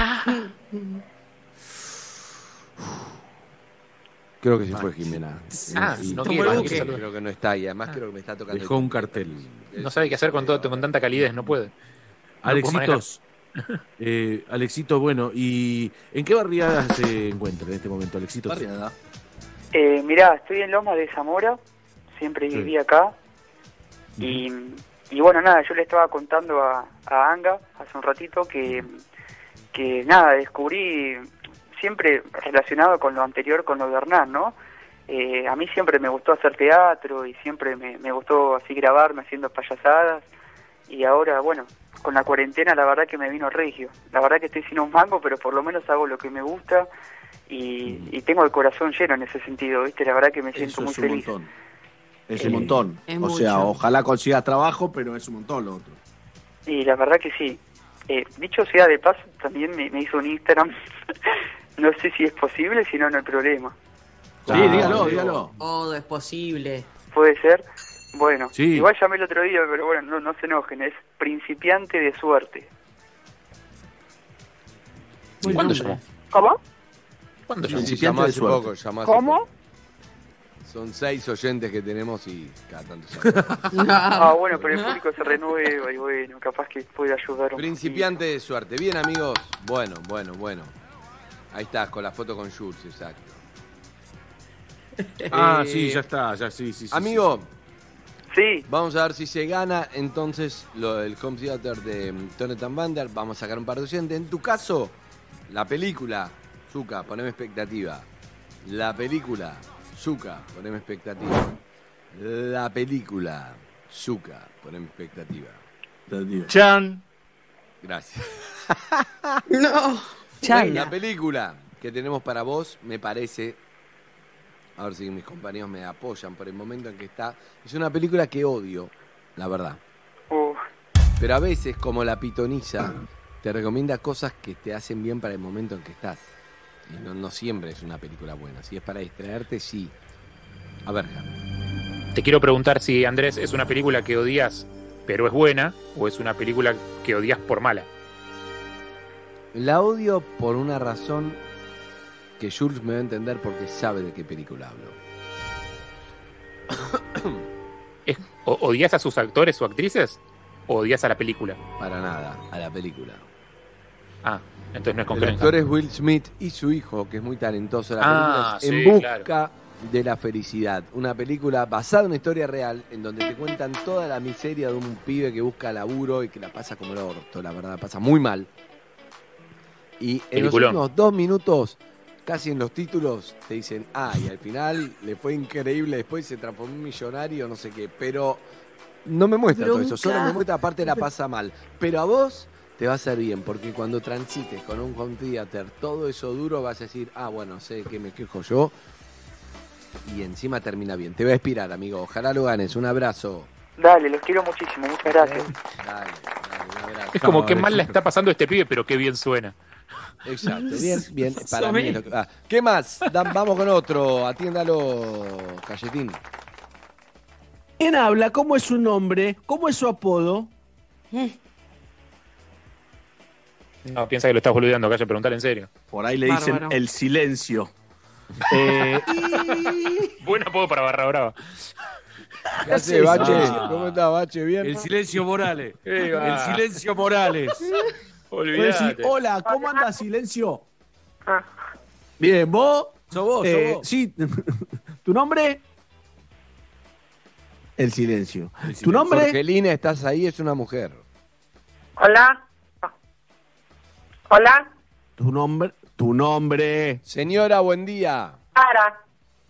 Creo que se fue Jimena. Ah, Y- no y- quiere, creo no que- quiere saludar. creo que no está y además creo que me está tocando. Dejó el- un cartel. No sabe qué hacer con todo, con tanta calidez, no puede. No puedo Alexitos, Eh, Alexito, bueno, ¿y en qué barriada se encuentra en este momento, Alexito? Barriada. Eh, mirá, estoy en Lomas de Zamora, siempre Sí. viví acá. Y, y bueno, nada, yo le estaba contando a, a Anga hace un ratito que, que nada, descubrí siempre relacionado con lo anterior, con lo de Hernán, ¿no? Eh, a mí siempre me gustó hacer teatro y siempre me, me gustó así grabarme haciendo payasadas. Y ahora, bueno, con la cuarentena la verdad que me vino regio. La verdad que estoy sin un mango, pero por lo menos hago lo que me gusta y, y tengo el corazón lleno en ese sentido, ¿viste? La verdad que me siento Eso muy es un feliz. montón. Es Eh, un montón. es O sea, mucho. ojalá consigas trabajo, pero es un montón lo otro. Y la verdad que sí. Eh, dicho sea de paso, también me, me hizo un Instagram. No sé si es posible, si no, no hay problema. Sí, dígalo, dígalo. Todo es posible. Puede ser. Bueno, Sí. igual llamé el otro día, pero bueno, no, no se enojen. Es principiante de suerte. ¿Cuándo llamó? ¿Cómo? ¿Cuándo Sí, llamó? sí, llamá hace poco, llamá hace ¿Cómo? poco. Son seis oyentes que tenemos y cada tanto llaman. Ah, bueno, pero el público se renueva y bueno, capaz que puede ayudar un Principiante de suerte. Bien, amigos. Bueno, bueno, bueno. Ahí estás, con la foto con Jules, exacto. Ah, Eh, sí, ya está, ya sí, sí, sí. Amigo. Sí. Vamos a ver si se gana entonces lo del Home Theater de mm, Jonathan Vander. Vamos a sacar un par de oyentes. En tu caso, la película, Zuka, poneme expectativa. La película, Zuka, poneme expectativa. La película, Zuka, poneme expectativa. Chan. Gracias. No. Chan. La película que tenemos para vos, me parece, a ver si mis compañeros me apoyan por el momento en que está, es una película que odio, la verdad. Uh. Pero a veces, como la pitoniza, te recomienda cosas que te hacen bien para el momento en que estás. Y no, no siempre es una película buena. Si es para distraerte, sí. A ver, Jan. Te quiero preguntar si, Andrés, es una película que odias, pero es buena, o es una película que odias por mala. La odio por una razón que Jules me va a entender porque sabe de qué película hablo. Es- o- ¿Odias a sus actores o actrices? ¿O odias a la película? Para nada, a la película. Ah, entonces no es El concreto. actor es Will Smith y su hijo, que es muy talentoso. La Ah, película es sí, En busca claro. de la felicidad. Una película basada en una historia real, en donde te cuentan toda la miseria de un pibe que busca laburo y que la pasa como el orto, la verdad, la pasa muy mal. Y en los Peliculón. últimos dos minutos, casi en los títulos, te dicen, ah, y al final le fue increíble, después se transformó en millonario, no sé qué, pero no me muestra todo eso, solo me muestra aparte la pasa mal. Pero a vos te va a hacer bien, porque cuando transites con un home theater todo eso duro, vas a decir, ah, bueno, sé que me quejo yo, y encima termina bien. Te voy a inspirar, amigo, ojalá lo ganes, un abrazo. Dale, los quiero muchísimo, muchas gracias. Dale, dale, un abrazo. Es como que mal la está pasando este pibe, pero qué bien suena. Exacto, bien, bien, para mí es lo que- ah, ¿qué más? Dan- vamos con otro, atiéndalo, Cayetín. ¿Quién habla? ¿Cómo es su nombre? ¿Cómo es su apodo? No, piensa que lo estás boludeando, Calle, preguntar en serio. Por ahí le dicen Bárbaro. el silencio. Eh, Buen apodo para Barra Brava. ¿Qué haces, Bache? Ah. ¿Cómo estás, Bache? ¿Bien? El silencio Morales. Eh, va. El silencio Morales. puede decir, Olvídate. hola, ¿cómo anda, silencio? Bien, ¿vos? Sos vos, sos Eh, vos. Sí, ¿tu nombre? El silencio. El ¿Tu silencio. nombre? Jorgelina, estás ahí, es una mujer. Hola. Hola. ¿Tu nombre? ¿Tu nombre? Señora, buen día. Sara.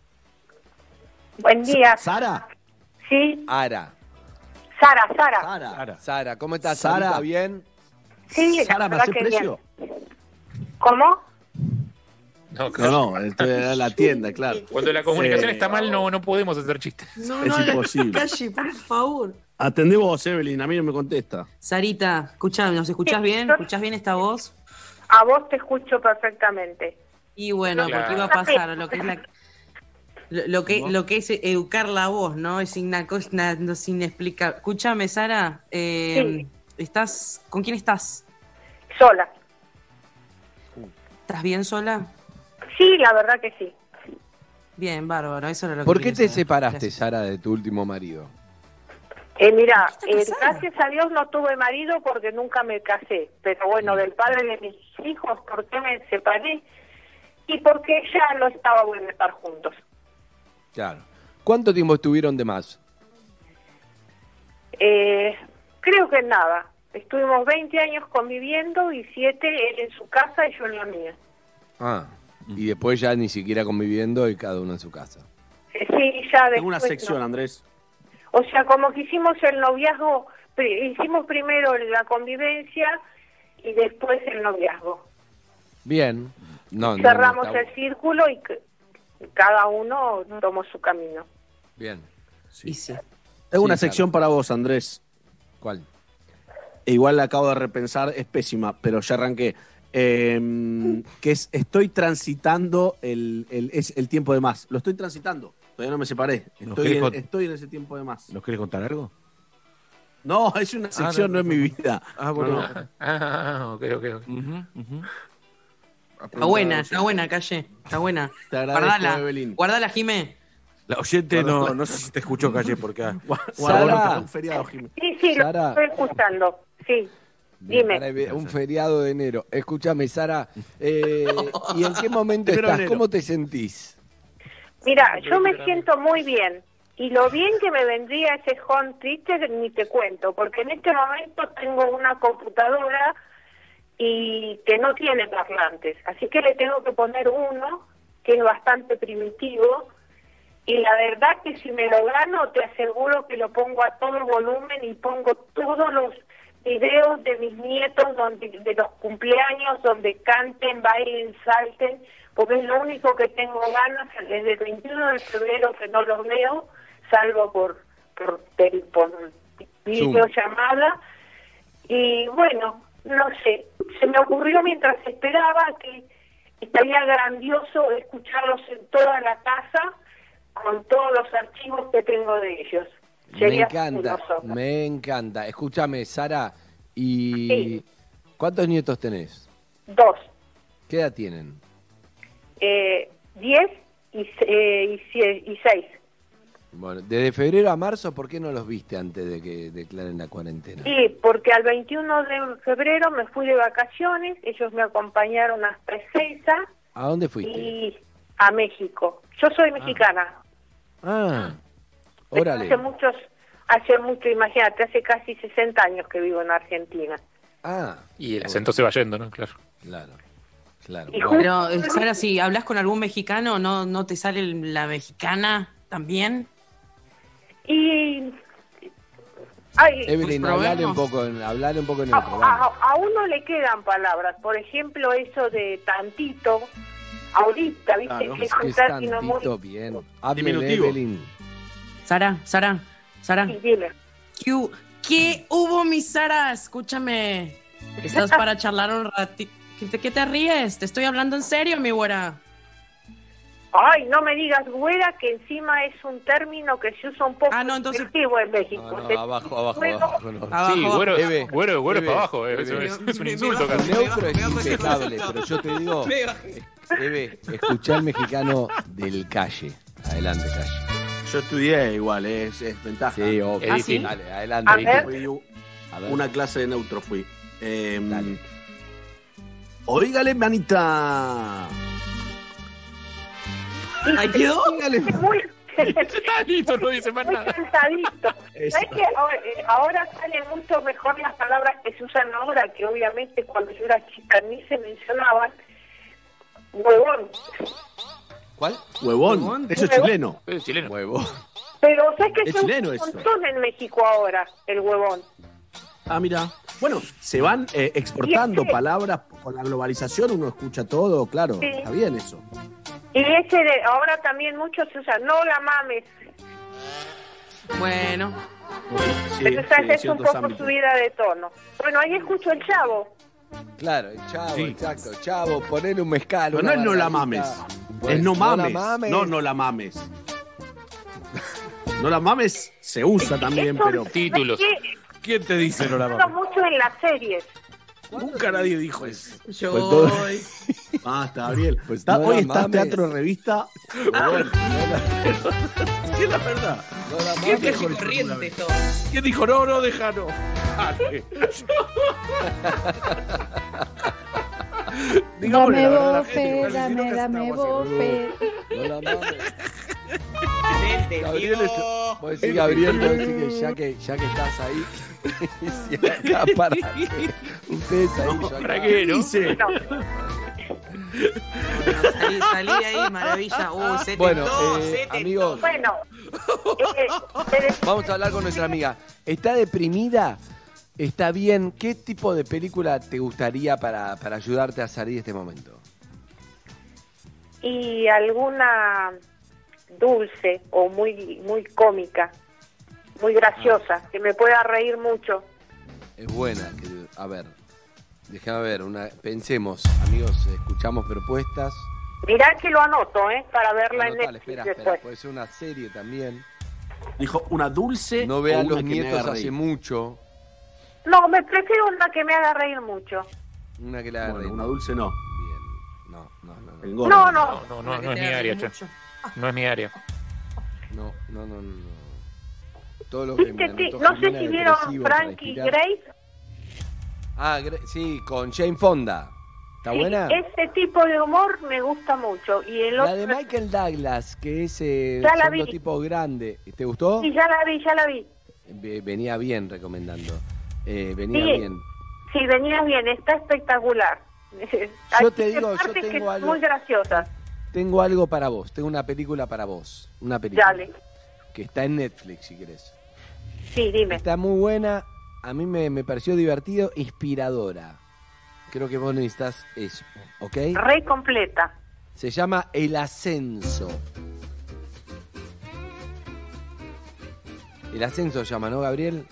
Buen día. ¿Sara? Sí. Ara. Sara, Sara. Sara. Sara, ¿cómo estás? Sara. Sarita? ¿Bien? Sí, la Sara, ¿me verdad hace que precio? bien. ¿Cómo? No, No, no, esto era la tienda, claro. Cuando la comunicación Eh, está mal, no, no podemos hacer chistes. No, Es no, la imposible. calle, por favor. Atendé vos, Evelyn, a mí no me contesta. Sarita, escuchá, ¿nos escuchás Sí, bien? yo- ¿Escuchás bien esta voz? A vos te escucho perfectamente. Y bueno, Claro. porque iba a pasar lo que es la lo, lo que lo que es educar la voz, ¿no? Es una cosa na- no, sin explicar. Escúchame, Sara, eh, ¿estás con quién estás? Sola. ¿Estás bien sola? Sí, la verdad que sí. Bien, bárbaro, eso era lo que ¿Por qué quería te saber. separaste, Gracias. Sara, de tu último marido? Eh, mira, eh, gracias a Dios no tuve marido porque nunca me casé, pero bueno, del padre de mis hijos, ¿por qué me separé? Y porque ya no estaba bueno estar juntos. Claro. ¿Cuánto tiempo estuvieron de más? Eh, creo que nada. Estuvimos veinte años conviviendo y siete él en su casa y yo en la mía. Ah, y después ya ni siquiera conviviendo y cada uno en su casa. Eh, sí, ya después. Tengo una sección, no. Andrés. O sea, como que hicimos el noviazgo, pri- hicimos primero la convivencia y después el noviazgo. Bien. No, no, Cerramos no está- el círculo y c- cada uno tomó su camino. Bien. Sí, sí. Tengo una Sí, sección para vos, Andrés. ¿Cuál? E igual la acabo de repensar, es pésima, pero ya arranqué. Eh, que es, estoy transitando el, el, es el tiempo de más. Lo estoy transitando. Todavía no me separé. ¿Nos Estoy, querés en, cont- estoy en ese tiempo de más. ¿Nos querés contar algo? No, es una sección, no, es mi vida. Ah, bueno. No, no. Ah, ok, ok, ok. Ujú, ujú. Está buena, está buena, Calle. Está buena. Te agradezco, Guardala, Evelyn. guardala, Jimé. La oyente Guarda- no, no sé si te escuchó, Calle, porque... ah, Sara. Un feriado, Jiménez. Sí, sí, lo Sara. estoy escuchando. Sí, Bien, dime. para un feriado de enero. Escúchame, Sara, eh, ¿y en qué momento Primero de estás? enero. ¿Cómo te sentís? Mira, yo me siento muy bien. Y lo bien que me vendría ese home theater ni te cuento, porque en este momento tengo una computadora y que no tiene parlantes, así que le tengo que poner uno que es bastante primitivo y la verdad que si me lo gano te aseguro que lo pongo a todo volumen y pongo todos los videos de mis nietos donde de los cumpleaños donde canten, bailen, salten, porque es lo único que tengo ganas desde el veintiuno de febrero que no los veo, salvo por por, tel- por videollamada. Y bueno, no sé, se me ocurrió mientras esperaba que estaría grandioso escucharlos en toda la casa con todos los archivos que tengo de ellos. Me Sería encanta, fabuloso. me encanta. Escúchame, Sara, ¿y Sí. cuántos nietos tenés? Dos, ¿Qué edad tienen? eh, diez y, se- eh, y, cie- y seis. Bueno, desde febrero a marzo, ¿por qué no los viste antes de que declaren la cuarentena? Sí, porque al veintiuno de febrero me fui de vacaciones, ellos me acompañaron hasta Ezeiza ¿A dónde fuiste? y a México. Yo soy mexicana. Ah, Pero órale. Hace muchos, hace mucho, imagínate, hace casi sesenta años que vivo en Argentina. Ah, Y el acento se va yendo, ¿no? Claro. claro, claro. Y Bueno, Pero, eh, Sara, si hablas con algún mexicano, ¿no, no te sale la mexicana también? Y... Ay, Evelyn, Pues hablale un probemos. poco, en- hablale un poco en a, neutro, vamos. a- a uno le quedan palabras, por ejemplo, eso de tantito, ahorita, ¿viste? Claro, que Es es que un es término muy... tantito bien. Háblele, Diminutivo. Evelyn. Sara, Sara, Sara. Sí, dime. ¿Qué, hu- qué hubo, mi Sara? Escúchame. ¿Estás para charlar un ratito? ¿Qué te, ¿Qué te ríes? Te estoy hablando en serio, mi güera. Ay, no me digas güera, que encima es un término que se usa un poco Ah, no, entonces- despectivo en México. No, no, Te- abajo, abajo, Luego- abajo. No. Abajo, Sí, abajo. güero, Eve, güero, güero Eve, para abajo. eh, Eve. eso es, es un Me insulto bajo, casi. me Neutro es me bajo ese impecable, concepto. pero yo te digo, Me bajé. Eve, escuchá el mexicano del calle. Adelante, calle. Yo estudié igual, eh, es, es ventaja. Sí, obvio. ¿Ah, sí? Dale, adelante. A Vicky. ver. Fui u- A ver. una clase de neutro fui. Eh, Dale. Óigale, manita. ¿Ahí quedó? Es muy, Está listo, no dice más muy nada. cansadito. Eso. ¿Sabes que ahora, eh, ahora salen mucho mejor las palabras que se usan ahora, que obviamente cuando yo era chica ni se mencionaban? Huevón. ¿Cuál? Huevón. Huevón. Eso es Huevón. chileno. Es chileno. Huevo. Pero ¿sabes que Es se usa chileno un eso. montón en México ahora, el huevón? Ah, mira. Bueno, se van eh, exportando Y ese- palabras con la globalización, uno escucha todo, claro. Sí. Está bien eso. Y ese de ahora también muchos se usa, no la mames. Bueno, Sí, Pero esa sí, es un ciertos poco ámbitos. subida de tono. Bueno, ahí escucho el chavo. Claro, el chavo, Sí. exacto. Chavo, ponele un mezcal. Pero no una es no la margarita. mames. Bueno, es no mames. la mames. No, no la mames. No la mames se usa también, Eso- pero. Títulos. ¿sabes qué? ¿Quién te dice no la Uso mames? mucho en las series. Nunca nadie dijo eso. Yo Pues todo- voy. Basta, Gabriel. Pues Está- no hoy la está mames. Teatro Revista. Bueno, sí, es la verdad. ¿Qué ¿Quién dijo dijo corriente esto? ¿Quién dijo no, no, déjalo? Dale. Digámosle Dame la verdad a la bofe, gente, porque si no, dame, casi dame estamos haciendo- bofe. No la mames. Excelente, Gabriel, tío. es- vos decís, Gabriel, vos decís que ya que, ya que estás ahí, y acá para que ustedes ahí, yo acá. ¿Para qué, no? Dice, Salí, salí de ahí, maravilla. Uy, se Bueno, tentó, eh, se tentó. amigos, Bueno, eh, te- vamos a hablar con nuestra amiga. ¿Está deprimida? ¿Está bien? ¿Qué tipo de película te gustaría para, para ayudarte a salir de este momento? y alguna dulce o muy muy cómica, muy graciosa, que me pueda reír mucho. Es buena. Que, a ver, déjame ver. Una, pensemos, amigos, escuchamos propuestas. Mirá que lo anoto, ¿eh? Para verla en Anotale, Netflix espera, después. espera, puede ser una serie también. dijo una dulce. No o vean una Los que me Nietos haga hace reír. mucho. No, me prefiero una que me haga reír mucho. Una que la haga Bueno, reír. una dulce no. Bien. No, no, no. No, Engorda. No, no. No, no, no, Una que no es te mi haga área, reír che. mucho. No es mi área. no, no, no. no. Todo lo que me ¿Viste, ti- anotó no sé Jimena si vieron depresivo para Frankie inspirar. Grace. Ah, Gre- sí, con Jane Fonda. ¿Está Sí, buena? ese tipo de humor me gusta mucho. Y el La otro... de Michael Douglas, que es eh, Ya la son vi. dos tipos grandes. ¿Te gustó? Sí, ya la vi, ya la vi. Ve- Venía bien recomendando. Eh, venía Sí. bien. Sí, venías bien, está espectacular. Yo Hay te digo, yo partes que tengo son algo- muy graciosas. Tengo algo para vos. Tengo una película para vos. Una película. Dale. Que está en Netflix, si querés. Sí, dime. Está muy buena. A mí me, me pareció divertido, inspiradora. Creo que vos necesitas eso, ¿ok? Re completa. Se llama El Ascenso. El Ascenso se llama, ¿no, Gabriel?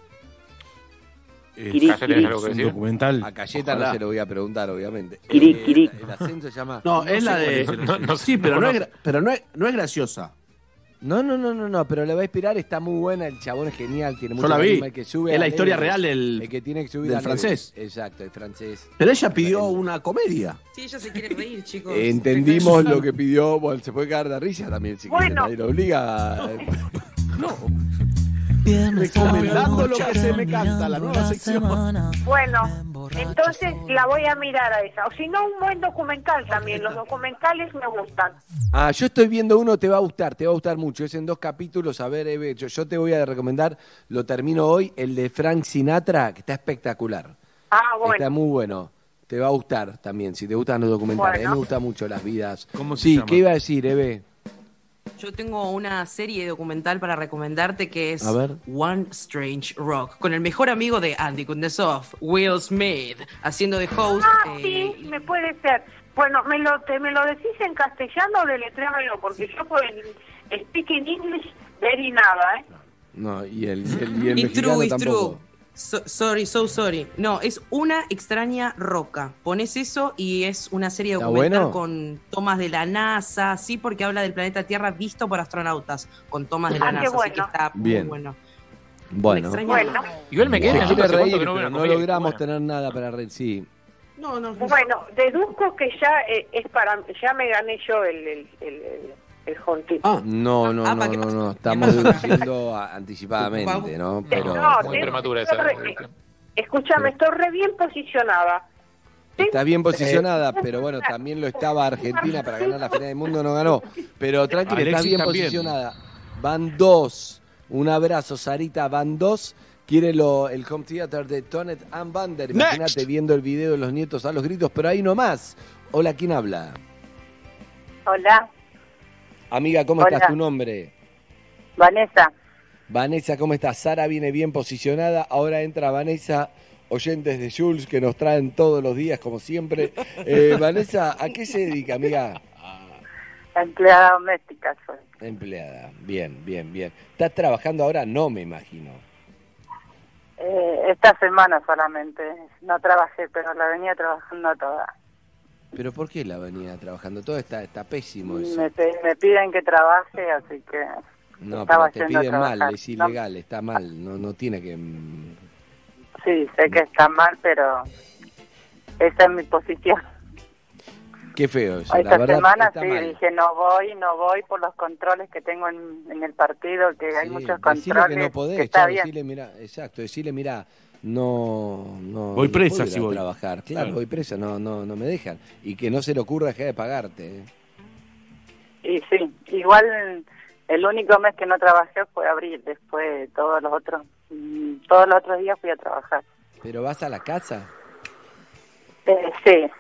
Es, Kiri, ¿tenés algo que es un decir? documental. A Cayeta Ojalá. no se lo voy a preguntar, obviamente. Kiri, Eh, kiri. El Ascenso se llama... No, es la sé de. cuál es. No, no sé, sí, pero, no no es, conozco. gra- pero no, es, no es graciosa. No, no, no, no, no, pero le va a inspirar, está muy buena, el chabón es genial, tiene Yo mucho la vi. carisma, el que sube Es a la historia Everest, real del- el que tiene que subir del a Everest. francés. Exacto, el francés. Pero ella pidió una comedia. Sí, ella se quiere reír, chicos. Entendimos lo que pidió, bueno, se puede caer de risa también si quiere, Bueno. nadie lo obliga. Recomendando lo que se me canta, la nueva sección. Bueno, entonces la voy a mirar a esa. O si no, un buen documental también. Los documentales me gustan. Ah, yo estoy viendo uno, te va a gustar, te va a gustar mucho, es en dos capítulos, a ver, Eve, yo, yo te voy a recomendar, lo termino hoy, el de Frank Sinatra, que está espectacular, Ah, bueno. está muy bueno, te va a gustar también, si te gustan los documentales, a Bueno. mí me gustan mucho las vidas. ¿Cómo se Sí, llama? ¿qué iba a decir, Eve? Yo tengo una serie documental para recomendarte que es A ver. One Strange Rock, con el mejor amigo de Andy Kundesov, Will Smith, haciendo de host. Ah, eh, sí, me puede ser. Bueno, ¿me lo, te, me lo decís en castellano o deletréamelo? Porque yo por el speaking English very nada, ¿eh? No, y el, y el, y el It's mexicano true, it's tampoco. true. So- sorry, so sorry. No, es Una extraña roca. Pones eso y es una serie ¿Está documental bueno? con tomas de la NASA, sí, porque habla del planeta Tierra visto por astronautas, con tomas de la Ah, qué NASA, así que bueno. está Bien. muy bueno. Bueno, Una extraña Bueno. roca. Igual me quedé se en quiere hace cuánto reír, que no veo pero una no comedia. logramos Bueno. tener nada para reír, sí. No, no. Bueno, deduzco que ya eh, es para ya me gané yo el el el, el, el home tip. Ah, No, no, Ah, no, ¿para qué no, pasa? no, ¿Qué estamos pasa? deduciendo a- anticipadamente, ¿no? Pero No, Muy te- prematura estoy esa re- deducción. Escúchame, estoy re bien posicionada. está bien posicionada, pero bueno, también lo estaba Argentina para ganar la final del mundo, no ganó. Pero tranquila, está Alexis bien también. posicionada. Van dos. Un abrazo, Sarita, van dos. Quiere lo, el home theater de Tonet and Vander. Imagínate viendo el video de los nietos a los gritos, pero ahí nomás. Hola, ¿quién habla? Hola, Amiga, ¿cómo Hola. estás? ¿Tu nombre? Vanessa. Vanessa, ¿cómo estás? Sara viene bien posicionada. Ahora entra Vanessa, oyentes de Jules, que nos traen todos los días, como siempre. Eh, Vanessa, ¿a qué se dedica, amiga? Empleada doméstica soy. Empleada. Bien, bien, bien. ¿Estás trabajando ahora? No, me imagino. Eh, esta semana solamente. No trabajé, pero la venía trabajando toda. ¿Pero por qué la venía trabajando? Todo está, está pésimo eso. Me, pe- me piden que trabaje, así que No, estaba pero te yendo a piden mal, trabajar. es ilegal, está mal. No, no tiene que... mm, sí, sé que está mal, pero esa es mi posición. Qué feo eso, Esta la verdad semana está sí, mal. dije no voy, no voy por los controles que tengo en, en el partido, que hay Sí, muchos decile controles, que no podés, que está chao, bien. decile, mira, exacto, decirle, mira, no, no Voy no presa puedo ir si a voy. trabajar, claro, Claro. voy presa, no, no, no me dejan. Y que no se le ocurra dejar de pagarte. ¿eh? Y sí, igual el único mes que no trabajé fue abril, después todos los otros, mm, todos los otros días fui a trabajar. ¿Pero vas a la casa? Eh, sí,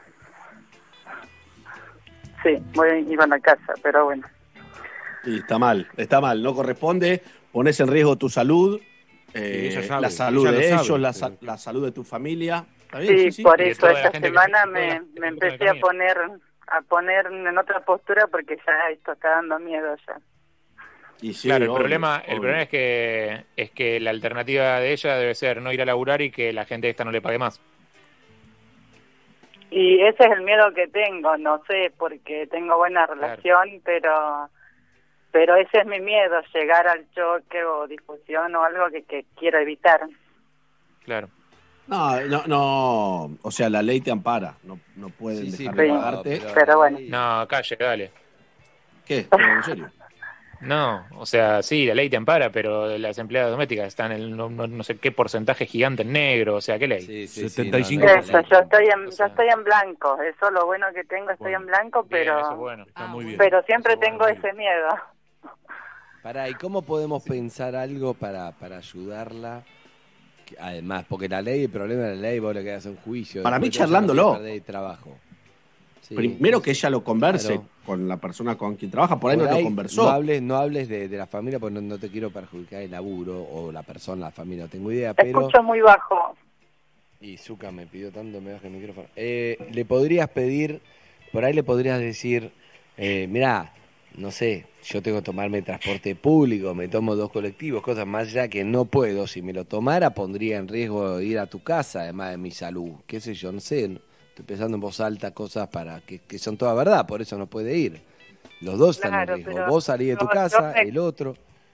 sí, voy iba a la casa, pero bueno. Y está mal, está mal, no corresponde, pones en riesgo tu salud, eh, ella sabe, la salud ella lo de sabe, ellos, la, sí. sa- la salud de tu familia. ¿Está bien? Sí, Sí, sí. por Y de eso toda la esta gente que semana se- toda la me, gente que me se cruza en el empecé a camino. poner a poner en otra postura porque ya esto está dando miedo ya. Y sí, Claro, el obvio, problema, el obvio. problema es que es que la alternativa de ella debe ser no ir a laburar y que la gente esta no le pague más. Y ese es el miedo que tengo, no sé, porque tengo buena relación, pero pero ese es mi miedo, llegar al choque o discusión o algo que, que quiero evitar. Claro. No, no, no, o sea, la ley te ampara, no, no pueden Sí, sí, dejar pero- de pagarte. pero- Pero bueno. No, calle, dale. ¿Qué? ¿Pero en serio? No, o sea, sí, la ley te ampara, pero las empleadas domésticas están en no, no, no sé qué porcentaje gigante en negro, o sea, ¿qué ley? Sí, sí, setenta y sí, cinco no, no, Eso, yo estoy en, yo estoy en blanco, eso es lo bueno que tengo, estoy Bueno, en blanco, Bien, pero eso es bueno. Está muy bien. pero siempre Eso es tengo bueno. ese miedo. Pará, ¿y cómo podemos pensar algo para, para ayudarla? Que, además, porque la ley, el problema de la ley, vos le quedás un juicio. Para mí, después te vas a charlándolo. perder el trabajo. Sí, Primero que ella lo converse Claro. con la persona con quien trabaja, por ahí por no lo ahí conversó. No hables, no hables de, de la familia porque no, no te quiero perjudicar el laburo o la persona, la familia, no tengo idea, pero... Escucho muy bajo. Y Zuka me pidió tanto, me baja el micrófono. Eh, le podrías pedir, por ahí le podrías decir, eh, mirá, no sé, yo tengo que tomarme transporte público, me tomo dos colectivos, cosas más allá que no puedo. Si me lo tomara, pondría en riesgo ir a tu casa, además de mi salud. Qué sé yo, no sé. Estoy pensando en voz alta cosas para que, que son toda verdad, por eso no puede ir. Los dos están Claro, en riesgo. pero Vos salís de tu yo- casa, yo me- el otro.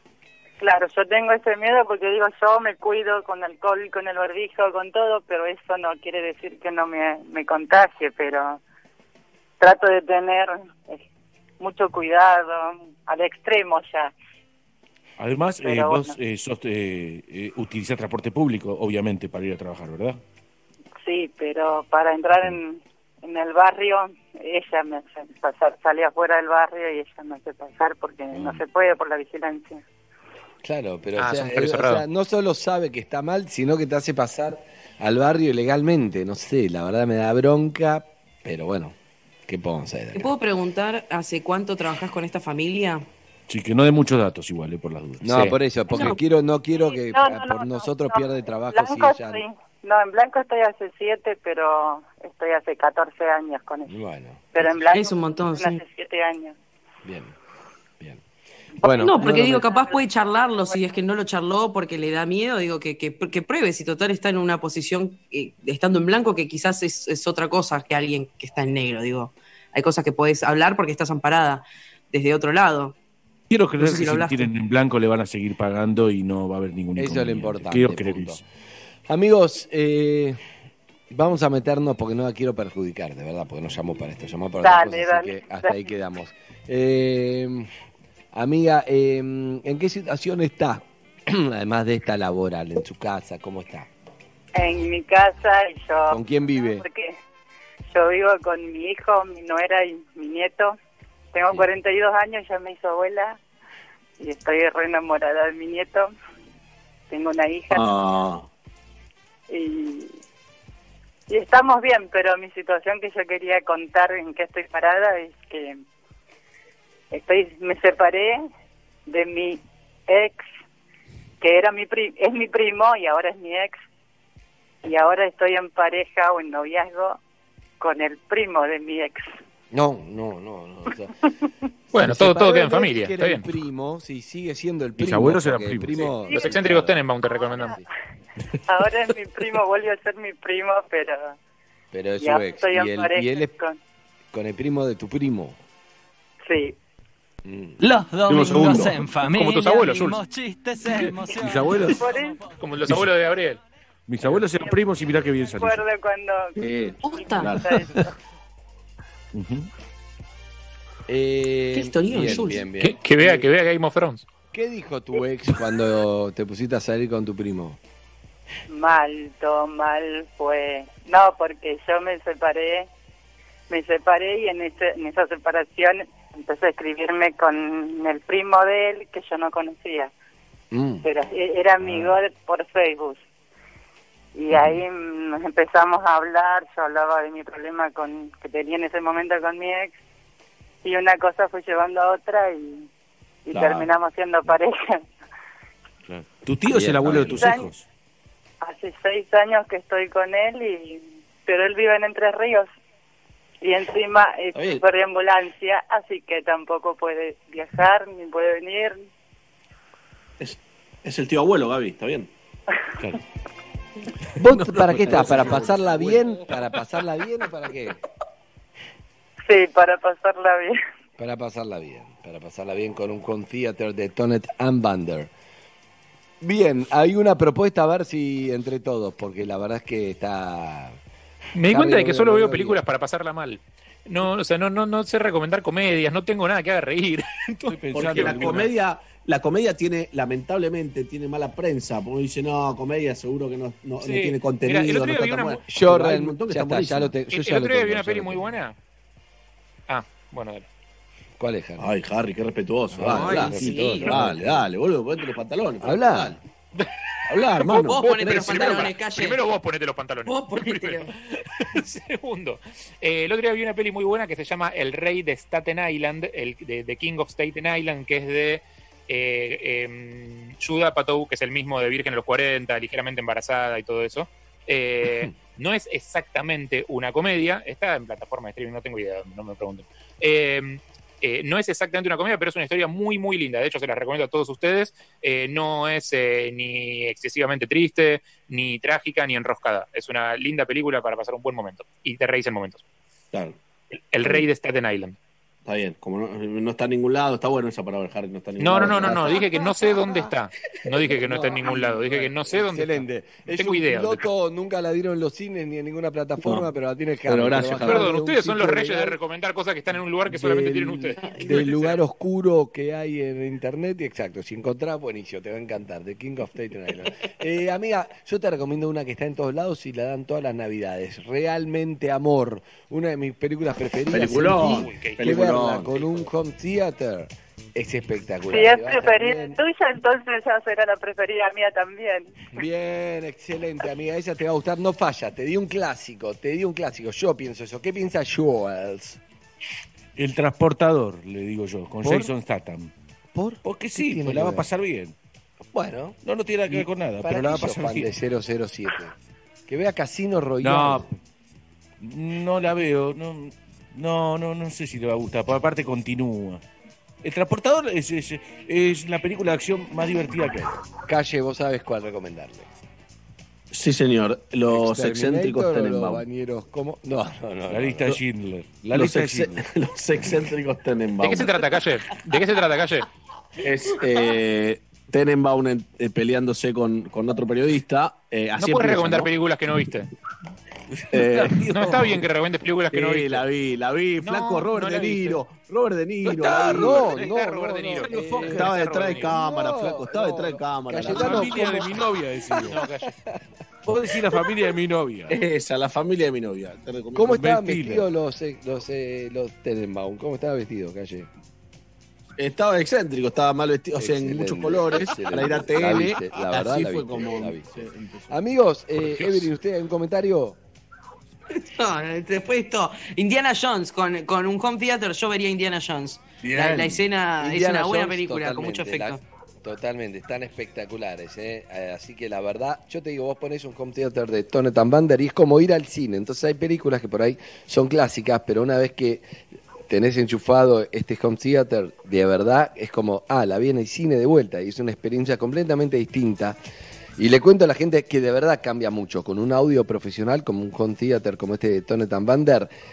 Claro, yo tengo ese miedo porque digo, yo me cuido con alcohol, con el barbijo, con todo, pero eso no quiere decir que no me, me contagie, pero trato de tener eh, mucho cuidado, al extremo ya. Además, eh, Pero vos bueno. eh, sos, eh, eh, utilizás transporte público, obviamente, para ir a trabajar, ¿verdad? Sí, pero para entrar en, en el barrio, ella me hace pasar, salí afuera del barrio y ella me hace pasar porque no se puede por la vigilancia. Claro, pero Ah, o sea, es un barrio eh, o cerrado. sea, no solo sabe que está mal, sino que te hace pasar al barrio ilegalmente. No sé, la verdad me da bronca, pero bueno, ¿qué podemos hacer? ¿Te puedo preguntar hace cuánto trabajás con esta familia? Sí, que no dé muchos datos igual, eh, por las dudas. No, Sí. por eso, porque No. quiero, no quiero que No, ah, no, por no, nosotros no, pierda no. trabajo si Blanco ella. sí. No, en blanco estoy hace siete, pero estoy hace catorce años con ella. Bueno, Pero en blanco Es un montón, estoy sí. hace siete años. bien, bien. Bueno, no, porque no, digo, me- capaz puede charlarlo, si es que no lo charló porque le da miedo, digo, que, que, que pruebe, si total está en una posición, eh, estando en blanco, que quizás es, es otra cosa que alguien que está en negro, digo. Hay cosas que podés hablar porque estás amparada desde otro lado. Quiero creer No sé si que lo si hablaste. tienen en blanco le van a seguir pagando y no va a haber ningún Eso es lo inconveniente. importante. Quiero creer punto. eso. Amigos, eh, vamos a meternos porque no la quiero perjudicar, de verdad, porque no llamo para esto, llamo para Dale, otra cosa, así dale, que hasta dale. ahí quedamos. Eh, amiga, eh, ¿en qué situación está? Además de esta laboral, en su casa, ¿cómo está? En mi casa y yo... ¿Con quién vive? Porque yo vivo con mi hijo, mi nuera y mi nieto. Tengo Sí. cuarenta y dos años, ya me hizo abuela y estoy re enamorada de mi nieto. Tengo una hija Ah, y, y estamos bien, pero mi situación que yo quería contar en qué estoy parada es que estoy me separé de mi ex, que era mi pri- es mi primo y ahora es mi ex, y ahora estoy en pareja o en noviazgo con el primo de mi ex. No, no, no, no. o sea, Bueno, se todo, separó todo queda el en ex, familia, que está era bien. el primo, sí, sigue siendo el Mis primo. abuelos eran porque el primos. primo- Los excéntricos Tenenbaum te recomendan. Ahora es mi primo, vuelve a ser mi primo, pero Pero es ya su ex. estoy en Y él, pareja y él es con... con el primo de tu primo. Sí. Mm. Los domingos segundo. en familia. Como tus abuelos, vimos Jules. chistes, emociones. Mis abuelos. Por eso, Como los abuelos de Gabriel. Mis abuelos eran primos y mirá qué bien salió. Recuerdo cuando... Sí, Posta. Ujú. Eh, Qué historión, bien, Jules. bien, bien. Que, que vea, que vea Game of Thrones. ¿Qué dijo tu ex cuando te pusiste a salir con tu primo? Mal, todo mal fue. No, porque yo me separé, me separé y en, ese, en esa separación empecé a escribirme con el primo de él que yo no conocía. Mm. Pero era amigo de- por Facebook. Y ahí nos empezamos a hablar, yo hablaba de mi problema con que tenía en ese momento con mi ex, y una cosa fue llevando a otra y, y Claro. terminamos siendo pareja. Tu tío es el abuelo de tus Seis hijos. Hace seis años que estoy con él, y pero él vive en Entre Ríos. Y encima es Está bien. super de ambulancia, así que tampoco puede viajar ni puede venir. Es, es el tío abuelo, Gaby, está bien. ¿Vos para qué estás? ¿Para pasarla bien? ¿Para pasarla bien o para qué? Sí, para pasarla bien. Para pasarla bien. Para pasarla bien con un home theater de Tonet and Bander. Bien, hay una propuesta a ver si entre todos, porque la verdad es que está... Me di cuenta de que Harry solo veo Rodríguez. películas para pasarla mal. No, o sea, no, no, no sé recomendar comedias, no tengo nada que haga reír. Porque la comedia, la comedia tiene, lamentablemente, tiene mala prensa. Porque dice, no, comedia seguro que no, no, Sí. no tiene contenido. Mira, el otro no día está vi tan una buena. mu- Yo Pero hay un realmente... montón que Ya están está, ya lo buenísimas. te, yo El, ya el lo otro día tengo, vi una ya peli lo muy tengo. buena. Ah, bueno, dale. ¿Cuál es, Harry? Ay, Harry, qué respetuoso. Ay, Dale, sí. dale, dale, dale, boludo, ponete los pantalones. Habla. Dale. Habla, hermano. Vos Vos ponete tenés los que ser- pantalones, calle. Primero vos ponete los pantalones. Vos ponételo. Segundo, eh, el otro día vi una peli muy buena que se llama El Rey de Staten Island, el de, de King of Staten Island, que es de eh, eh, Judd Apatow, que es el mismo de Virgen a los cuarenta, ligeramente embarazada y todo eso. Eh, no es exactamente una comedia, está en plataforma de streaming, no tengo idea, no me pregunten. Eh, eh, no es exactamente una comedia, pero es una historia muy, muy linda. De hecho, se la recomiendo a todos ustedes. Eh, no es eh, ni excesivamente triste, ni trágica, ni enroscada. Es una linda película para pasar un buen momento. Y te reís en momentos. Claro. El, el Rey de Staten Island. Está bien, como no, no está en ningún lado, está bueno esa palabra, Harry, no está en ningún No, no, lado. no, no, no. Dije que no sé dónde está. No dije que no está en ningún lado. Dije que no sé dónde Excelente. está. No Es tengo un idea. dónde piloto, nunca la dieron en los cines ni en ninguna plataforma, No. pero la tiene Harry. Pero gracias, Trabaja Harry. Perdón, de un ustedes son los sitio reyes de legal recomendar cosas que están en un lugar que solamente tienen ustedes. del lugar oscuro que hay en internet. Y exacto, si encontrás, buenísimo, te va a encantar. The King of Staten Island. Eh, amiga, yo te recomiendo una que está en todos lados y la dan todas las navidades. Realmente Amor, una de mis películas preferidas. Peliculón, Sentí que peliculón. verla con un home theater es espectacular. Si es Te va a estar preferida bien. tuya, entonces ya será la preferida mía también. Bien, excelente, amiga. Esa te va a gustar. No falla. Te di un clásico. Te di un clásico. Yo pienso eso. ¿Qué piensa Jules? El transportador, le digo yo, con ¿Por? Jason Statham. ¿Por? Porque ¿Qué sí, tiene pues que la va a ver? pasar bien. Bueno. No, no tiene nada que ver con nada, ¿Para pero la va a qué sos pasar fan bien. de cero cero siete? Que vea Casino Royale. No, no la veo. No, no, no, no sé si le va a gustar. Por aparte continúa. El transportador es, es, es la película de acción más divertida que hay. Calle, vos sabes cuál recomendarle. Sí, señor. Los ¿Exterminator excéntricos o los Tenenbaum. bañeros? ¿Cómo? No, no, no. La no, lista no. de Schindler. La Los, lista de ex- Schindler. los excéntricos Tenenbaum. ¿De qué se trata, Calle? ¿De qué se trata, Calle? Es eh, Tenenbaum en- eh, peleándose con, con otro periodista. Eh, No así puedes empieza, recomendar ¿no? películas que no viste. Eh, No está bien que recomiendes películas que no sí, viste. la vi, la vi. No, Flaco Robert no De la viste. Niro. Robert De Niro. No está, la vi. no, Está no, Robert no, De Niro. no, Eh, Estaba detrás de Robert cámara, No, flaco. Estaba no. detrás de cámara. La Cayetano, familia de ¿cómo? mi novia, decimos. No, Calle. Vos decís la familia de mi novia. Esa, la familia de mi novia. Te recomiendo. ¿Cómo estaban Ben Stiller. vestidos los, eh, los, eh, los Tenenbaum? ¿Cómo estaba vestido, Calle? Estaba excéntrico, estaba mal vestido, o sea, en Excelente, muchos colores, excelente. para ir a La T L. viste, la verdad, así la fue viste, como la viste. se empezó. Amigos, eh, Evelyn, ¿usted hay un comentario? No, después esto, Indiana Jones con, con un home theater, yo vería Indiana Jones. La, la escena es Indiana una buena Jones, película, con mucho totalmente, efecto. la- totalmente, están espectaculares. ¿eh? Eh, Así que la verdad, yo te digo, vos ponés un home theater de Tonet and Bander y es como ir al cine. Entonces hay películas que por ahí son clásicas, pero una vez que tenés enchufado este home theater, de verdad es como, ah, la vi en el cine de vuelta y es una experiencia completamente distinta. Y le cuento a la gente que de verdad cambia mucho. Con un audio profesional como un home theater como este de Tonet and Bander,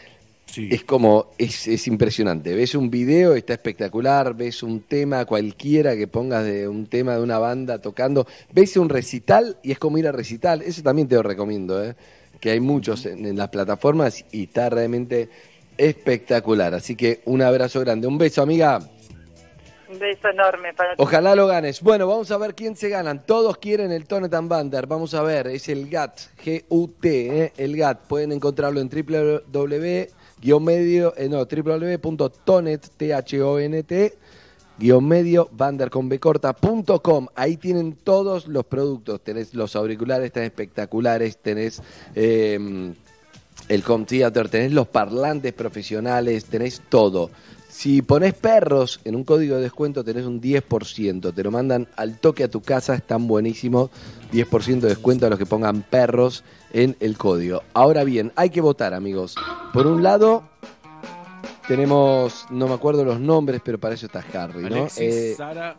Sí. Es como, es, es impresionante. Ves un video, está espectacular, ves un tema cualquiera que pongas de un tema de una banda tocando, ves un recital y es como ir a recital. Eso también te lo recomiendo, ¿eh? Que hay muchos en, en las plataformas y está realmente espectacular. Así que un abrazo grande. Un beso, amiga. Un beso enorme para ti. Ojalá lo ganes. Bueno, vamos a ver quién se ganan. Todos quieren el Tonet and Bander. Vamos a ver, es el G A T, G U T, ¿eh? El G A T. Pueden encontrarlo en www guión medio, eh, no, www punto tonet, T H O N T, guión medio, bander con B corta, punto com. Ahí tienen todos los productos. Tenés los auriculares, están espectaculares, tenés eh, el home theater, tenés los parlantes profesionales, tenés todo. Si ponés perros en un código de descuento tenés un diez por ciento, te lo mandan al toque a tu casa, están buenísimos, diez por ciento de descuento a los que pongan perros en el código. Ahora bien, hay que votar, amigos. Por un lado, tenemos, no me acuerdo los nombres, pero para eso está Harry, ¿no? Alexis, Eh, Sara.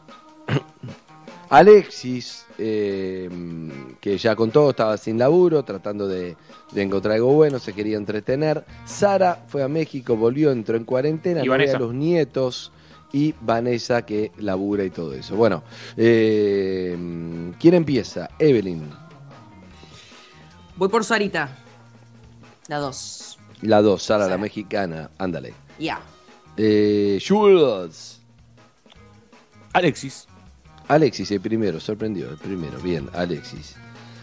Alexis, eh, que ya contó, estaba sin laburo, tratando de, de encontrar algo bueno, se quería entretener. Sara fue a México, volvió, entró en cuarentena, Y no ve Vanessa. a los nietos. Y Vanessa, que labura y todo eso. Bueno, eh, ¿quién empieza? Evelyn, Voy por Sarita. La dos. la dos, Sara, la mexicana, ándale. Ya. Eh, Jules. Alexis. Alexis, el primero, sorprendió, el primero. Bien, Alexis.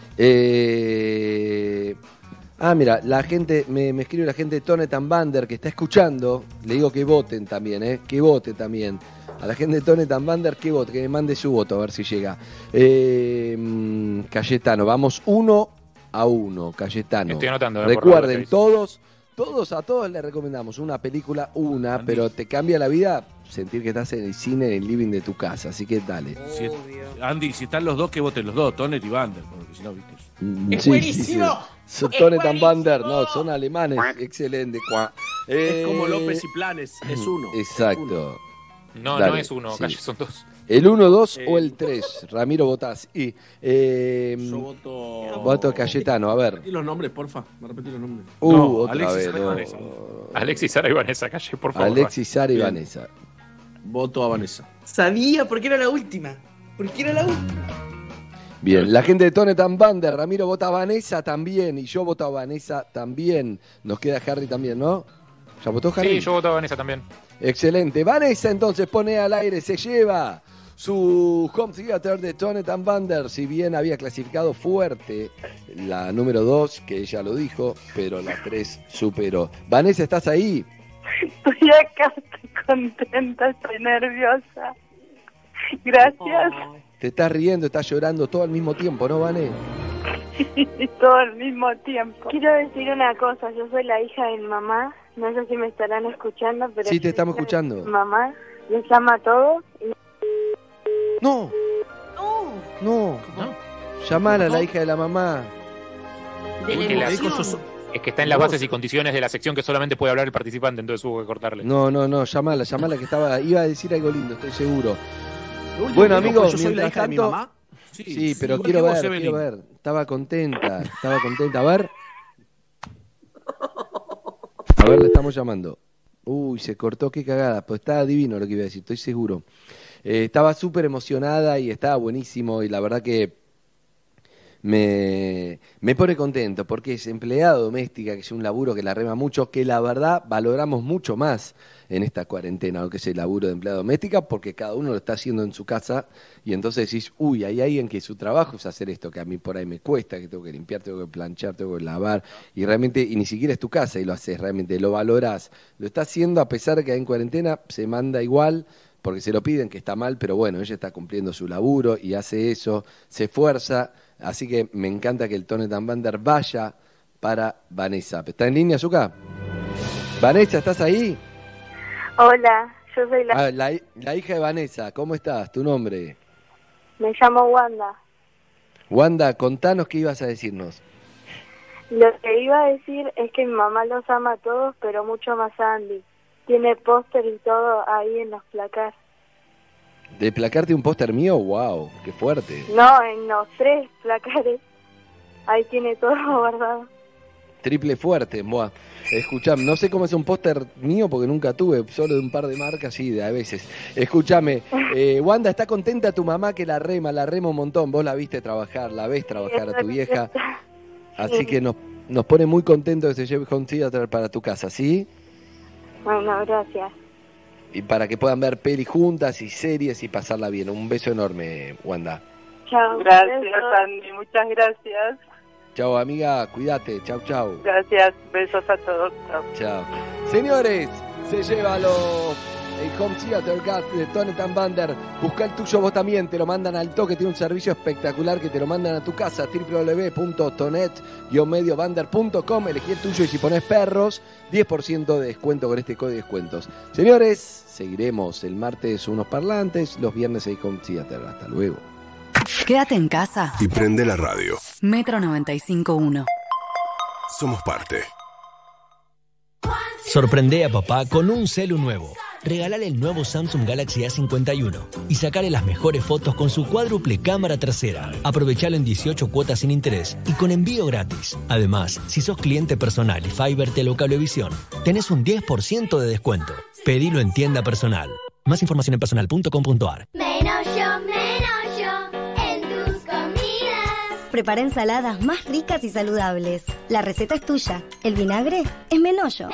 Eh, ah, mira, la gente, me, me escribe la gente de Tonet and Bander que está escuchando. Le digo que voten también, ¿eh? Que vote también. A la gente de Tonet and Bander que vote, que me mande su voto a ver si llega. Eh, mm, Cayetano, vamos uno a uno, Cayetano. Estoy anotando, eh, por Recuerden, favor, todos, todos, a todos les recomendamos una película, una, pero te cambia la vida sentir que estás en el cine, en el living de tu casa. Así que dale. Si, Andy, si están los dos, que voten los dos, Tonet y Bander, porque si no, viste. Mm, ¡Es sí, buenísimo! sí, sí. Son ¡Es Tonet and Bander, no, son alemanes. Excelente. Es como Eh, López y Planes, es uno. Exacto. No, Dale, no es uno, sí. calle, son dos. ¿El uno, dos Eh, o el tres? Ramiro, votás. Y, eh, Yo voto. voto Cayetano, a ver. Repetí los nombres, porfa. Me repetí los nombres. Uh, No, otra Alexis, vez. Sara y no. Vanessa. Alexis, Sara y Vanessa, calle, por favor. Alexis, Sara y Bien. Vanessa. Voto a Vanessa. Sabía porque era la última. Porque era la última. Bien, la gente de Tonet and Bander, Ramiro vota a Vanessa también, y yo voto a Vanessa también. Nos queda Harry también, ¿no? ¿Ya votó Harry? Sí, yo voto a Vanessa también. Excelente. Vanessa entonces pone al aire, se lleva su home theater de Tonet and Bander. Si bien había clasificado fuerte la número dos, que ella lo dijo, pero la tres superó. Vanessa, ¿estás ahí? Estoy acá, estoy contenta, estoy nerviosa. Gracias. Te estás riendo, estás llorando todo al mismo tiempo, ¿no, Vané? Todo al mismo tiempo. Quiero decir una cosa, yo soy la hija de mi mamá, no sé si me estarán escuchando, pero... Sí, te yo estamos soy escuchando. Mamá, les ama a todos. Y... No, no, llamala a la hija de la mamá. De la Es que la- emoción. Es que está en las bases y condiciones de la sección que solamente puede hablar el participante, entonces hubo que cortarle. No, no, no, llamala, llamala que estaba, iba a decir algo lindo, estoy seguro. último Bueno, que dijo, amigos, pues, yo soy la mientras hija de mi tanto- mamá. Sí, pero igual quiero que vos, ver, Evelyn. quiero ver. Estaba contenta, estaba contenta. A ver. A ver, le estamos llamando. Uy, se cortó, qué cagada. Pues estaba divino lo que iba a decir, estoy seguro. Eh, estaba súper emocionada y estaba buenísimo y la verdad que me, me pone contento porque es empleada doméstica, que es un laburo que la rema mucho, que la verdad valoramos mucho más en esta cuarentena, lo que es el laburo de empleada doméstica, porque cada uno lo está haciendo en su casa y entonces decís, uy, hay alguien que su trabajo es hacer esto, que a mí por ahí me cuesta, que tengo que limpiar, tengo que planchar, tengo que lavar, y realmente, y ni siquiera es tu casa y lo haces, realmente lo valorás, lo está haciendo a pesar de que en cuarentena se manda igual, porque se lo piden, que está mal, pero bueno, ella está cumpliendo su laburo y hace eso, se esfuerza, así que me encanta que el Tonet and Bander vaya para Vanessa. ¿Está en línea, Zucca? Vanessa, ¿estás ahí? Hola, yo soy la... Ah, la, la hija de Vanessa, ¿cómo estás? ¿Tu nombre? Me llamo Wanda. Wanda, contanos qué ibas a decirnos. Lo que iba a decir es que mi mamá los ama a todos, pero mucho más a Andy. Tiene póster y todo ahí en los placar. ¿De placarte un póster mío? ¡Wow! ¡Qué fuerte! No, en los tres placares. Ahí tiene todo guardado. Triple fuerte, buah. Escuchame, no sé cómo es un póster mío porque nunca tuve, solo de un par de marcas, sí, de a veces. Escúchame, eh, Wanda, ¿está contenta tu mamá que la rema, la rema un montón? Vos la viste trabajar, la ves trabajar a tu vieja. Así que nos, nos pone muy contentos que se lleve Home Theater para tu casa, ¿sí? Bueno, gracias. Y para que puedan ver pelis juntas y series y pasarla bien. Un beso enorme, Wanda. Chao. Gracias, Andy, muchas gracias. Chao, amiga, cuídate. Chao, chao. Gracias, besos a todos. Chao. Chao. Señores, se lleva los el Home Theater Gat de Tonetán Bander. Busca el tuyo vos también, te lo mandan al toque, tiene un servicio espectacular que te lo mandan a tu casa, doble u doble u doble u punto tonet guion medio bander punto com. Elegí el tuyo y si pones perros, diez por ciento de descuento con este código de descuentos. Señores, seguiremos el martes unos parlantes, los viernes hay Home Theater. Hasta luego. Quédate en casa. Y prende la radio. Metro noventa y cinco punto uno. Somos parte. Sorprende a papá con un celu nuevo. Regálale el nuevo Samsung Galaxy A cincuenta y uno y sacale las mejores fotos con su cuádruple cámara trasera. Aprovechalo en dieciocho cuotas sin interés y con envío gratis. Además, si sos cliente personal y Fiber Telecablevisión, tenés un diez por ciento de descuento. Pedilo en tienda personal. Más información en personal punto com punto ar. Menos yo, menos yo en tus comidas. Prepara ensaladas más ricas y saludables. La receta es tuya. El vinagre es Menollo.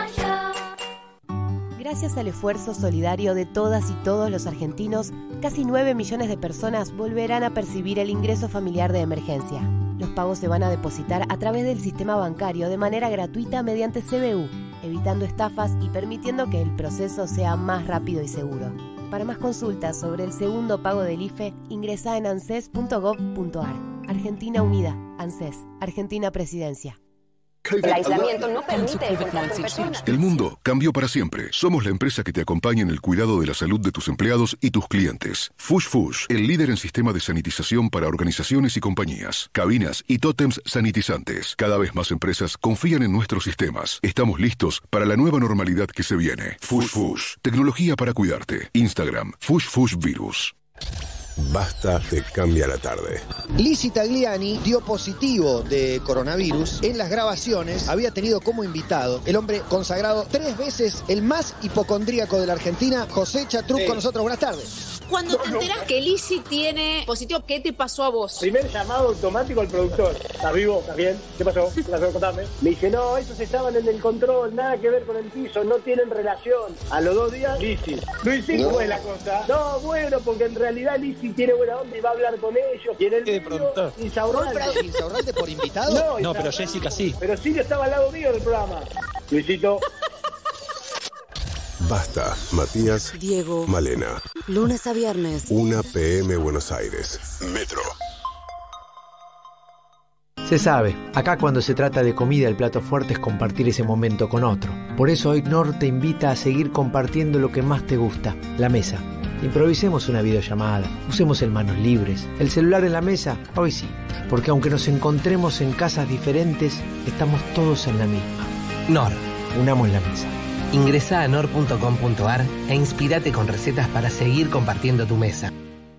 Gracias al esfuerzo solidario de todas y todos los argentinos, casi nueve millones de personas volverán a percibir el ingreso familiar de emergencia. Los pagos se van a depositar a través del sistema bancario de manera gratuita mediante C B U, evitando estafas y permitiendo que el proceso sea más rápido y seguro. Para más consultas sobre el segundo pago del I F E, ingresá en anses punto gov punto ar. Argentina Unida, ANSES, Argentina Presidencia. El aislamiento no permite el contacto en persona. El mundo cambió para siempre. Somos la empresa que te acompaña en el cuidado de la salud de tus empleados y tus clientes. Fush Fush, el líder en sistema de sanitización para organizaciones y compañías, cabinas y tótems sanitizantes. Cada vez más empresas confían en nuestros sistemas. Estamos listos para la nueva normalidad que se viene. Fush Fush, tecnología para cuidarte. Instagram, Fush Fush Virus. Basta te cambia la tarde. Lizzy Tagliani dio positivo de coronavirus. En las grabaciones había tenido como invitado el hombre consagrado tres veces el más hipocondríaco de la Argentina, José Chatruc, sí. Con nosotros. Buenas tardes. Cuando te enteras que Lizzy tiene positivo, ¿qué te pasó a vos? Primer llamado automático al productor. ¿Estás vivo? ¿Estás bien? ¿Qué pasó? ¿Qué pasó? Contame. Me dice, no, esos estaban en el control, nada que ver con el piso, no tienen relación. A los dos días, Lizzy. Luisín, ¿cómo es la cosa? No, bueno, porque en realidad Lizzy tiene buena onda y va a hablar con ellos. Y en el medio, Insaurralde. ¿Insaurralde por invitado? No, no, pero Jessica sí. Pero Silvio estaba al lado mío del programa. Luisito. Basta, Matías, Diego, Malena. Lunes a viernes. una pe eme Buenos Aires. Metro. Se sabe, acá cuando se trata de comida el plato fuerte es compartir ese momento con otro. Por eso hoy Nor te invita a seguir compartiendo lo que más te gusta, la mesa. Improvisemos una videollamada, usemos el manos libres, el celular en la mesa, hoy sí, porque aunque nos encontremos en casas diferentes, estamos todos en la misma. Nor. Unamos la mesa. Ingresá a nor punto com punto ar e inspirate con recetas para seguir compartiendo tu mesa.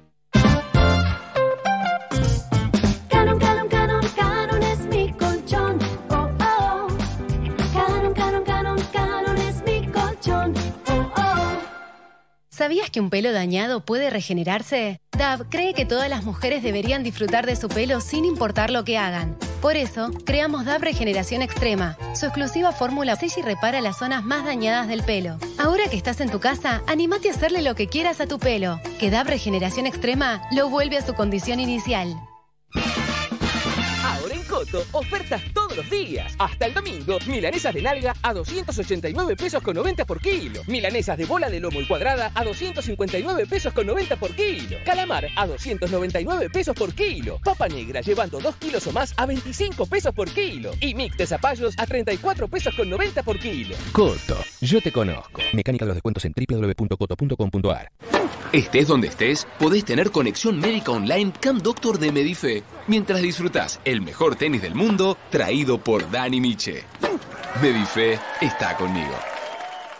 Canon, Canon, Canon, Canon es mi colchón. Oh, oh. Canon, Canon, Canon, Canon es mi colchón. Oh, oh. ¿Sabías que un pelo dañado puede regenerarse? Dove cree que todas las mujeres deberían disfrutar de su pelo sin importar lo que hagan. Por eso, creamos Dove Regeneración Extrema. Su exclusiva fórmula sella y repara las zonas más dañadas del pelo. Ahora que estás en tu casa, anímate a hacerle lo que quieras a tu pelo. Que Dove Regeneración Extrema lo vuelve a su condición inicial. Ahora en Coto, ofertas todos los días. Hasta el domingo, milanesas de nalga a doscientos ochenta y nueve pesos con noventa por kilo. Milanesas de bola de lomo y cuadrada a doscientos cincuenta y nueve pesos con noventa por kilo. Calamar a doscientos noventa y nueve pesos por kilo. Papa negra llevando dos kilos o más a veinticinco pesos por kilo. Y mix de zapallos a treinta y cuatro pesos con noventa por kilo. Coto, yo te conozco. Mecánica de los descuentos en doble u doble u doble u punto coto punto com punto ar. Estés donde estés, podés tener conexión médica online Camp Doctor de Medife, mientras disfrutás el mejor tenis del mundo, traído por Dani Miche. Medife está conmigo.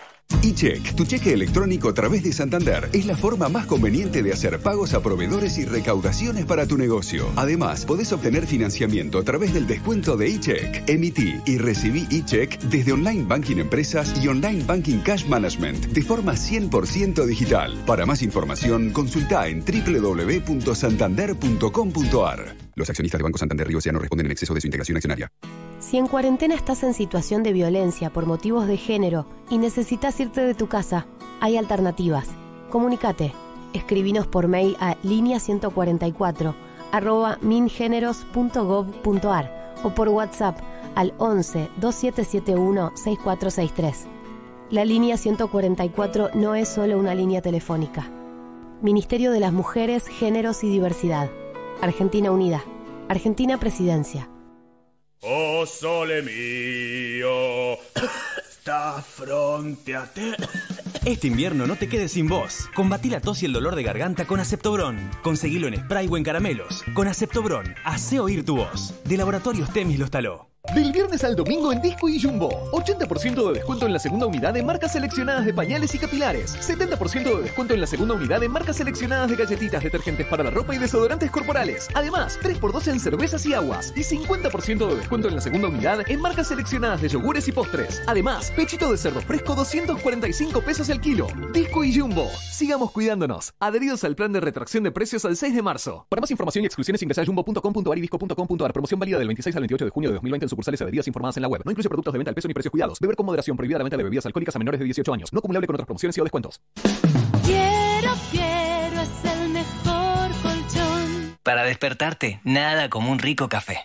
eCheck, tu cheque electrónico a través de Santander, es la forma más conveniente de hacer pagos a proveedores y recaudaciones para tu negocio. Además, podés obtener financiamiento a través del descuento de eCheck. Emití y recibí eCheck desde Online Banking Empresas y Online Banking Cash Management de forma cien por ciento digital. Para más información, consulta en doble u doble u doble u punto santander punto com punto a r. Los accionistas de Banco Santander Río S A no responden en exceso de su integración accionaria. Si en cuarentena estás en situación de violencia por motivos de género y necesitas irte de tu casa, hay alternativas. Comunícate. Escribinos por mail a línea ciento cuarenta y cuatro arroba mingeneros punto gov punto a r o por WhatsApp al once veintisiete setenta y uno sesenta y cuatro sesenta y tres. La línea ciento cuarenta y cuatro no es solo una línea telefónica. Ministerio de las Mujeres, Géneros y Diversidad. Argentina Unida. Argentina Presidencia. Oh sole mio, sta fronte a te. Este invierno no te quedes sin voz. Combatí la tos y el dolor de garganta con Aceptobron. Conseguilo en spray o en caramelos. Con Aceptobron, hace oír tu voz. De Laboratorios Temis lo instaló. Del viernes al domingo en Disco y Jumbo. ochenta por ciento de descuento en la segunda unidad de marcas seleccionadas de pañales y capilares. setenta por ciento de descuento en la segunda unidad de marcas seleccionadas de galletitas, detergentes para la ropa y desodorantes corporales. Además, tres por dos en cervezas y aguas. Y cincuenta por ciento de descuento en la segunda unidad en marcas seleccionadas de yogures y postres. Además, pechito de cerdo fresco doscientos cuarenta y cinco pesos el kilo. Disco y Jumbo. Sigamos cuidándonos. Adheridos al plan de retracción de precios al seis de marzo. Para más información y exclusiones ingresa a jumbo punto com punto a r y disco punto com punto a r. Promoción válida del veintiséis al veintiocho de junio de dos mil veinte en sucursales adheridas informadas en la web. No incluye productos de venta al peso ni precios cuidados. Beber con moderación. Prohibida la venta de bebidas alcohólicas a menores de dieciocho años. No acumulable con otras promociones y o descuentos. Quiero, quiero, es el mejor colchón. Para despertarte, nada como un rico café.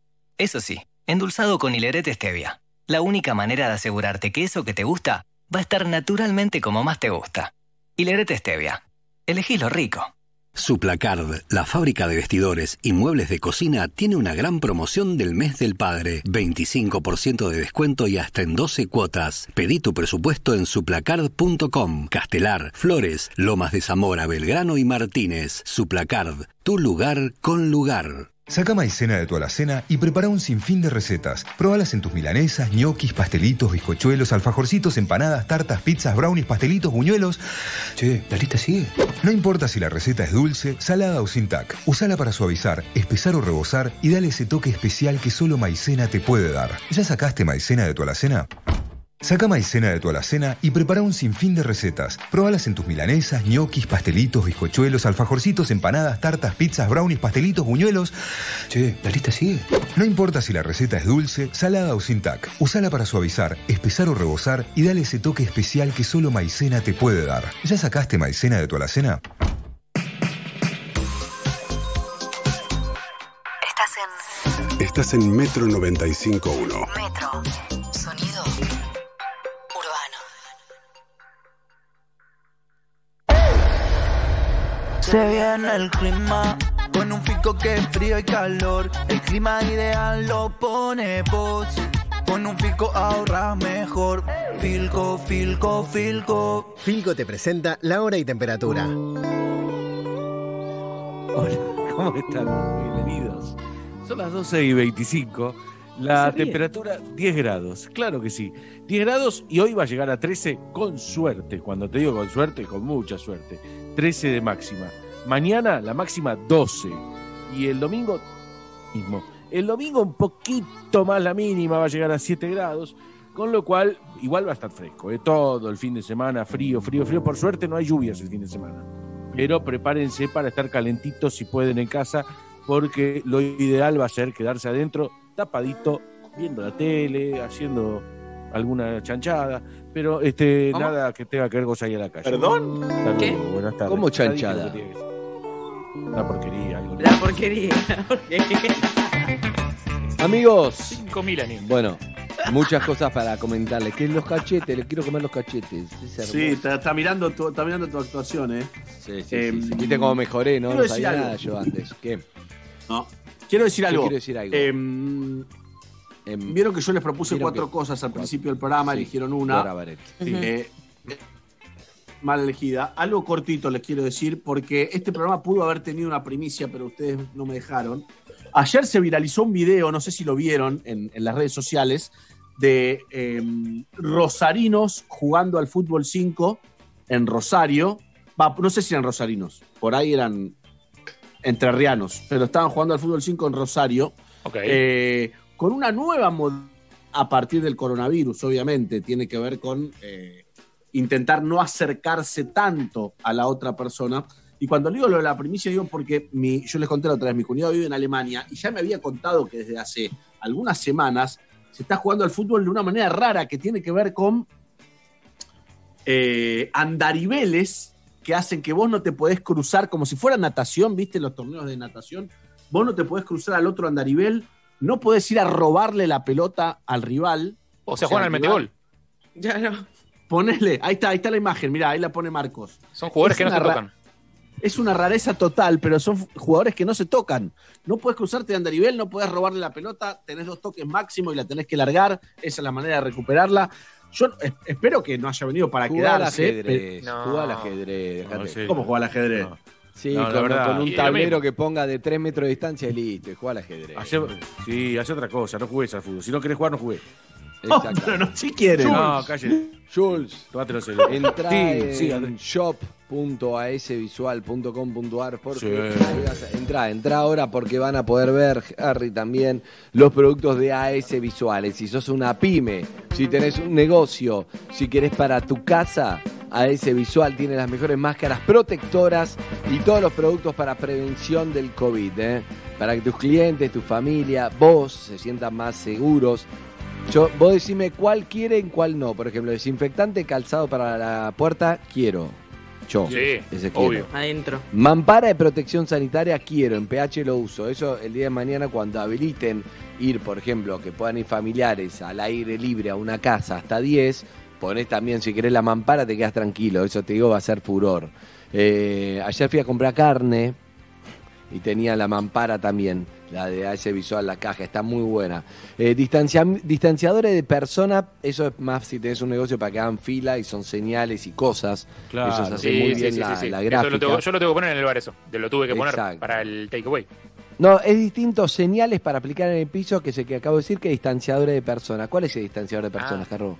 Eso sí, endulzado con hilerete stevia. La única manera de asegurarte que eso que te gusta va a estar naturalmente como más te gusta. Hilerete stevia. Elegí lo rico. Suplacard, la fábrica de vestidores y muebles de cocina, tiene una gran promoción del mes del padre. veinticinco por ciento de descuento y hasta en doce cuotas. Pedí tu presupuesto en suplacard punto com. Castelar, Flores, Lomas de Zamora, Belgrano y Martínez. Suplacard, tu lugar con lugar. Saca maicena de tu alacena y prepara un sinfín de recetas. Probalas en tus milanesas, ñoquis, pastelitos, bizcochuelos, alfajorcitos, empanadas, tartas, pizzas, brownies, pastelitos, buñuelos. Che, ¿la lista sigue? No importa si la receta es dulce, salada o sin tac. Usala para suavizar, espesar o rebozar y dale ese toque especial que solo maicena te puede dar. ¿Ya sacaste maicena de tu alacena? Saca maicena de tu alacena y prepara un sinfín de recetas. Probalas en tus milanesas, ñoquis, pastelitos, bizcochuelos, alfajorcitos, empanadas, tartas, pizzas, brownies, pastelitos, buñuelos. Che, ¿la lista sigue? No importa si la receta es dulce, salada o sin tac. Usala para suavizar, espesar o rebozar y dale ese toque especial que solo maicena te puede dar. ¿Ya sacaste maicena de tu alacena? Estás en... Estás en Metro noventa y cinco punto uno. Metro. Sonido Se viene el clima, con un fico que es frío y calor. El clima ideal lo pone vos. Con un Filco ahorras mejor. Filco, Filco, Filco. Filco te presenta la hora y temperatura. Hola, ¿cómo están? Bienvenidos. Son las doce y veinticinco. La temperatura diez grados, claro que sí. diez grados y hoy va a llegar a trece con suerte. Cuando te digo con suerte, con mucha suerte. trece de máxima. Mañana la máxima doce. Y el domingo mismo. El domingo un poquito más la mínima, va a llegar a siete grados. Con lo cual, igual va a estar fresco. ¿eh? Todo el fin de semana, frío, frío, frío. Por suerte no hay lluvias el fin de semana. Pero prepárense para estar calentitos si pueden en casa. Porque lo ideal va a ser quedarse adentro tapadito, viendo la tele, haciendo alguna chanchada, pero este ¿Cómo? Nada que tenga que ver con salir a la calle. ¿Perdón? Luego, ¿Qué? Buenas tardes. ¿Cómo chanchada? Una porquería. Algo la porquería. Amigos. cinco mil años. Bueno, muchas cosas para comentarles. Que los cachetes, les quiero comer los cachetes. Sí, está, está, mirando tu, está mirando tu actuación, ¿eh? Sí, sí, eh, sí, sí. Viste cómo mejoré, ¿no? No sabía nada yo antes. ¿Qué? No. Quiero decir algo. Quiero decir algo. Eh, eh, Vieron que yo les propuse cuatro que, cosas al principio del programa, sí, eligieron una. Sí. Eh, eh, mal elegida. Algo cortito les quiero decir, porque este programa pudo haber tenido una primicia, pero ustedes no me dejaron. Ayer se viralizó un video, no sé si lo vieron en, en las redes sociales, de eh, rosarinos jugando al fútbol cinco en Rosario. Va, no sé si eran rosarinos, por ahí eran entrerrianos, pero estaban jugando al fútbol cinco en Rosario. Okay. Eh, con una nueva modalidad a partir del coronavirus, obviamente, tiene que ver con eh, intentar no acercarse tanto a la otra persona. Y cuando digo lo de la primicia, digo porque mi, yo les conté la otra vez, mi cuñado vive en Alemania y ya me había contado que desde hace algunas semanas se está jugando al fútbol de una manera rara que tiene que ver con eh, andariveles que hacen que vos no te podés cruzar, como si fuera natación, ¿viste? Los torneos de natación, vos no te podés cruzar al otro andarivel, no podés ir a robarle la pelota al rival. O sea, juegan al metegol. Ya no. Ponele, ahí está, ahí está la imagen, mirá, ahí la pone Marcos. Son jugadores Es que no una se ra- tocan. Es una rareza total, pero son jugadores que no se tocan. No puedes cruzarte de andarivel, no puedes robarle la pelota, tenés dos toques máximo y la tenés que largar. Esa es la manera de recuperarla. Yo eh, espero que no haya venido para Jugar al quedarse. ajedrez, pero- jugar al ajedrez. No, dejate. sí. ¿Cómo jugar al ajedrez? No. Sí, No, la con, verdad. con un Y lo tablero mismo. que ponga de tres metros de distancia y listo, y juega al ajedrez. Hace- sí, hace otra cosa, no jugues al fútbol. Si no querés jugar, no jugués. Exacto. No, no, si quieres. No, calle. Jules, Tómatelo. entra Sí, sí, en shop punto a s visual punto com punto a r porque Sí. ahí vas a- entra, entra ahora porque van a poder ver, Harry, también los productos de A S Visuales. Si sos una pyme, si tenés un negocio, si querés para tu casa, A S Visual tiene las mejores máscaras protectoras y todos los productos para prevención del COVID, ¿eh? Para que tus clientes, tu familia, vos se sientan más seguros. Yo, vos decime cuál quieren, cuál no. Por ejemplo, desinfectante, calzado para la puerta, quiero. Yo, Sí, ese obvio. quiero. Adentro. Mampara de protección sanitaria, quiero. En P H lo uso. Eso el día de mañana cuando habiliten ir, por ejemplo, que puedan ir familiares al aire libre a una casa hasta diez, ponés también, si querés la mampara, te quedas tranquilo. Eso te digo, va a ser furor. Eh, ayer fui a comprar carne y tenía la mampara también, la de A S Visual, la caja, está muy buena. Eh, distancia, distanciadores de persona, eso es más si tenés un negocio para que hagan fila y son señales y cosas. Claro. Eso se hace Sí, muy sí, bien sí, la, sí, sí. la Eso gráfica. lo tengo- yo lo tengo que poner en el bar eso. Te lo tuve que poner Exacto. para el takeaway. No, es distinto señales para aplicar en el piso que se que acabo de decir que distanciadores de persona. ¿Cuál es el distanciador de personas, Ah. Carro?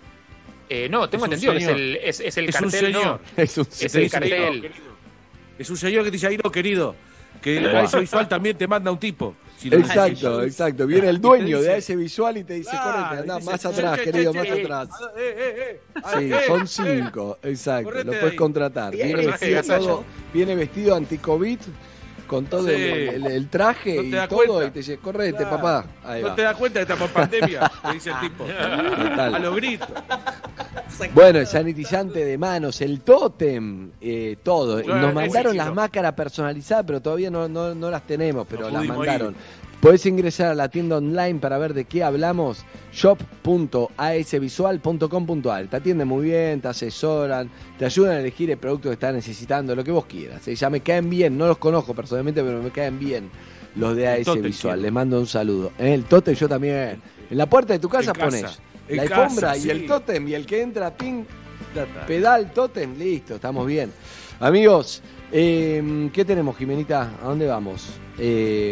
Eh, no, tengo Es un entendido que es señor. el, es, es el Es un cartel. señor. No. Es un Es Te el dice, cartel. "Ahí no, querido". Es un señor que te dice, ahí no, querido. Que el Buah. A S Visual también te manda un tipo. Si lo Exacto, necesitas. exacto. Viene el dueño Y te de dice- A S Visual y te dice, Claro, correte, andá dice, más che, atrás, che, che, querido, che, más eh, atrás. eh, eh, eh. Sí, Eh, son eh. cinco, exacto. Correte Lo de puedes ahí. contratar. Bien, Viene ese vestido, gasallo. todo, viene vestido anti-COVID con todo Sí. el, el- el traje No te y das todo cuenta. y te dice, correte, Claro. papá. Ahí No va. te das cuenta de esta pandemia, te dice el tipo. Total. A los gritos. Bueno, el sanitizante de manos, el tótem, eh, todo. Bueno, Nos es mandaron chiquito. las máscaras personalizadas, pero todavía no, no, no las tenemos, pero No las pudimos mandaron. ir. Podés ingresar a la tienda online para ver de qué hablamos, shop punto a s visual punto com punto a r. Te atienden muy bien, te asesoran, te ayudan a elegir el producto que estás necesitando, lo que vos quieras. ¿eh? Ya me caen bien, no los conozco personalmente, pero me caen bien los de A S Tótem Visual. quiero. Les mando un saludo. ¿eh? El tótem yo también. En la puerta de tu casa, En casa. pones En la casa, alfombra y sí. el tótem, y el que entra, ping, pedal, tótem, listo, estamos bien. Amigos, eh, ¿qué tenemos, Jimenita? ¿A dónde vamos? Eh,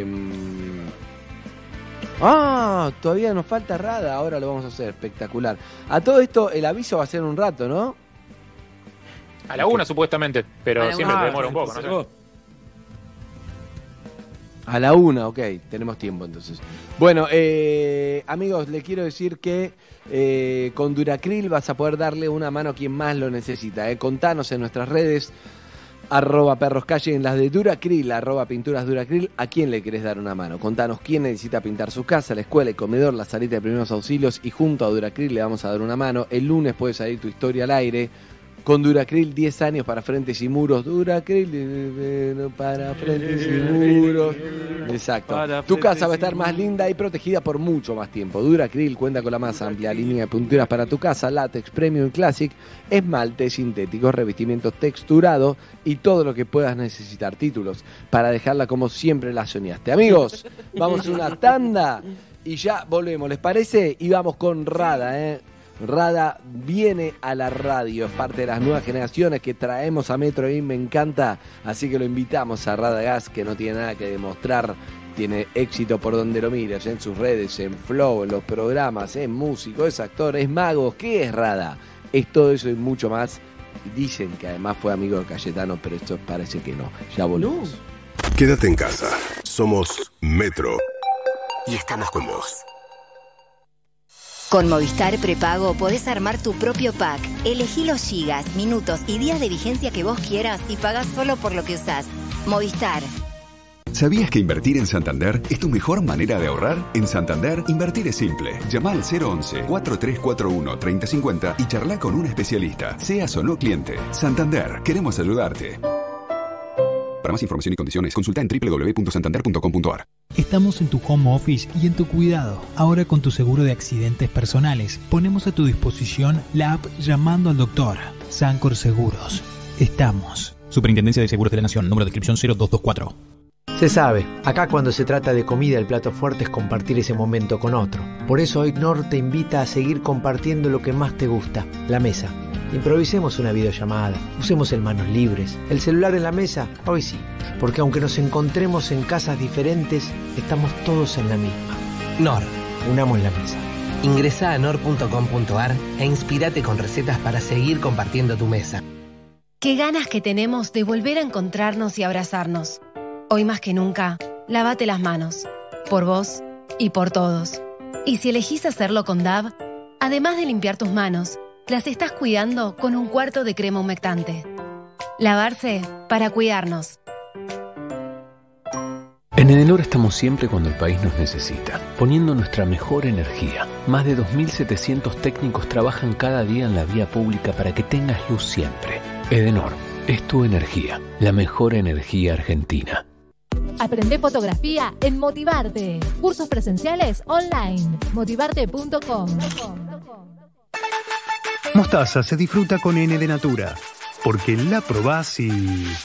ah, todavía nos falta Rada, ahora lo vamos a hacer, espectacular. A todo esto, el aviso va a ser un rato, ¿no? A la una, supuestamente. Pero A la siempre una. te demora un poco, no sé. A la una, ok, tenemos tiempo entonces. Bueno, eh, amigos, les quiero decir que eh, con Duracril vas a poder darle una mano a quien más lo necesita. Eh. Contanos en nuestras redes, arroba perroscalle, en las de Duracril, arroba pinturas Duracril, a quién le querés dar una mano. Contanos quién necesita pintar su casa, la escuela, el comedor, la salita de primeros auxilios, y junto a Duracril le vamos a dar una mano. El lunes puede salir tu historia al aire. Con Duracril, diez años para frentes y muros. Duracril eh, para frentes y muros. Exacto. Para Tu casa frentes va a y estar más muros. linda y protegida por mucho más tiempo. Duracril cuenta con la más amplia línea de pinturas para tu casa, látex, premium, classic, esmalte sintético, revestimientos texturados y todo lo que puedas necesitar. Títulos para dejarla como siempre la soñaste. Amigos, vamos a una tanda y ya volvemos. ¿Les parece? Y vamos con Rada, ¿eh? Rada viene a la radio, es parte de las nuevas generaciones que traemos a Metro y me encanta, así que lo invitamos a Radagast, que no tiene nada que demostrar, tiene éxito por donde lo mires, en sus redes, en Flow, en los programas, es músico, es actor, es mago. ¿Qué es Rada? Es todo eso y mucho más. Dicen que además fue amigo de Cayetano, pero esto parece que no. Ya volvemos. No. Quédate en casa. Somos Metro. Y estamos con vos. Con Movistar Prepago podés armar tu propio pack. Elegí los gigas, minutos y días de vigencia que vos quieras y pagás solo por lo que usás. Movistar. ¿Sabías que invertir en Santander es tu mejor manera de ahorrar? En Santander, invertir es simple. Llama al cero once, cuatro tres cuatro uno, tres cero cinco cero y charla con un especialista, seas o no cliente. Santander, queremos ayudarte. Para más información y condiciones, consulta en doble u doble u doble u punto santander punto com punto a r. Estamos en tu home office y en tu cuidado. Ahora con tu seguro de accidentes personales, ponemos a tu disposición la app Llamando al Doctor. Sancor Seguros. Estamos. Superintendencia de Seguros de la Nación, número de inscripción cero dos dos cuatro. Se sabe, acá cuando se trata de comida el plato fuerte es compartir ese momento con otro. Por eso hoy Knorr te invita a seguir compartiendo lo que más te gusta, la mesa. Improvisemos una videollamada, usemos el manos libres, el celular en la mesa, hoy sí, porque aunque nos encontremos en casas diferentes, estamos todos en la misma. Knorr, unamos la mesa. Ingresá a knorr punto com punto a r e inspirate con recetas para seguir compartiendo tu mesa. Qué ganas que tenemos de volver a encontrarnos y abrazarnos. Hoy más que nunca, lávate las manos, por vos y por todos. Y si elegís hacerlo con D A V, además de limpiar tus manos, las estás cuidando con un cuarto de crema humectante. Lavarse para cuidarnos. En Edenor estamos siempre cuando el país nos necesita, poniendo nuestra mejor energía. Más de dos mil setecientos técnicos trabajan cada día en la vía pública para que tengas luz siempre. Edenor, es tu energía, la mejor energía argentina. Aprende fotografía en Motivarte. Cursos presenciales online. motivarte punto com. Mostaza se disfruta con N de Natura, porque la probás y...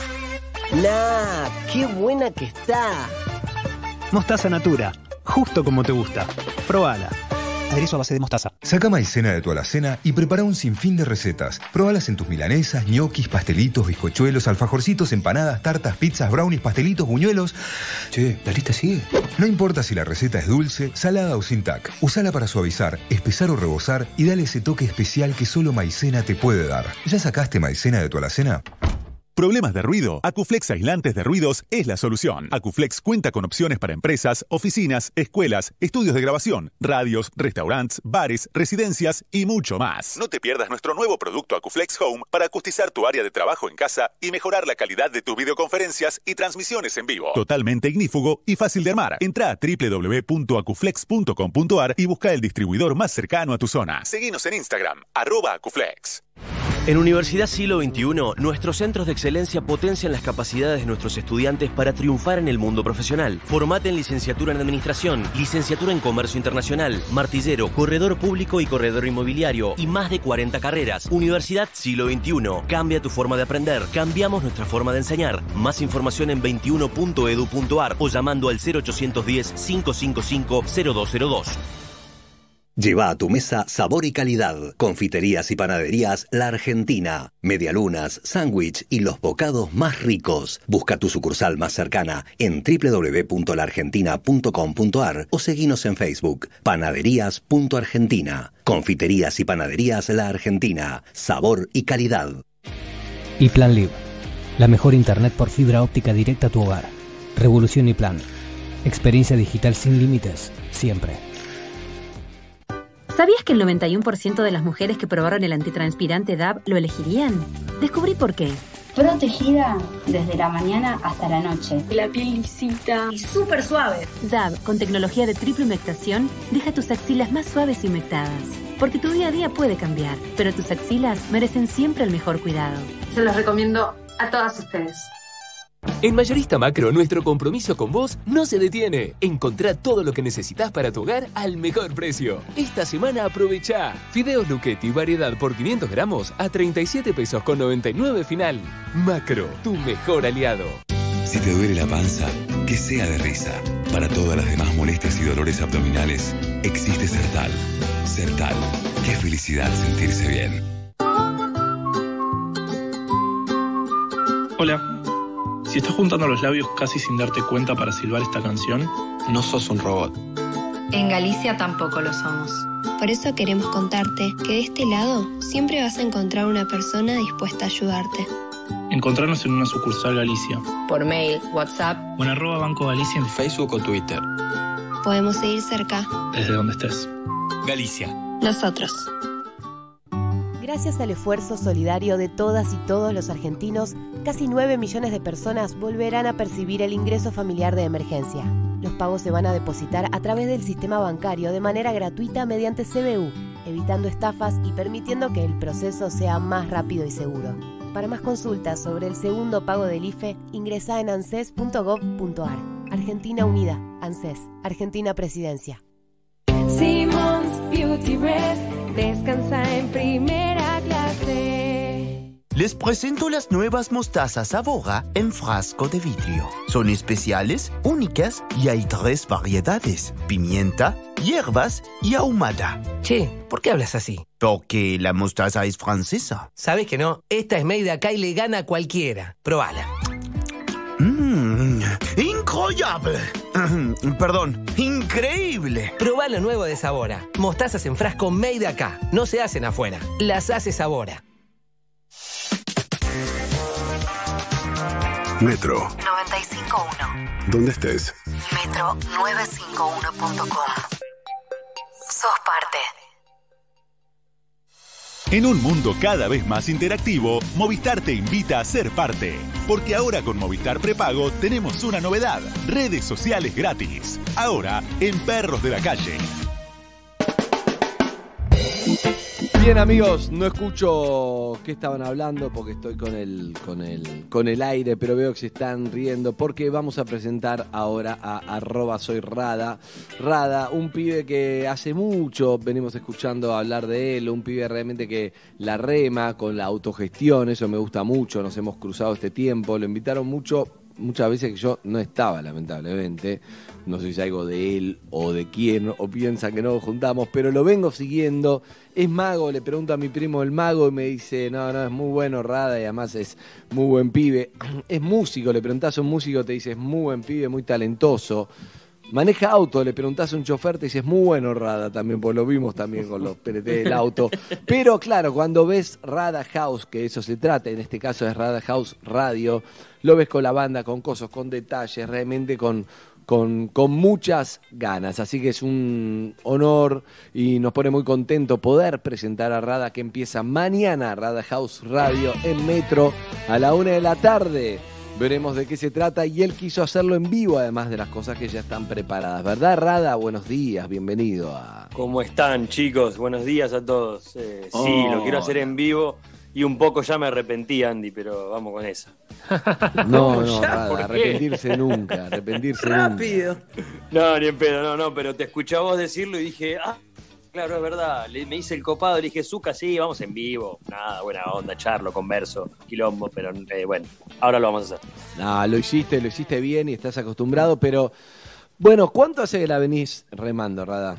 ¡Nah! ¡Qué buena que está! Mostaza Natura, justo como te gusta. Probala. Aderezo a base de mostaza. Saca maicena de tu alacena y prepara un sinfín de recetas. Probalas en tus milanesas, ñoquis, pastelitos, bizcochuelos, alfajorcitos, empanadas, tartas, pizzas, brownies, pastelitos, buñuelos. Che, ¿la lista sigue? No importa si la receta es dulce, salada o sin tac. Usala para suavizar, espesar o rebozar y dale ese toque especial que solo maicena te puede dar. ¿Ya sacaste maicena de tu alacena? ¿Problemas de ruido? Acuflex Aislantes de Ruidos es la solución. Acuflex cuenta con opciones para empresas, oficinas, escuelas, estudios de grabación, radios, restaurantes, bares, residencias y mucho más. No te pierdas nuestro nuevo producto Acuflex Home para acustizar tu área de trabajo en casa y mejorar la calidad de tus videoconferencias y transmisiones en vivo. Totalmente ignífugo y fácil de armar. Entra a doble u doble u doble u punto acuflex punto com punto a r y busca el distribuidor más cercano a tu zona. Seguinos en Instagram, arroba Acuflex. En Universidad Siglo veintiuno, nuestros centros de excelencia potencian las capacidades de nuestros estudiantes para triunfar en el mundo profesional. Formate en licenciatura en Administración, licenciatura en Comercio Internacional, martillero, corredor público y corredor inmobiliario y más de cuarenta carreras. Universidad Siglo veintiuno. Cambia tu forma de aprender. Cambiamos nuestra forma de enseñar. Más información en veintiuno punto edu punto a r o llamando al cero ochocientos diez, cinco cinco cinco, cero dos cero dos. Lleva a tu mesa sabor y calidad. Confiterías y panaderías La Argentina. Medialunas, sándwich y los bocados más ricos. Busca tu sucursal más cercana en doble u doble u doble u punto la argentina punto com punto a r o seguinos en Facebook. Panaderías punto argentina. Confiterías y panaderías La Argentina. Sabor y calidad. Y Plan Live. La mejor internet por fibra óptica directa a tu hogar. Revolución y Plan. Experiencia digital sin límites. Siempre. ¿Sabías que el noventa y uno por ciento de las mujeres que probaron el antitranspirante D A B lo elegirían? Descubrí por qué. Protegida desde la mañana hasta la noche. La piel lisita y súper suave. D A B, con tecnología de triple humectación, deja tus axilas más suaves y humectadas. Porque tu día a día puede cambiar, pero tus axilas merecen siempre el mejor cuidado. Se los recomiendo a todas ustedes. En Mayorista Macro, nuestro compromiso con vos no se detiene. Encontrá todo lo que necesitas para tu hogar al mejor precio. Esta semana aprovechá. Fideos Luchetti variedad por quinientos gramos a treinta y siete pesos con noventa y nueve final. Macro, tu mejor aliado. Si te duele la panza, que sea de risa. Para todas las demás molestias y dolores abdominales, existe Sertal. Sertal. Qué felicidad sentirse bien. Hola. Si estás juntando los labios casi sin darte cuenta para silbar esta canción, no sos un robot. En Galicia tampoco lo somos. Por eso queremos contarte que de este lado siempre vas a encontrar una persona dispuesta a ayudarte. Encontrarnos en una sucursal Galicia. Por mail, WhatsApp. O en arroba Banco Galicia en Facebook o Twitter. Podemos seguir cerca. Desde donde estés. Galicia. Nosotros. Gracias al esfuerzo solidario de todas y todos los argentinos, casi nueve millones de personas volverán a percibir el ingreso familiar de emergencia. Los pagos se van a depositar a través del sistema bancario de manera gratuita mediante C B U, evitando estafas y permitiendo que el proceso sea más rápido y seguro. Para más consultas sobre el segundo pago del I F E, ingresa en anses punto gov punto ar. Argentina Unida, ANSES, Argentina Presidencia. Simmons Beauty Rest, descansa en primera clase. Les presento las nuevas mostazas Avora en frasco de vidrio. Son especiales, únicas y hay tres variedades: pimienta, hierbas y ahumada. Che, ¿por qué hablas así? Porque la mostaza es francesa. ¿Sabes que no? Esta es made acá y le gana a cualquiera. Probala. Mmm, increíble. Perdón, increíble. Probá lo nuevo de Sabora. Mostazas en frasco made acá. No se hacen afuera. Las hace Sabora. Metro noventa y cinco punto uno. ¿Dónde estés? Metro novecientos cincuenta y uno punto com. Sos parte. En un mundo cada vez más interactivo, Movistar te invita a ser parte. Porque ahora con Movistar Prepago tenemos una novedad: redes sociales gratis. Ahora en Perros de la Calle. Bien, amigos, no escucho qué estaban hablando porque estoy con el, con el, con el aire, pero veo que se están riendo porque vamos a presentar ahora a arroba soy Rada. Rada, un pibe que hace mucho venimos escuchando hablar de él, un pibe realmente que la rema con la autogestión, eso me gusta mucho, nos hemos cruzado este tiempo, lo invitaron mucho, muchas veces que yo no estaba, lamentablemente. No sé si algo de él o de quién, o piensan que no nos juntamos, pero lo vengo siguiendo. Es mago, le pregunto a mi primo el mago y me dice, no, no, es muy bueno Rada y además es muy buen pibe. Es músico, le preguntás a un músico, te dice, es muy buen pibe, muy talentoso. Maneja auto, le preguntás a un chofer, te dice, es muy bueno Rada también, pues lo vimos también con los P N T del auto. Pero claro, cuando ves Rada House, que eso se trata, en este caso es Rada House Radio, lo ves con la banda, con cosas, con detalles, realmente con... Con, con muchas ganas, así que es un honor y nos pone muy contento poder presentar a Rada, que empieza mañana, Rada House Radio en Metro a la una de la tarde. Veremos de qué se trata y él quiso hacerlo en vivo, además de las cosas que ya están preparadas. ¿Verdad, Rada? Buenos días, bienvenido a... ¿Cómo están, chicos? Buenos días a todos. Eh, oh. Sí, lo quiero hacer en vivo y un poco ya me arrepentí, Andy, pero vamos con eso. No, no, Rada, arrepentirse nunca, arrepentirse Rápido. nunca. No, ni en pedo, no, no, pero te escuché a vos decirlo y dije, ah, claro, es verdad, le, me hice el copado, le dije, Zucca, sí, vamos en vivo. Nada, buena onda, charlo, converso, quilombo, pero eh, bueno, ahora lo vamos a hacer. No, lo hiciste, lo hiciste bien y estás acostumbrado, pero bueno, ¿cuánto hace que la venís remando, Rada?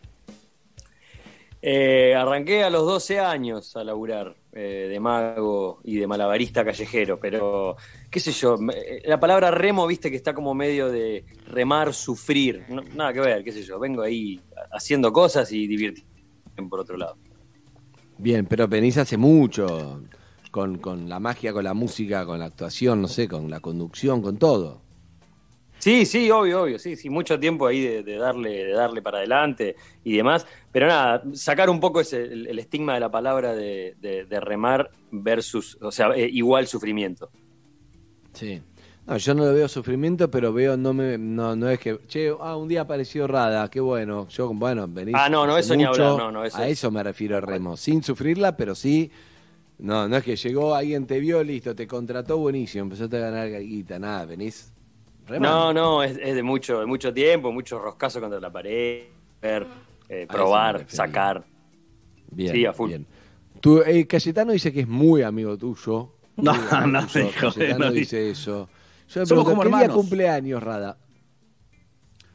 Eh, arranqué a los doce años a laburar eh, de mago y de malabarista callejero, pero qué sé yo, la palabra remo, viste que está como medio de remar, sufrir, no, nada que ver, qué sé yo, vengo ahí haciendo cosas y divirtiéndome por otro lado. Bien, pero venís hace mucho con, con la magia, con la música, con la actuación, no sé, con la conducción, con todo. Sí, sí, obvio, obvio, sí, sí, mucho tiempo ahí de, de darle, de darle para adelante y demás, pero nada, sacar un poco ese, el, el estigma de la palabra de, de, de remar versus, o sea, eh, igual sufrimiento. Sí, no, yo no lo veo sufrimiento, pero veo, no me, no, no es que, che, ah, un día apareció Rada, qué bueno, yo, bueno, venís. Ah, no, no, eso ni mucho, hablar, no, no, eso a es. eso me refiero, Remo, sin sufrirla, pero sí, no, no es que llegó, alguien te vio, listo, te contrató, buenísimo, empezaste a ganar guita, nada, venís. No, no, es, es de mucho de mucho tiempo, mucho roscazo contra la pared, ver, eh, probar, sacar. Bien, sí, a full. Bien. Tu, eh, Cayetano dice que es muy amigo tuyo. No, muy amigo no, tuyo. hijo, Cayetano no, dice eso. Yo me somos pregunto, como ¿qué día hermanos. cumpleaños, Rada?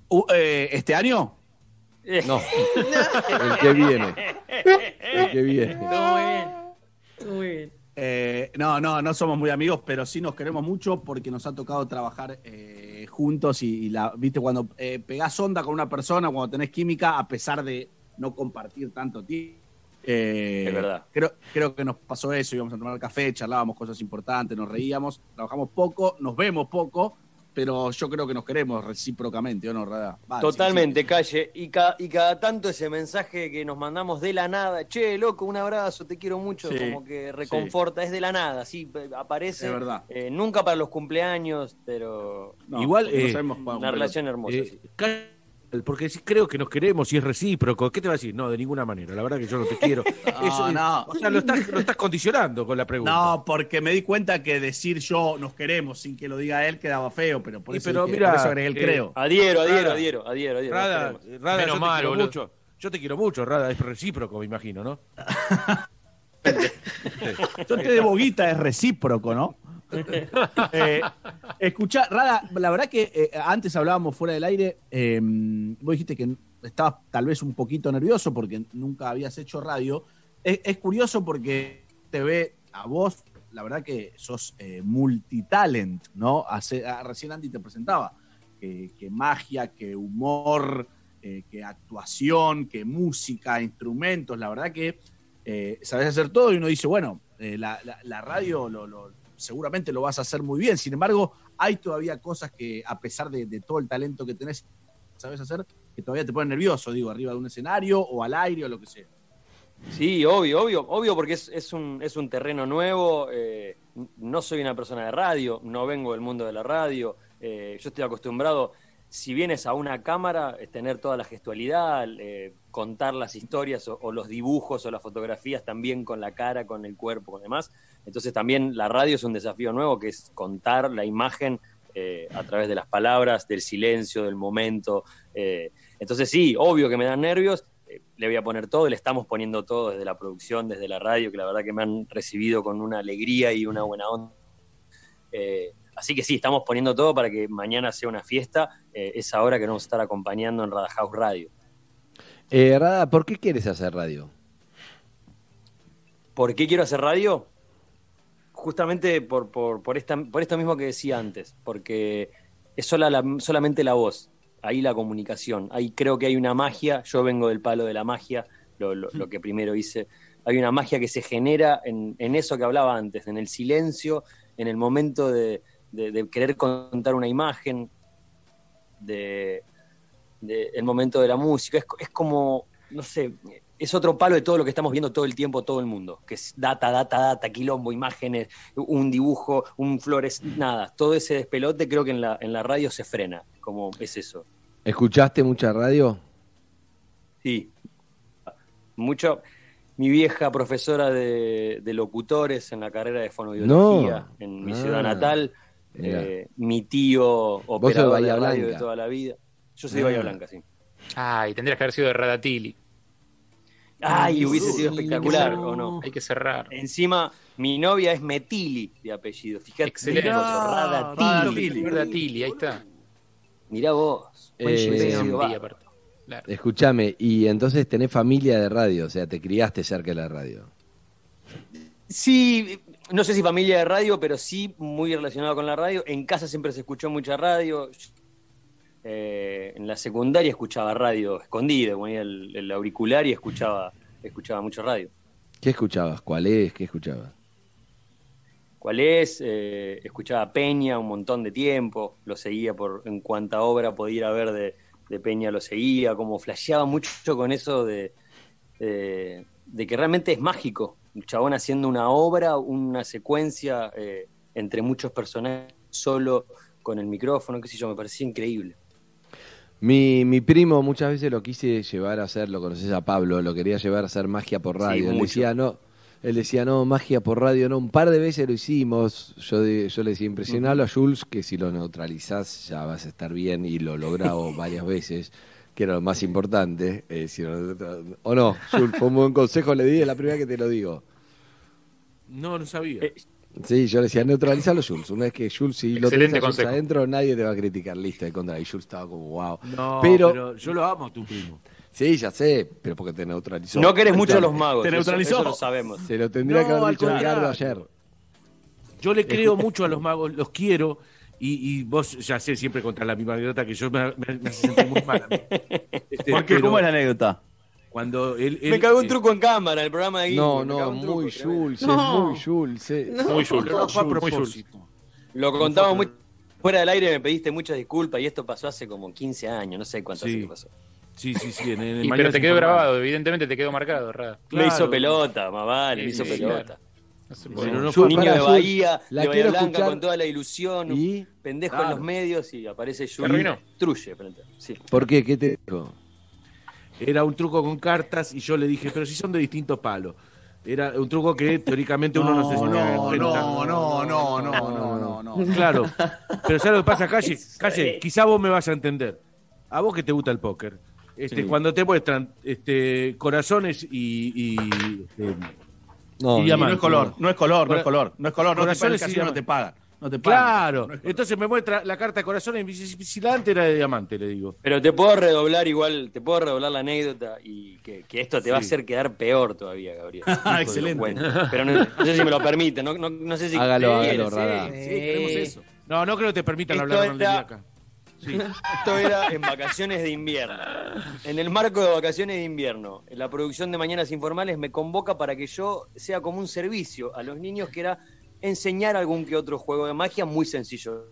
Uh, eh, ¿Este año? No. El que viene. El que viene. Muy bien. Muy bien. Eh, no, no, no somos muy amigos, pero sí nos queremos mucho porque nos ha tocado trabajar eh, juntos y, y la, viste, cuando eh, pegás onda con una persona, cuando tenés química, a pesar de no compartir tanto tiempo. Eh, es verdad. Creo, creo que nos pasó eso, íbamos a tomar café, charlábamos cosas importantes, nos reíamos, trabajamos poco, nos vemos poco, pero yo creo que nos queremos recíprocamente, ¿o no, Rada? Vale, Totalmente, sí, sí. Calle. Y, ca y cada tanto ese mensaje que nos mandamos de la nada, che, loco, un abrazo, te quiero mucho, Sí, como que reconforta, sí. Es de la nada, sí, aparece. Es verdad. Eh, nunca para los cumpleaños, pero No, Igual, porque no eh, sabemos cuándo, una pero- relación hermosa. Eh, sí. ca- porque sí creo que nos queremos y es recíproco. ¿Qué te va a decir? No, de ninguna manera. La verdad que yo no te quiero. Eso, no. O sea, lo estás, lo estás condicionando con la pregunta. No, porque me di cuenta que decir yo nos queremos sin que lo diga él quedaba feo, pero por Y eso, pero dije- mira, por eso agregué el eh, creo. Adhiero, adhiero, Rada, adhiero, adhiero, adhiero. nos Rada, queremos. Rada, Menos yo mal, te quiero boludo. mucho. Yo te quiero mucho, Rada. Es recíproco, me imagino, ¿no? Yo te debo guita, es recíproco, ¿no? eh, escuchá, Rada, la verdad que eh, antes hablábamos fuera del aire, eh, vos dijiste que estabas tal vez un poquito nervioso porque nunca habías hecho radio. Es, es curioso porque te ve a vos, la verdad que sos eh, multitalent, ¿no? Hace, ah, recién Andy te presentaba, que, que magia, que humor, eh, que actuación, que música, instrumentos, la verdad que eh, sabés hacer todo y uno dice, bueno, eh, la, la, la radio lo, lo, seguramente lo vas a hacer muy bien, sin embargo, hay todavía cosas que a pesar de, de todo el talento que tenés, sabés hacer, que todavía te ponen nervioso, digo, arriba de un escenario o al aire o lo que sea. Sí, obvio, obvio, obvio, porque es, es, un, es un terreno nuevo. Eh, no soy una persona de radio, no vengo del mundo de la radio. Eh, yo estoy acostumbrado, si vienes a una cámara, es tener toda la gestualidad, eh, contar las historias o, o los dibujos o las fotografías también con la cara, con el cuerpo, con demás. Entonces también la radio es un desafío nuevo, que es contar la imagen eh, a través de las palabras, del silencio, del momento. Eh, entonces sí, obvio que me dan nervios. Le voy a poner todo, le estamos poniendo todo desde la producción, desde la radio, que la verdad que me han recibido con una alegría y una buena onda. Eh, así que sí, estamos poniendo todo para que mañana sea una fiesta, eh, esa hora que vamos a estar acompañando en Rada House Radio. Eh, Rada, ¿por qué quieres hacer radio? ¿Por qué quiero hacer radio? Justamente por, por, por, esta, por esto mismo que decía antes, porque es sola la, solamente la voz. Ahí la comunicación, ahí creo que hay una magia, yo vengo del palo de la magia, lo, lo, lo que primero hice, hay una magia que se genera en, en eso que hablaba antes, en el silencio, en el momento de, de, de querer contar una imagen, de, de el momento de la música, es, es como, no sé, es otro palo de todo lo que estamos viendo todo el tiempo, todo el mundo, que es data, data, data, quilombo, imágenes, un dibujo, un flores, nada, todo ese despelote creo que en la, en la radio se frena, como es eso. ¿Escuchaste mucha radio? Sí, mucho. Mi vieja profesora de, de locutores en la carrera de fonoaudiología No. en mi Ah, ciudad natal, mira. eh, mi tío sos de operador Bahía de radio Blanca. de toda la vida. Yo soy de Ah. Bahía Blanca, sí. Ay, tendrías que haber sido de Radatili. Ay, hubiese sido Uy, espectacular, no. ¿o no? Hay que cerrar. Encima, mi novia es Metili de apellido. Fíjate, Excelente. mirá, Radatili. Radatili, ahí está. Mirá vos. Buen Eh, chileno, Sí, va. aparte. Claro. Escúchame, y entonces tenés familia de radio, o sea, te criaste cerca de la radio. Sí, no sé si familia de radio, pero sí muy relacionado con la radio. En casa siempre se escuchó mucha radio. Eh, en la secundaria escuchaba radio escondido, ponía el, el auricular y escuchaba, escuchaba mucho radio. ¿Qué escuchabas? ¿Cuál es? ¿Qué escuchabas? ¿Cuál es? Eh, escuchaba Peña un montón de tiempo, lo seguía por en cuanta obra podía ir a ver de, de Peña, lo seguía, como flasheaba mucho con eso de, de, de que realmente es mágico. El chabón haciendo una obra, una secuencia eh, entre muchos personajes, solo con el micrófono, qué sé yo, me parecía increíble. Mi, mi primo muchas veces lo quise llevar a hacer, lo conoces a Pablo, lo quería llevar a hacer magia por radio. Sí, él mucho. decía, no, él decía, no, magia por radio, no, un par de veces lo hicimos. Yo, de- yo le decía, impresionalo a Jules, que si lo neutralizás ya vas a estar bien, y lo logrado varias veces, que era lo más importante. Eh, si lo- o no, Jules, fue un buen consejo, le di, es la primera que te lo digo. No, no sabía. Eh, Sí, yo le decía, neutralizalo Jules. Una vez que Jules, si lo tenés Excelente a Jules consejo. adentro, nadie te va a criticar. Listo, de contra. Y Jules estaba como, wow. No, pero, pero yo lo amo a tu primo. Sí, ya sé, pero porque te neutralizó. No querés mucho a los magos. Te eso- neutralizó. Eso, lo sabemos. Se lo tendría No, que haber al dicho contrario. Ricardo ayer. Yo le creo mucho a los magos, los quiero. Y, y vos, ya sé, siempre contra la misma anécdota que yo me, me, me hace sentir muy mal a mí. Este, ¿Por qué? pero ¿Cómo es la anécdota? Cuando él, él Me cagó un eh, truco en cámara en el programa de No, Guillermo. me cagó no, un truco, muy tremendo. Jules, No. es muy Jules. eh. Muy Jules. pero no fue a Muy propósito. Lo contamos muy fuera del aire, me pediste muchas disculpas y esto pasó hace como quince años, no sé cuánto Sí. hace que pasó. Sí, sí, sí. En, en Y, Mañana pero te se quedó informaba. grabado, evidentemente te quedó marcado, Rada. Me Claro. hizo pelota, más vale, me Sí, hizo sí, pelota. claro. No se Bueno, puede. no Un fue niño para de Jules. Bahía, La de Bahía quiero Blanca escuchar. con toda la ilusión, ¿Y? pendejo Claro. en los medios y aparece Te arruinó. Jules. Truye, frente. Sí. ¿Por qué? ¿Qué te dijo? Era un truco con cartas y yo le dije, pero si son de distintos palos. Era un truco que teóricamente uno no, se No, tenía que no, enfrentar. no, no, no, no, no, no, no. Claro. Pero ¿sabes lo que pasa, Calle? Calle, quizá vos me vas a entender. A vos que te gusta el póker. Este, Sí. Cuando te muestran este, corazones y, y, este, No, Y Y no diamante, es color, no. no es color, no Cora- es color, no es color, no te pagan, corazones el y casino no diamantes. te pagan. No te pagan. Claro. No es color. Entonces me muestra la carta de corazones y me dice, si la antes era de diamante, le digo. Pero te puedo redoblar igual, te puedo redoblar la anécdota y que, que esto te va a Sí. hacer quedar peor todavía, Gabriel. Ah, Hijo de excelente. lo cuento. Pero no, no sé si me lo permite, no, no, no sé si Hágalo, quieres, hágalo, Rada. sí. Sí, queremos eso. No, no creo que te permitan Esto hablar mal de mí era- acá. Sí. Esto era en vacaciones de invierno. En el marco de vacaciones de invierno, la producción de Mañanas Informales me convoca para que yo sea como un servicio a los niños, que era enseñar algún que otro juego de magia muy sencillo.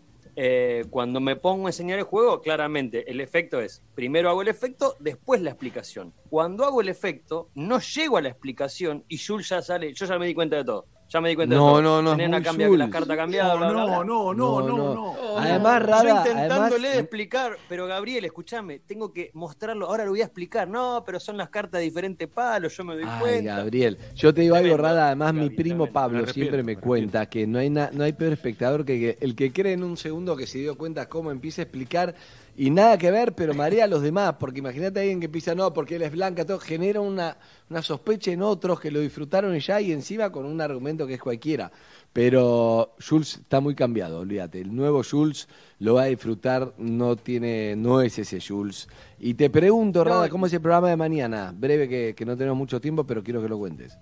Eh, cuando me pongo a enseñar el juego, claramente el efecto es, primero hago el efecto, después la explicación. Cuando hago el efecto, no llego a la explicación y Jules ya sale, yo ya me di cuenta de todo. Ya me di cuenta No, de todo. no, no, Tenés es una muy cambia- Jules. las cartas cambiadas, No, bla, bla, no, bla. no, no, no, no. Además, Yo Rada, intentándole además- explicar, pero Gabriel, escúchame, tengo que mostrarlo, ahora lo voy a explicar. No, pero son las cartas de diferentes palos, yo me doy Ay, cuenta. Gabriel, yo te digo algo, Tremendo, Rada, además mi Gaby, primo tremendo. Pablo Me arrepiento, siempre me me cuenta que no hay na- no hay peor espectador que, que el que cree en un segundo que se dio cuenta cómo empieza a explicar y nada que ver, pero marea a los demás, porque imagínate a alguien que empieza, no, porque él es blanca, todo genera una, una sospecha en otros que lo disfrutaron y ya, y encima con un argumento que es cualquiera. Pero Jules está muy cambiado, olvídate. El nuevo Jules lo va a disfrutar, no tiene, no es ese Jules. Y te pregunto, No, Rada, ¿cómo es el programa de mañana? Breve, que, que no tenemos mucho tiempo, pero quiero que lo cuentes.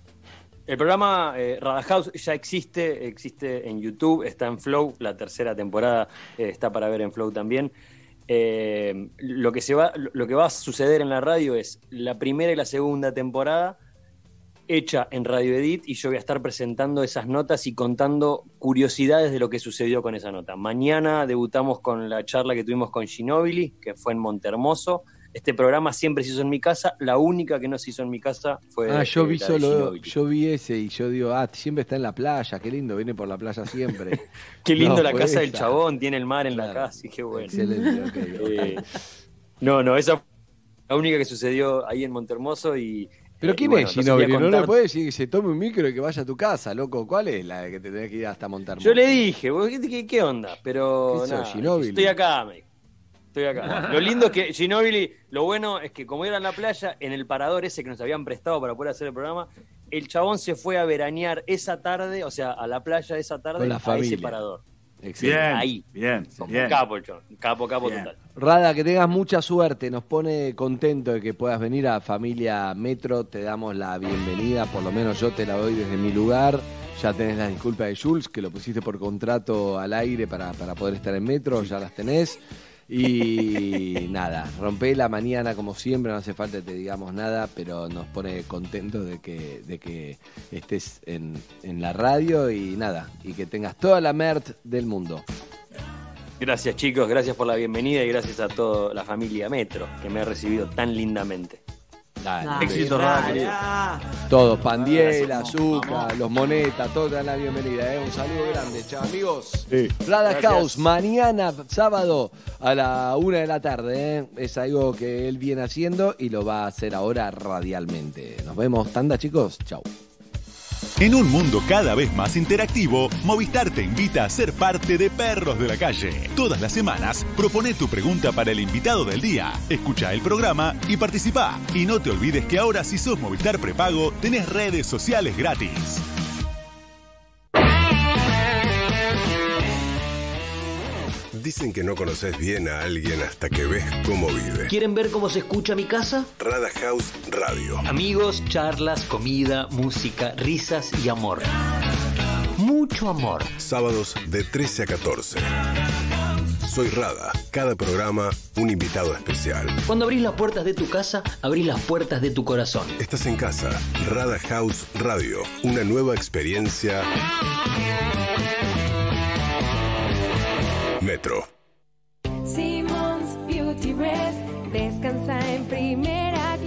El programa eh, Rada House ya existe, existe en YouTube, está en Flow, la tercera temporada eh, está para ver en Flow también. Eh, lo que se va, lo que va a suceder en la radio es la primera y la segunda temporada hecha en Radio Edit, y yo voy a estar presentando esas notas y contando curiosidades de lo que sucedió con esa nota. Mañana debutamos con la charla que tuvimos con Ginóbili, que fue en Montehermoso. Este programa siempre se hizo en mi casa, la única que no se hizo en mi casa fue Ah, yo eh, vi la de solo, Ginóbili. yo vi ese y yo digo, ah, siempre está en la playa, qué lindo, viene por la playa siempre. Qué lindo No, la fue casa del esa. chabón, tiene el mar en Claro. la casa, y qué bueno. Excelente, ok, ok. Eh, no, no, esa fue la única que sucedió ahí en Montehermoso y... Pero eh, ¿quién y bueno, es entonces voy a Ginóbili? No le contar- puede decir que se tome un micro y que vaya a tu casa, loco. ¿Cuál es la que te tenés que ir hasta montar? Yo le dije, vos, ¿qué, qué, qué onda? Pero ¿Qué sos, nada, Ginóbili? estoy acá, me dijo. Estoy acá. Lo lindo es que Ginóbili, lo bueno es que como era en la playa, en el parador ese que nos habían prestado para poder hacer el programa, el chabón se fue a veranear esa tarde, o sea, a la playa esa tarde, Con la a familia. ese parador. Excelente. Bien, Ahí. bien, Como bien. capo el chabón, capo, capo Bien. total. Rada, que tengas mucha suerte, nos pone contento de que puedas venir a Familia Metro, te damos la bienvenida, por lo menos yo te la doy desde mi lugar, ya tenés las disculpas de Jules, que lo pusiste por contrato al aire para, para poder estar en Metro, ya las tenés, y nada, rompé la mañana como siempre, no hace falta que te digamos nada, pero nos pone contento de que, de que estés en, en la radio y nada, y que tengas toda la merch del mundo. Gracias chicos, gracias por la bienvenida y gracias a toda la familia Metro que me ha recibido tan lindamente. Dale. Éxito, Rada, querido. Todos, Pandiel, Gracias. Azúcar, Vamos. los Monetas, todos te dan la bienvenida. ¿eh? Un saludo grande, chao amigos. Sí. Rada Gracias. House, mañana, sábado, a la una de la tarde. ¿eh? Es algo que él viene haciendo y lo va a hacer ahora radialmente. Nos vemos, tanda chicos, chao. En un mundo cada vez más interactivo, Movistar te invita a ser parte de Perros de la Calle. Todas las semanas, propone tu pregunta para el invitado del día. Escucha el programa y participa. Y no te olvides que ahora si sos Movistar Prepago, tenés redes sociales gratis. Dicen que no conoces bien a alguien hasta que ves cómo vive. ¿Quieren ver cómo se escucha mi casa? Rada House Radio. Amigos, charlas, comida, música, risas y amor. Mucho amor. Sábados de trece a catorce. Soy Rada. Cada programa, un invitado especial. Cuando abrís las puertas de tu casa, abrís las puertas de tu corazón. Estás en casa. Rada House Radio. Una nueva experiencia. Metro. Simmons Beauty Rest. Descansa en primera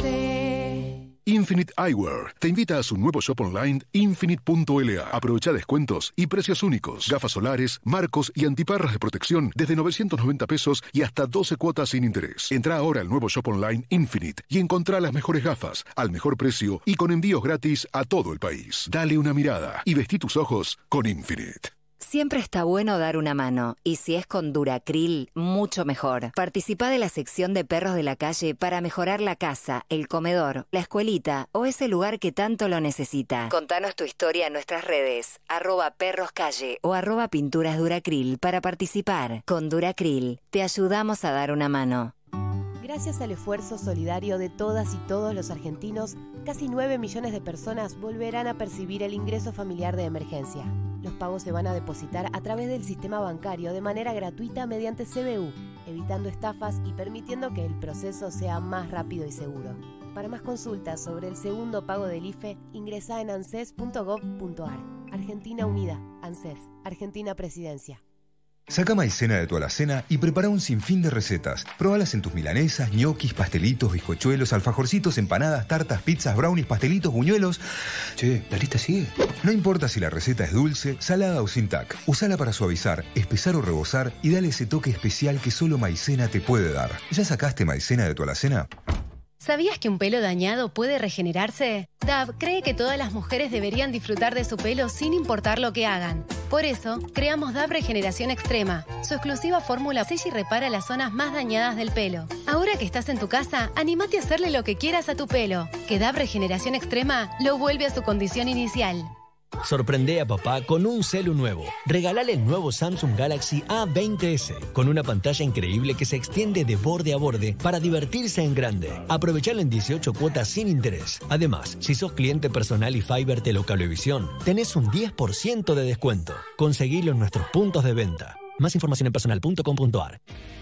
clase. Infinite Eyewear te invita a su nuevo shop online infinite punto l a. Aprovecha descuentos y precios únicos. Gafas solares, marcos y antiparras de protección desde novecientos noventa pesos y hasta doce cuotas sin interés. Entra ahora al nuevo shop online Infinite y encontrá las mejores gafas al mejor precio y con envíos gratis a todo el país. Dale una mirada y vestí tus ojos con Infinite. Siempre está bueno dar una mano, y si es con Duracril, mucho mejor. Participá de la sección de perros de la calle para mejorar la casa, el comedor, la escuelita o ese lugar que tanto lo necesita. Contanos tu historia en nuestras redes, arroba perroscalle o arroba pinturas Duracril para participar. Con Duracril, te ayudamos a dar una mano. Gracias al esfuerzo solidario de todas y todos los argentinos, casi nueve millones de personas volverán a percibir el ingreso familiar de emergencia. Los pagos se van a depositar a través del sistema bancario de manera gratuita mediante C B U, evitando estafas y permitiendo que el proceso sea más rápido y seguro. Para más consultas sobre el segundo pago del I F E, ingresá en anses punto gov punto ar. Argentina Unida, ANSES, Argentina Presidencia. Saca maicena de tu alacena y prepara un sinfín de recetas. Próbalas en tus milanesas, ñoquis, pastelitos, bizcochuelos, alfajorcitos, empanadas, tartas, pizzas, brownies, pastelitos, buñuelos. Che, ¿la lista sigue? No importa si la receta es dulce, salada o sin tac. Usala para suavizar, espesar o rebozar y dale ese toque especial que solo maicena te puede dar. ¿Ya sacaste maicena de tu alacena? ¿Sabías que un pelo dañado puede regenerarse? Dove cree que todas las mujeres deberían disfrutar de su pelo sin importar lo que hagan. Por eso, creamos Dove Regeneración Extrema. Su exclusiva fórmula sella y repara las zonas más dañadas del pelo. Ahora que estás en tu casa, anímate a hacerle lo que quieras a tu pelo. Que Dove Regeneración Extrema lo vuelve a su condición inicial. Sorprende a papá con un celu nuevo. Regálale el nuevo Samsung Galaxy A veinte ese, con una pantalla increíble que se extiende de borde a borde para divertirse en grande. Aprovechalo en dieciocho cuotas sin interés. Además, si sos cliente personal y Fiber Telecable-Visión, tenés un diez por ciento de descuento. Conseguilo en nuestros puntos de venta. Más información en personal punto com punto ar.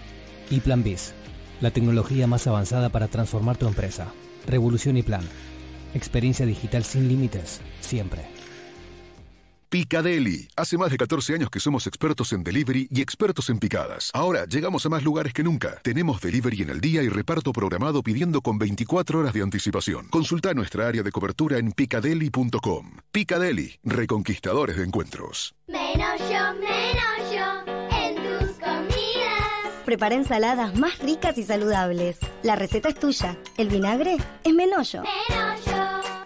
Y Plan Biz, la tecnología más avanzada para transformar tu empresa. Revolución y Plan. Experiencia digital sin límites, siempre. Picadeli. Hace más de catorce años que somos expertos en delivery y expertos en picadas. Ahora llegamos a más lugares que nunca. Tenemos delivery en el día y reparto programado pidiendo con veinticuatro horas de anticipación. Consulta nuestra área de cobertura en picadeli punto com. Picadeli, reconquistadores de encuentros. Menos yo, menos yo en tus comidas. Prepara ensaladas más ricas y saludables. La receta es tuya. El vinagre es Menollo. Menollo.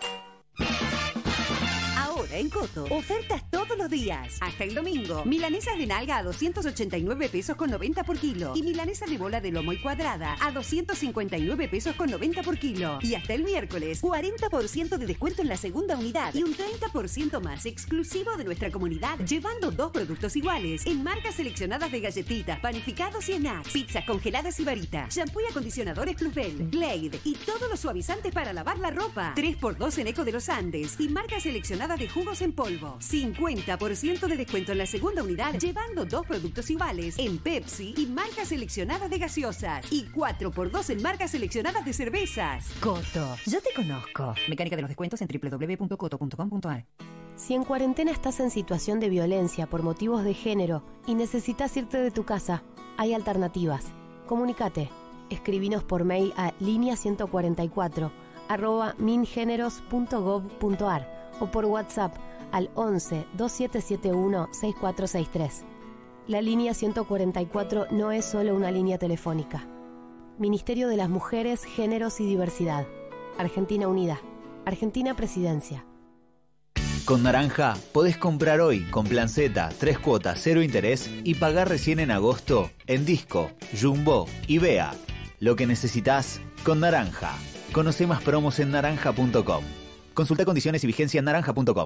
En Coto, ofertas todos los días. Hasta el domingo. Milanesas de nalga a doscientos ochenta y nueve pesos con noventa por kilo. Y milanesa de bola de lomo y cuadrada a doscientos cincuenta y nueve pesos con noventa por kilo. Y hasta el miércoles, cuarenta por ciento de descuento en la segunda unidad. Y un treinta por ciento más exclusivo de nuestra comunidad, llevando dos productos iguales. En marcas seleccionadas de galletitas, panificados y snacks. Pizzas congeladas y varitas. Shampoo y acondicionadores Plusbel, Glade y todos los suavizantes para lavar la ropa. tres por dos en Eco de los Andes. Y marcas seleccionadas de jugos en polvo. cincuenta por ciento de descuento en la segunda unidad, llevando dos productos iguales en Pepsi y marcas seleccionadas de gaseosas. Y cuatro por dos en marcas seleccionadas de cervezas. Coto, yo te conozco. Mecánica de los descuentos en doble u doble u doble u punto coto punto com punto ar. Si en cuarentena estás en situación de violencia por motivos de género y necesitas irte de tu casa, hay alternativas. Comunícate. Escribinos por mail a línea ciento cuarenta y cuatro arroba mingeneros punto gov punto ar o por WhatsApp al once veintisiete setenta y uno sesenta y cuatro sesenta y tres. La línea ciento cuarenta y cuatro no es solo una línea telefónica. Ministerio de las Mujeres, Géneros y Diversidad. Argentina Unida. Argentina Presidencia. Con Naranja podés comprar hoy con Plan Z, tres cuotas, cero interés y pagar recién en agosto en Disco, Jumbo y Bea. Lo que necesitas con Naranja. Conoce más promos en naranja punto com. Consulta condiciones y vigencia en naranja punto com.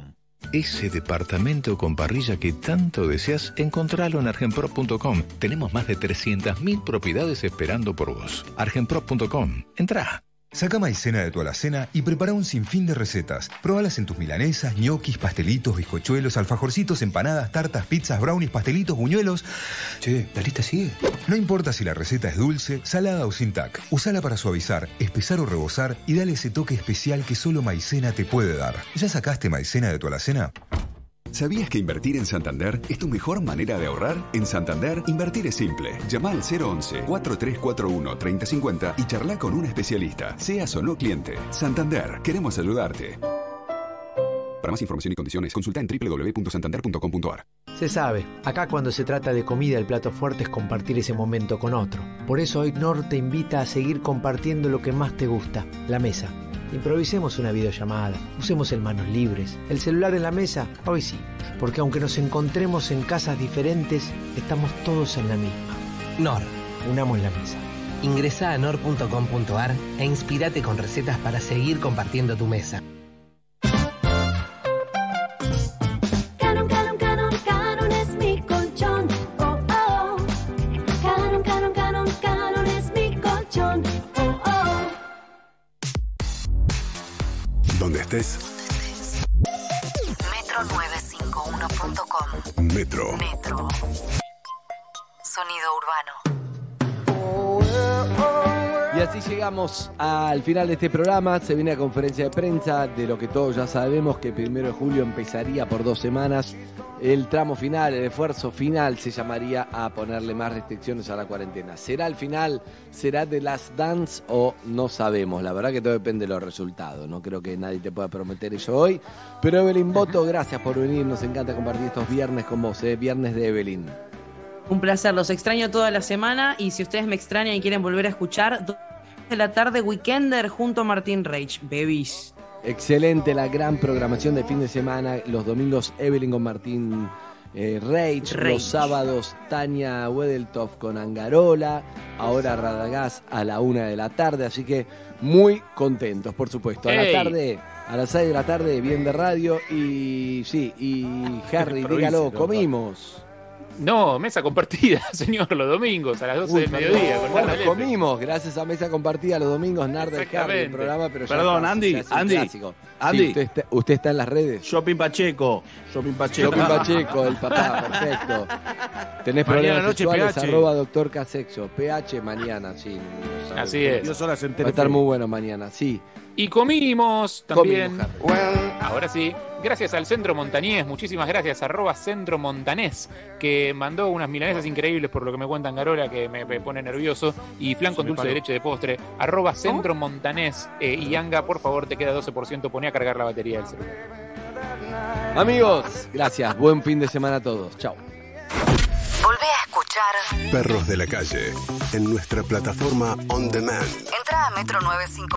Ese departamento con parrilla que tanto deseas, encontralo en argenprop punto com. Tenemos más de trescientas mil propiedades esperando por vos. argenprop punto com. Entrá. Saca maicena de tu alacena y prepara un sinfín de recetas. Probalas en tus milanesas, ñoquis, pastelitos, bizcochuelos, alfajorcitos, empanadas, tartas, pizzas, brownies, pastelitos, buñuelos. Che, ¿la lista sigue? No importa si la receta es dulce, salada o sin tac. Usala para suavizar, espesar o rebozar y dale ese toque especial que solo maicena te puede dar. ¿Ya sacaste maicena de tu alacena? ¿Sabías que invertir en Santander es tu mejor manera de ahorrar? En Santander, invertir es simple. Llama al cero once, cuatro tres cuatro uno, tres cero cinco cero y charla con un especialista, seas o no cliente. Santander, queremos ayudarte. Para más información y condiciones, consulta en doble u doble u doble u punto santander punto com punto a r. Se sabe, acá cuando se trata de comida el plato fuerte es compartir ese momento con otro. Por eso hoy Knorr te invita a seguir compartiendo lo que más te gusta, la mesa. Improvisemos una videollamada, usemos el manos libres, el celular en la mesa, hoy sí, porque aunque nos encontremos en casas diferentes, estamos todos en la misma. Knorr. Unamos la mesa. Ingresá a knorr punto com punto a r e inspirate con recetas para seguir compartiendo tu mesa. Canon, Canon, Canon, Canon es mi colchón. Oh, oh. Canon, Canon, Canon, Canon es mi colchón. Oh, oh. Donde estés. metro novecientos cincuenta y uno punto com. Metro. Metro. Sonido urbano. Y así llegamos al final de este programa. Se viene a conferencia de prensa de lo que todos ya sabemos, que el primero de julio empezaría por dos semanas. El tramo final, el esfuerzo final, se llamaría a ponerle más restricciones a la cuarentena. ¿Será el final? ¿Será The Last Dance? O no sabemos. La verdad que todo depende de los resultados. No creo que nadie te pueda prometer eso hoy. Pero Evelyn Boto, gracias por venir. Nos encanta compartir estos viernes con vos, ¿eh? Viernes de Evelyn. Un placer, los extraño toda la semana y si ustedes me extrañan y quieren volver a escuchar, dos de la tarde Weekender junto a Martín Reich, bebis. Excelente la gran programación de fin de semana. Los domingos Evelyn con Martín eh, Reich, Reich. Los sábados Tania Wedeltoft con Angarola, ahora Radagás a la una de la tarde, así que muy contentos, por supuesto. A Hey. la tarde, a las seis de la tarde, bien de radio y sí, y Harry, dígalo, comimos. No, mesa compartida, señor, los domingos a las doce del mediodía. Con Bueno, Narda Lepe. comimos, gracias a Mesa Compartida los domingos, Narda y Harry, el Exactamente. programa, pero ya Perdón, está, Andy, ya es un Andy, clásico. Andy. Sí, usted, está, usted está en las redes. Shopping Pacheco. Shopping Pacheco. Shopping Pacheco, el papá, perfecto. Tenés Mañana problemas noche, sexuales, P H. arroba doctor Casexo. P H mañana, sí. Así es. Dos horas en Va a Telefe. estar muy bueno mañana, sí. Y comimos también. Comimos, Ahora sí, gracias al Centro Montañés, muchísimas gracias, arroba Centro Montanés, que mandó unas milanesas increíbles por lo que me cuentan Garola, que me, me pone nervioso, y flan con me dulce paró. de leche de postre, arroba Centro Montanés, eh, y Anga, por favor, te queda doce por ciento, poné a cargar la batería del celular. Amigos, gracias. Buen fin de semana a todos. Chao. Volvé a escuchar. Perros de la calle. En nuestra plataforma On Demand. Entra a metro novecientos cincuenta.